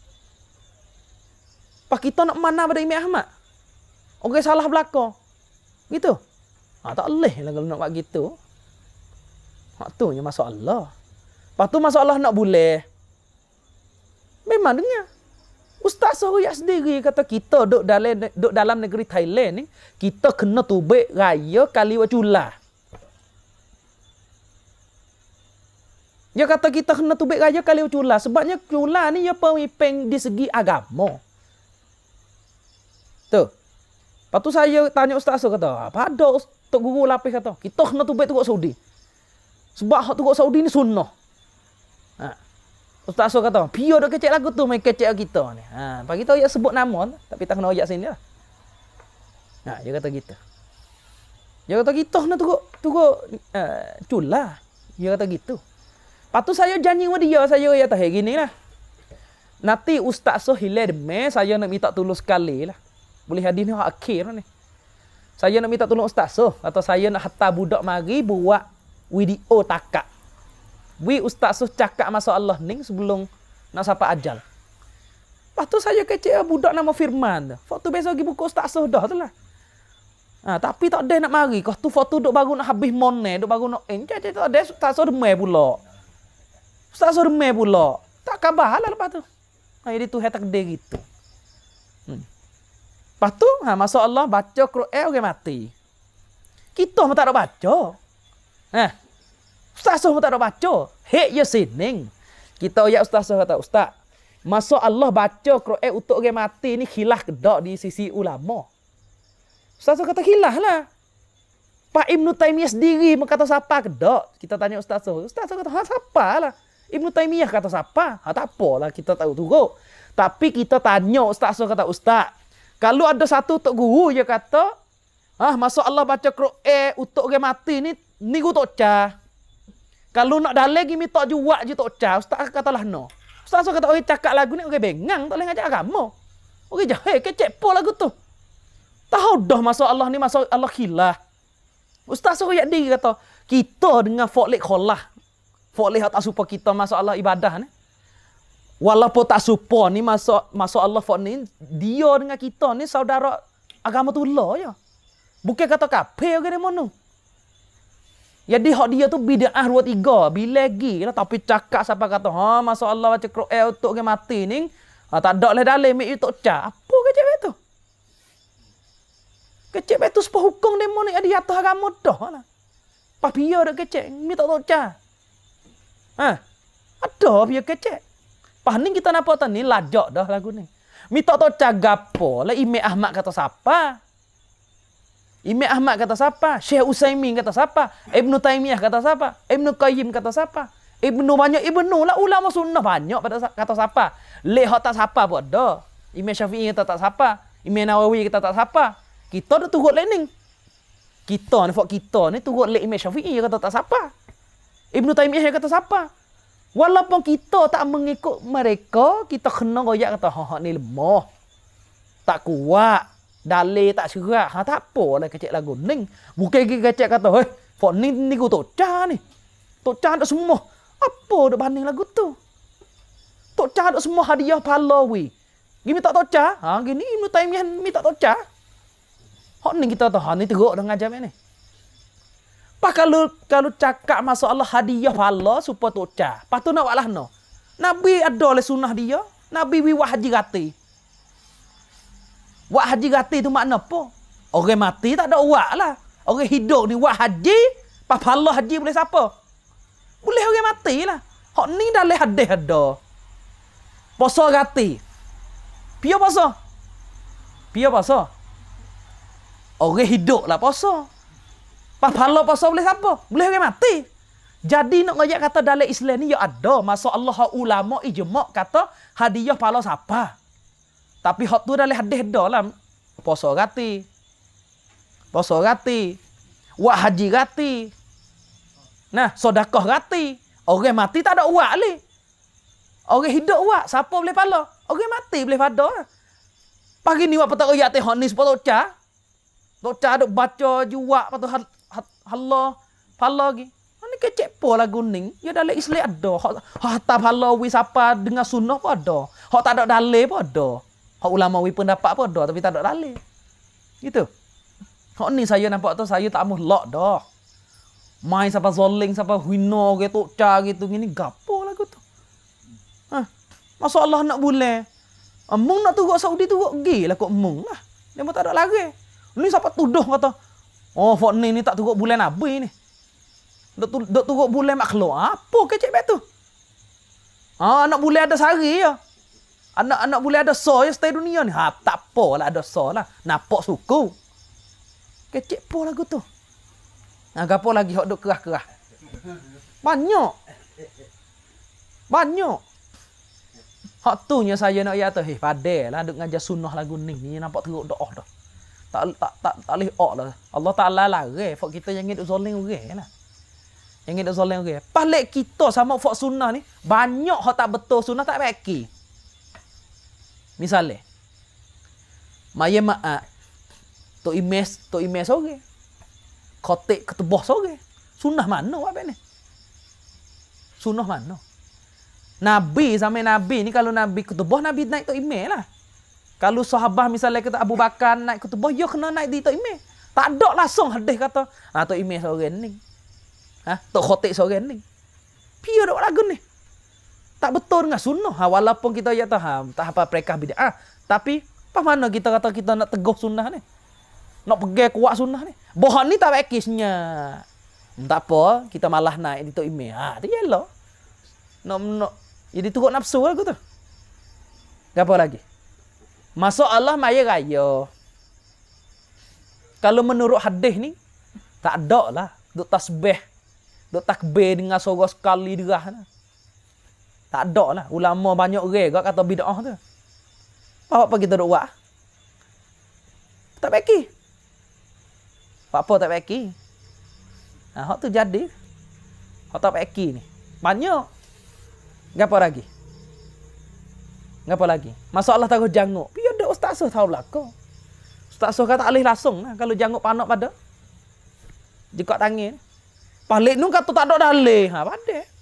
Pak kita nak mana pada Imam Ahmad? Orang salah belaka. Gitu. Tak boleh lah kalau nak buat gitu. Hak tu je masalah. Lepas tu masalah nak boleh. Memang dengar. Ustaz Sohyak sendiri kata kita duduk dalam negeri Thailand ni, kita kena tubik raya kali wacula. Dia kata kita kena tubik raya kali wacula sebabnya cula ni dia pemimpin di segi agama. Tu. Lepas tu saya tanya Ustaz kata, apa ada Tok Guru lapis kata, kita kena tubik turut Saudi. Sebab hak turut Saudi ni sunnah. Ustaz So kata, pio dok kecek lagu tu main kecek kita ni. Pagi tu dia sebut nama tapi tak kena ayat sini lah. Dia kata gitu. Dia kata kita nak turut cula. Dia kata gitu. Lepas tu saya janji sama dia, saya ya tahu gini lah. Nanti Ustaz So hilang demi saya nak minta tolong sekali lah. Boleh hadis ni akhir ni. Saya nak minta tolong Ustaz So atau saya nak hantar budak mari buat video takak. Ustaz So cakap masa Allah ni sebelum nak sampai ajal. Lepas tu saya kecek budak nama Firman. Foto besok pergi buku Ustaz So dah tu lah. Tapi tak ada nak mari. Kau tu foto duk baru nak habis money, duk baru nak tak ada Ustaz So demai pula. Ustaz So demai pula. Tak khabar lah lepas tu. Jadi tu tak ada gitu. Lepas tu masa Allah baca Quran orang mati. Kita pun tak ada baca. Ustaz So tak ada baca. Hek ya sining. Kita ya Ustaz So kata, Ustaz, masa Allah baca Quran untuk orang mati ni khilaf ke tak di sisi ulama? Ustaz So kata khilaf lah. Pak Ibnu Taimiyah sendiri berkata siapa ke tak? Kita tanya Ustaz So. Ustaz So kata, siapa lah? Ibnu Taimiyah kata siapa? Tak apalah kita tahu turut. Tapi kita tanya Ustaz So kata, Ustaz, kalau ada satu tok guru dia kata, masa Allah baca Quran untuk orang mati ni guru tok cah. Kalau nak dalil lagi minta jual je tok cah, Ustaz katalah no. Ustaz kata orang cakap lagu ni orang bengang, tak boleh ngajak agama. Orang jahil kecek po lagu tu. Tahu dah masa Allah ni masa Allah khilaf. Ustaz royak diri kata, kita dengan fa'lik khalah. Fa'lik tak supa kita masa Allah ibadah ni. Walaupun tak supa ni masa Allah fa'lik ni, dia dengan kita ni saudara agama tu lah je. Bukan kata kafir ke mana. Jadi hak dia tu bid'ah 2 3 bila lagi lah tapi cakap siapa kata masa Allah baca Quran untuk ke mati ni tak ada lah dalam mik tok ca. Apa kecek betu? Kecek betu sepah hukum demo ni ada atas agama dah lah. Pas dia dak kecek mi tok ca. Ada dia kecek. Pas ni kita nampak tu ni lajak dah lagu ni. Mi tok ca gapo lah Imam Ahmad kata siapa? Imam Ahmad kata siapa? Syekh Utsaimin kata siapa? Ibnu Taimiyah kata siapa? Ibnu Qayyim kata siapa? Ibnu lah ulama sunnah banyak pada kata siapa? Lihat tak siapa pun ada. Imam Syafi'i kata tak siapa? Imam Nawawi kata tak siapa? Kita dah turut lening. Kita ni turut le Imam Syafi'i kata tak siapa? Ibnu Taimiyah kata siapa? Walaupun kita tak mengikut mereka, kita kena royak kata ni lemah. Tak kuat. Dalil tak serak. Tak apa lah kecek lagu ni. Bukan kecek kata, fok ni ku tok ca ni. Tok ca tak semua. Apa dak banding lagu tu? Tok ca tak semua hadiah pahlawi. Gini tak tok ca? Gini Ibnu Taimiyah mi tak tok ca. Hak ni kita tahu, ni teruk dah ngajar ni. Pak kalau cakap masalah hadiah pahala supaya tok ca. Pas tu nak walah no. Nabi ada le sunnah dia. Nabi wi haji gati. Wak haji gati tu makna apa? Orang mati tak ada wak lah. Orang hidup ni wak haji, pas pahala haji boleh siapa? Boleh orang mati lah. Hak ni dah le hadis ada. Puasa gati. Pia puasa. Orang hidup lah puasa. Pas pahala puasa boleh siapa? Boleh orang mati. Jadi nak ngajak kata dalam Islam ni ya ada. Masa Allah ulama ijma' kata hadiah pahala siapa? Tapi hak tu dalam hadis dah lah. Puasa gati. Wak haji gati. Nah, sedekah gati. Orang mati tak ada wak le. Orang hidup wak. Siapa boleh pala? Orang mati boleh pada. Pagi ni wak petak ayat teh hak ni sepuluh ca. Tok ca duk baca juwak patu Allah pala lagi. Ni kecek po lagu ni. Ya dalam Islam ada. Hak tak pala wi siapa dengan sunnah pun ada. Hak tak ada dalil pun ada. Hak ulama wi pendapat pun ada tapi tak ada dalil. Gitu. Hak ni saya nampak tu saya tak muhlak dah. Main siapa zoling siapa hina ke tok ca gitu gini gapo lagu tu. Masa Allah nak boleh. Mung nak turut Saudi turut gi lah kok mung lah. Dia pun tak ada lagi. Ni siapa tuduh kata. Fak ni tak turut bulan Nabi ni. Dok turut bulan makhluk. Apa kecek bet tu? Anak boleh ada sehari ya. Anak boleh ada so ya stay dunia ni. Tak apa lah ada so lah. Nampak suku. Kecek po lagu tu. Gapo lagi hok duk kerah-kerah. Banyak. Hak tu nya saya nak ya tu padel lah duk ngajar sunnah lagu ni. Ni nampak teruk doa dah. Tak leh ok lah. Allah Taala larang fak kita yang duk zalim orang lah. Yang duk zalim orang. Palik kita sama fak sunnah ni banyak hak tak betul sunnah tak baki. Misalnya, maya maak, tok imes sore, kotek ketebah sore, sunnah mana apa ni? Sunnah mana? Nabi sampai Nabi ni kalau Nabi ketebah Nabi naik tok imes lah. Kalau sahabat misalnya kata Abu Bakar naik ketebah, ya kena naik di tok imes. Tak ada langsung hadis kata, tok imes sore ni, tok kotek sore ni. Piye dok lagu ni? Tak betul dengan sunnah. Walaupun kita ya tahu tak apa mereka bid'ah, tapi apa mana kita kata kita nak teguh sunnah ni? Nak pegang kuat sunnah ni. Bohong ni tak bekisnya. Tak apa, kita malah naik di tok email. Tu yalah. Nak jadi turut nafsu lah tu. Apa lagi? Masuk Allah maya raya. Kalau menurut hadis ni tak ada lah duk tasbih, duk takbir dengan suara sekali derah lah. Tak ada lah. Ulama banyak orang kata bid'ah tu. Apa kita duk buat? Tak baki. Apa tak baki? Hak tu jadi. Hak tak baki ni. Banyak. Gapo lagi? Masalah taruh janguk. Biar ada ustaz tahu belaka. Ustaz kata alih langsung lah. Kalau janguk panak pada. Jekak tangan. Palik nu kata tak ada dalih. Pada.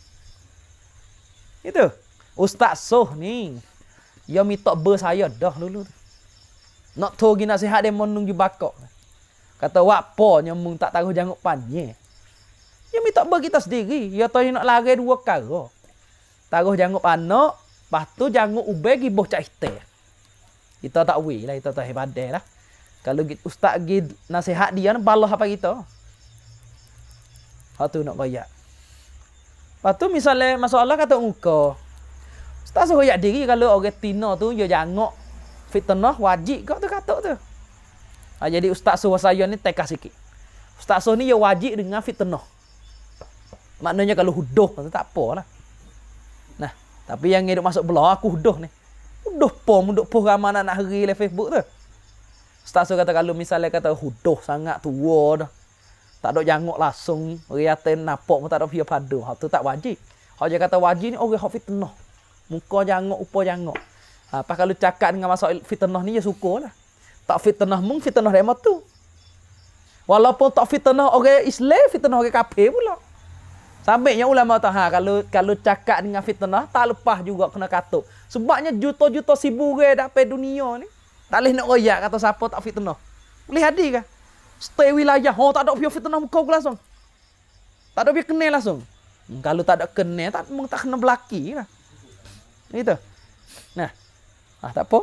Itu. Ustaz Soh ni. Dia minta ber saya dah dulu. nak togi nasihat dia monung ju bakok. Kata wapo nyamung tak tahu janguk pannya. Ya minta bagi kita sendiri. Ya tahu nak lari 2 kali. Taruh janguk anak, lepas tu janguk ubay giboh cak ite. Kita tak wei lah, kita tak hebat lah. Kalau ustaz gi nasihat dia balah apa kita. Hak tu nak koyak. Lepas tu misalnya masalah kata engkau. Ustaz suruh yak diri kalau orang Tino tu dia janguk fitnah wajib kau tu kata tu. Jadi ustaz suruh saya ni teka sikit. Ustaz suruh ni dia wajib dengan fitnah. Maknanya kalau huduh tu tak apalah. Nah, tapi yang hidup masuk belah aku huduh ni. Huduh pom ramai anak hari le Facebook tu. Ustaz suruh kata kalau misalnya kata huduh sangat tua dah. Tak ada janguk langsung, riaten napok pun tak ada pia padu. Hak tu tak wajib. Hak dia kata wajib ni orang hak fitnah. Muka janguk, upa janguk. Apa kalau cakap dengan masalah fitnah ni ya syukurlah. Tak fitnah mung fitnah demo tu. Walaupun tak fitnah orang Islam, fitnah orang kafir pula. Sampainya ulama tahu kalau cakap dengan fitnah tak lepas juga kena katuk. Sebabnya juta-juta sibuk dah pe dunia ni. Tak boleh nak royak kata siapa tak fitnah. Boleh hadir ke? Stay wilayah. Oh tak ada pihak fitnah kau langsung. Tak ada pihak kenal langsung. Kalau tak ada kenal tak kena belaki lah. Gitu. Nah. Tak apa.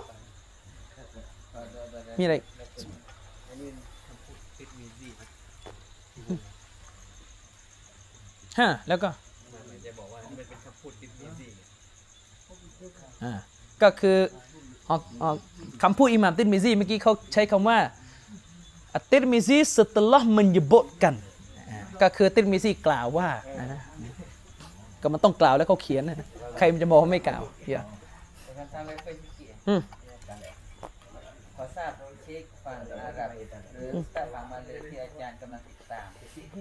Mirai.แล้วก็ก็คือคำพูดอิหม่ามติรมิซีเมื่อกี้เขาใช้คำว่าติรมิซี setelah menyebutkan ก็คือติรมิซีกล่าวว่าก็มันต้องกล่าวแล้วเขาเขียนนะใครมันจะบอกว่าไม่กล่าวอย่าขอทราบเช็คฝั่งอาหรับหรือฝั่งมาเลที่อาจารย์กำลังติดตาม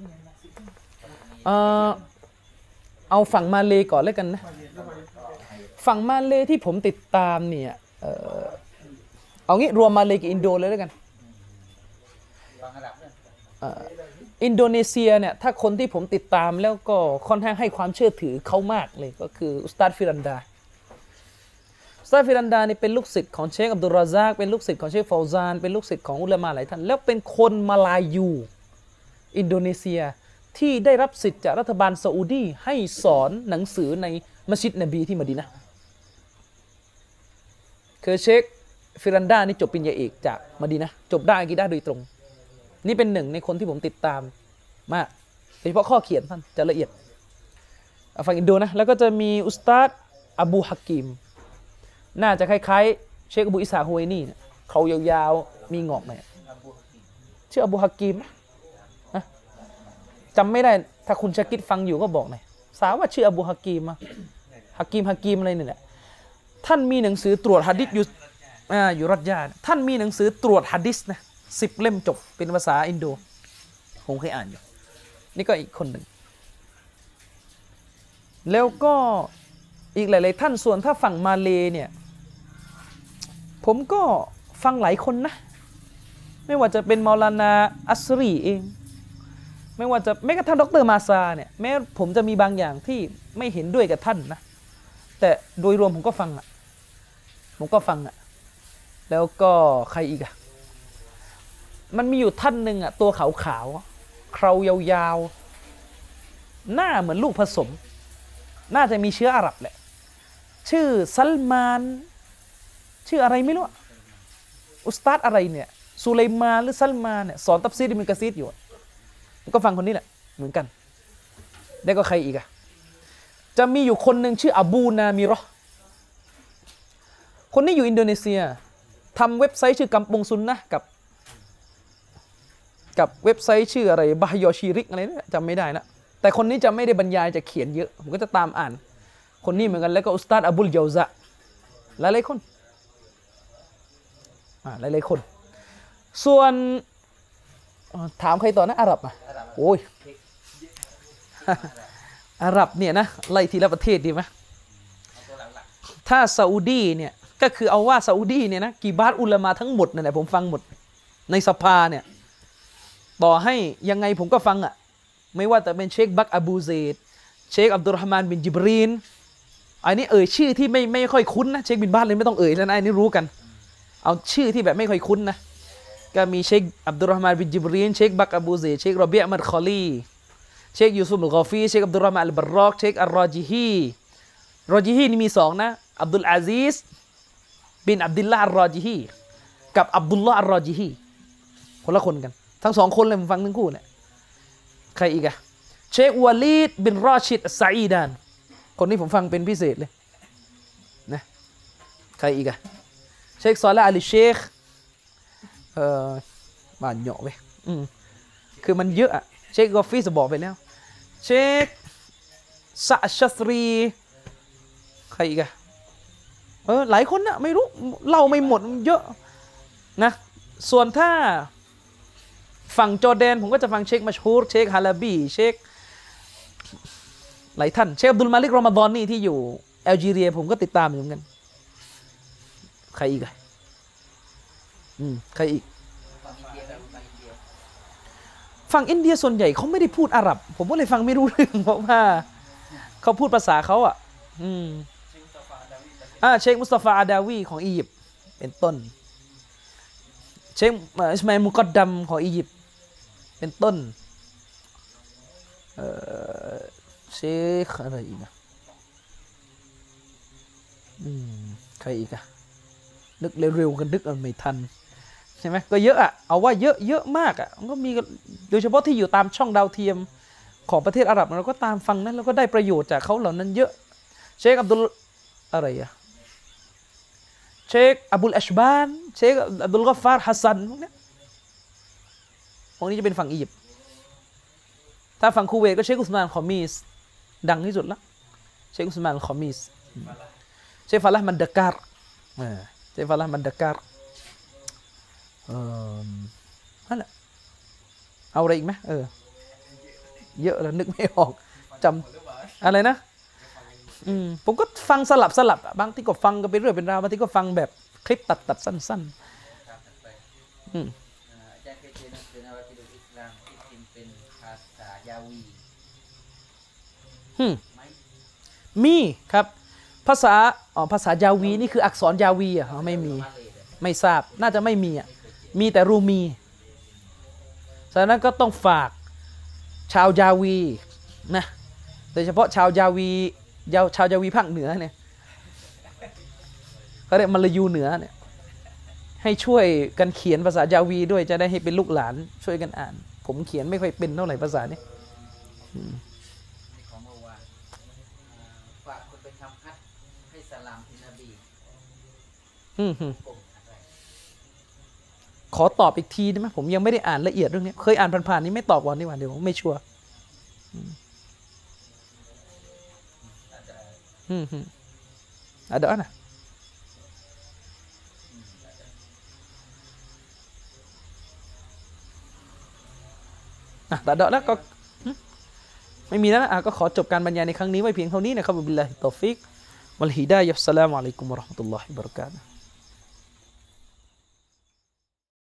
เอาฝั่งมาเลก่อนแล้วกันนะฝั่งมาเลที่ผมติดตามเนี่ยเอางี้รวมมาเลกับอินโดเลยแล้วกันอินโดนีเซียเนี่ยถ้าคนที่ผมติดตามแล้วก็ค่อนข้างให้ความเชื่อถือเขามากเลยก็คืออุสตาดฟิรันดาอุสตาดฟิรันดานี่เป็นลูกศิษย์ของเชคอับดุลรอซากเป็นลูกศิษย์ของเชคฟาวซานเป็นลูกศิษย์ของอุลามะหลายท่านแล้วเป็นคนมาลายูอินโดนีเซียที่ได้รับสิทธิ์จากรัฐบาลซาอุดีให้สอนหนังสือในมัสยิดนบีที่มะดีนะห์คือเชคฟิรันดานี่จบปริญญาเอกจากมะดีนะห์จบด้านอะกีดะห์โดยตรงนี่เป็นหนึ่งในคนที่ผมติดตามมากโดยเฉพาะข้อเขียนท่านจะละเอียดฝั่งอินโดนะแล้วก็จะมีอุสตาดอบูฮักกิมน่าจะคล้ายๆเชคอบูอิสาฮุไวนีเนี่ยเขายาวๆมีงอกหน่อยชื่ออบูฮักกิมจำไม่ได้ถ้าคุณชากิดฟังอยู่ก็บอกหน่อยสาวว่าชื่ออบูฮักกิมฮักกิมอะไรนี่แหละท่านมีหนังสือตรวจหะดีษอยู่รัฐยาท่านมีหนังสือตรวจหะดีษนะ10 เล่มจบเป็นภาษาอินโดผมเคยอ่านอยู่นี่ก็อีกคนหนึ่งแล้วก็อีกหลายๆท่านส่วนถ้าฝั่งมาเลเนี่ยผมก็ฟังหลายคนนะไม่ว่าจะเป็นมอลานาอัสรีเองไม่ว่าจะแม้กระทั่งดร.มาซาเนี่ยแม้ผมจะมีบางอย่างที่ไม่เห็นด้วยกับท่านนะแต่โดยรวมผมก็ฟังแล้วก็ใครอีกอะมันมีอยู่ท่านหนึ่งอะตัวขาวๆเครายาวๆหน้าเหมือนลูกผสมน่าจะมีเชื้ออาหรับแหละชื่อซัลมานชื่ออะไรไม่รู้อุสตาดอะไรเนี่ยซูไลมานหรือซัลมานเนี่ยสอนตัฟซีรอิบนุกะซีรอยู่ก็ฟังคนนี้แหละเหมือนกันแล้วก็ใครอีกอะจะมีอยู่คนหนึ่งชื่ออบูนามิเราะห์คนนี้อยู่อินโดนีเซียทำเว็บไซต์ชื่อกัมปงซุนนะกับเว็บไซต์ชื่ออะไรบะฮยอชีริกอะไรเนี่ยจำไม่ได้นะแต่คนนี้จะไม่ได้บรรยายจะเขียนเยอะผมก็จะตามอ่านคนนี้เหมือนกันแล้วก็อุสตาดอบุลเยาซะหลายๆคนส่วนถามใครต่อนะอาหรับอ่ะโอ้ยอาหรับเนี่ยนะไล่ทีละประเทศดีไหมถ้าซาอุดีเนี่ยก็คือเอาว่าซาอุดีเนี่ยนะกีบาตอุลามะทั้งหมดนั่นแหละผมฟังหมดในสภาเนี่ยต่อให้ยังไงผมก็ฟังอ่ะไม่ว่าแต่เป็นเชคบักอบูเซดเชคอับดุลรห์มานบินจิบรีนอันนี้ชื่อที่ไม่ค่อยคุ้นนะเชคบินบาสเลยไม่ต้องเลยนะอันนี้รู้กันเอาชื่อที่แบบไม่ค่อยคุ้นนะก็มีเชคอับดุลรอฮ์มานบินจิบรีนเชคบักอบูเซเชครอเบียมัดคอลีเชคยูซุฟอัลกอฟีเชคอับดุลรอฮ์มานอัลบารอกเชคอัลรอจิฮีนี่มี2นะอับดุลอาซิซบินอับดุลลาห์อัลรอจิฮีกับอับดุลลาห์อัลรอจิฮีคนละคนกันทั้ง2คนเลยผมฟังทั้งคู่เนี่ยใครอีกอะเชควาลีดบินรอชิดอัสซาอีดานคนนี้ผมฟังเป็นพิเศษเลยนะใครอีกอะเชคซอลาอัลเชคบ้านเหยาะเว้ยคือมันเยอะอะเชคกอฟฟี่จะบอกไปแล้วเชคซะชัสรีใครอีกอะหลายคนนะไม่รู้เล่าไม่หมดมันเยอะนะส่วนถ้าฝั่งจอร์แดนผมก็จะฟังเชคมัชฮูรเชคฮาลาบีเชคหลายท่านเชคอับดุลมาลิกรอมฎอนนี่ที่อยู่แอลจีเรียผมก็ติดตามอยู่เหมือนกันใครอีกอะใครอีกฝั่งอินเดียส่วนใหญ่เขาไม่ได้พูดอาหรับผมก็เลยฟังไม่รู้เรื่องเพราะว่าเขาพูดภาษาเขาอ่ะเชคมุสตาฟาอาดาวีของอียิปต์เป็นต้นเชคอิสมาอิลมุกอดดัมของอียิปต์เป็นต้นเชคอะไรอีกนะใครอีกอะนึกเร็วๆกันนึกไม่ทันใช่ไหมก็เยอะอะเอาว่าเยอะมากอะมันก็มีโดยเฉพาะที่อยู่ตามช่องดาวเทียมของประเทศอาหรับเราก็ตามฟังนั้นแล้วก็ได้ประโยชน์จากเขาเหล่านั้นเยอะเชคอับดุลอะไรอะเชคอับุลอัชบานเชคอับดุลกอฟฟาร์ฮัสซันพวกนี้จะเป็นฝั่งอียิปต์ถ้าฝั่งคูเวตก็เชคอุสมานคอมีสดังที่สุดละเชคอุสมานคอมีสเชคฟาละห์มันดะการ์เชคฟาละห์มันดะการ์นั่นแหละเอาอะไรอีกไหมเยอะแล้วนึกไม่ออกจำอะไรนะผมก็ฟังสลับบางทีก็ฟังก็ไปเรื่อยเป็นราวบางทีก็ฟังแบบคลิปตัดสั้นๆอาจารย์เคยเจอหนังสือนวติดุลอิสลามที่พิมพ์เป็นภาษายาวีมีครับภาษายาวีนี่คืออักษรยาวีอ่ะไม่มีไม่ทราบน่าจะไม่มีอ่ะมีแต่รูมีฉะนั้นก็ต้องฝากชาวยาวีนะโดยเฉพาะชาวยาวีภาคเหนือเนี่ยเขาเรียกมลายูเหนือเนี่ยให้ช่วยกันเขียนภาษายาวีด้วยจะได้ให้เป็นลูกหลานช่วยกันอ่านผมเขียนไม่ค่อยเป็นเท่าไหร่ภาษานี้ของเมื่อวานฝากคนไปทำฮัจญ์ให้สลามที่นบีขอตอบอีกทีได้ไหมผมยังไม่ได้อ่านละเอียดเรื่องนี้เคยอ่านผ่านๆนี้ไม่ตอบก่อนดีกว่าเดี๋ยวผมไม่ชัวร์adaนะแต่เดาแล้วก็ไม่มีแล้วนะก็ขอจบการบรรยายในครั้งนี้ไว้เพียงเท่านี้นะครับบิลลาฮิตตอฟิกวัลฮิดายะฮ์อัสสลามุอะลัยกุมวะเราะห์มะตุลลอฮิวะบะเราะกาตุฮ์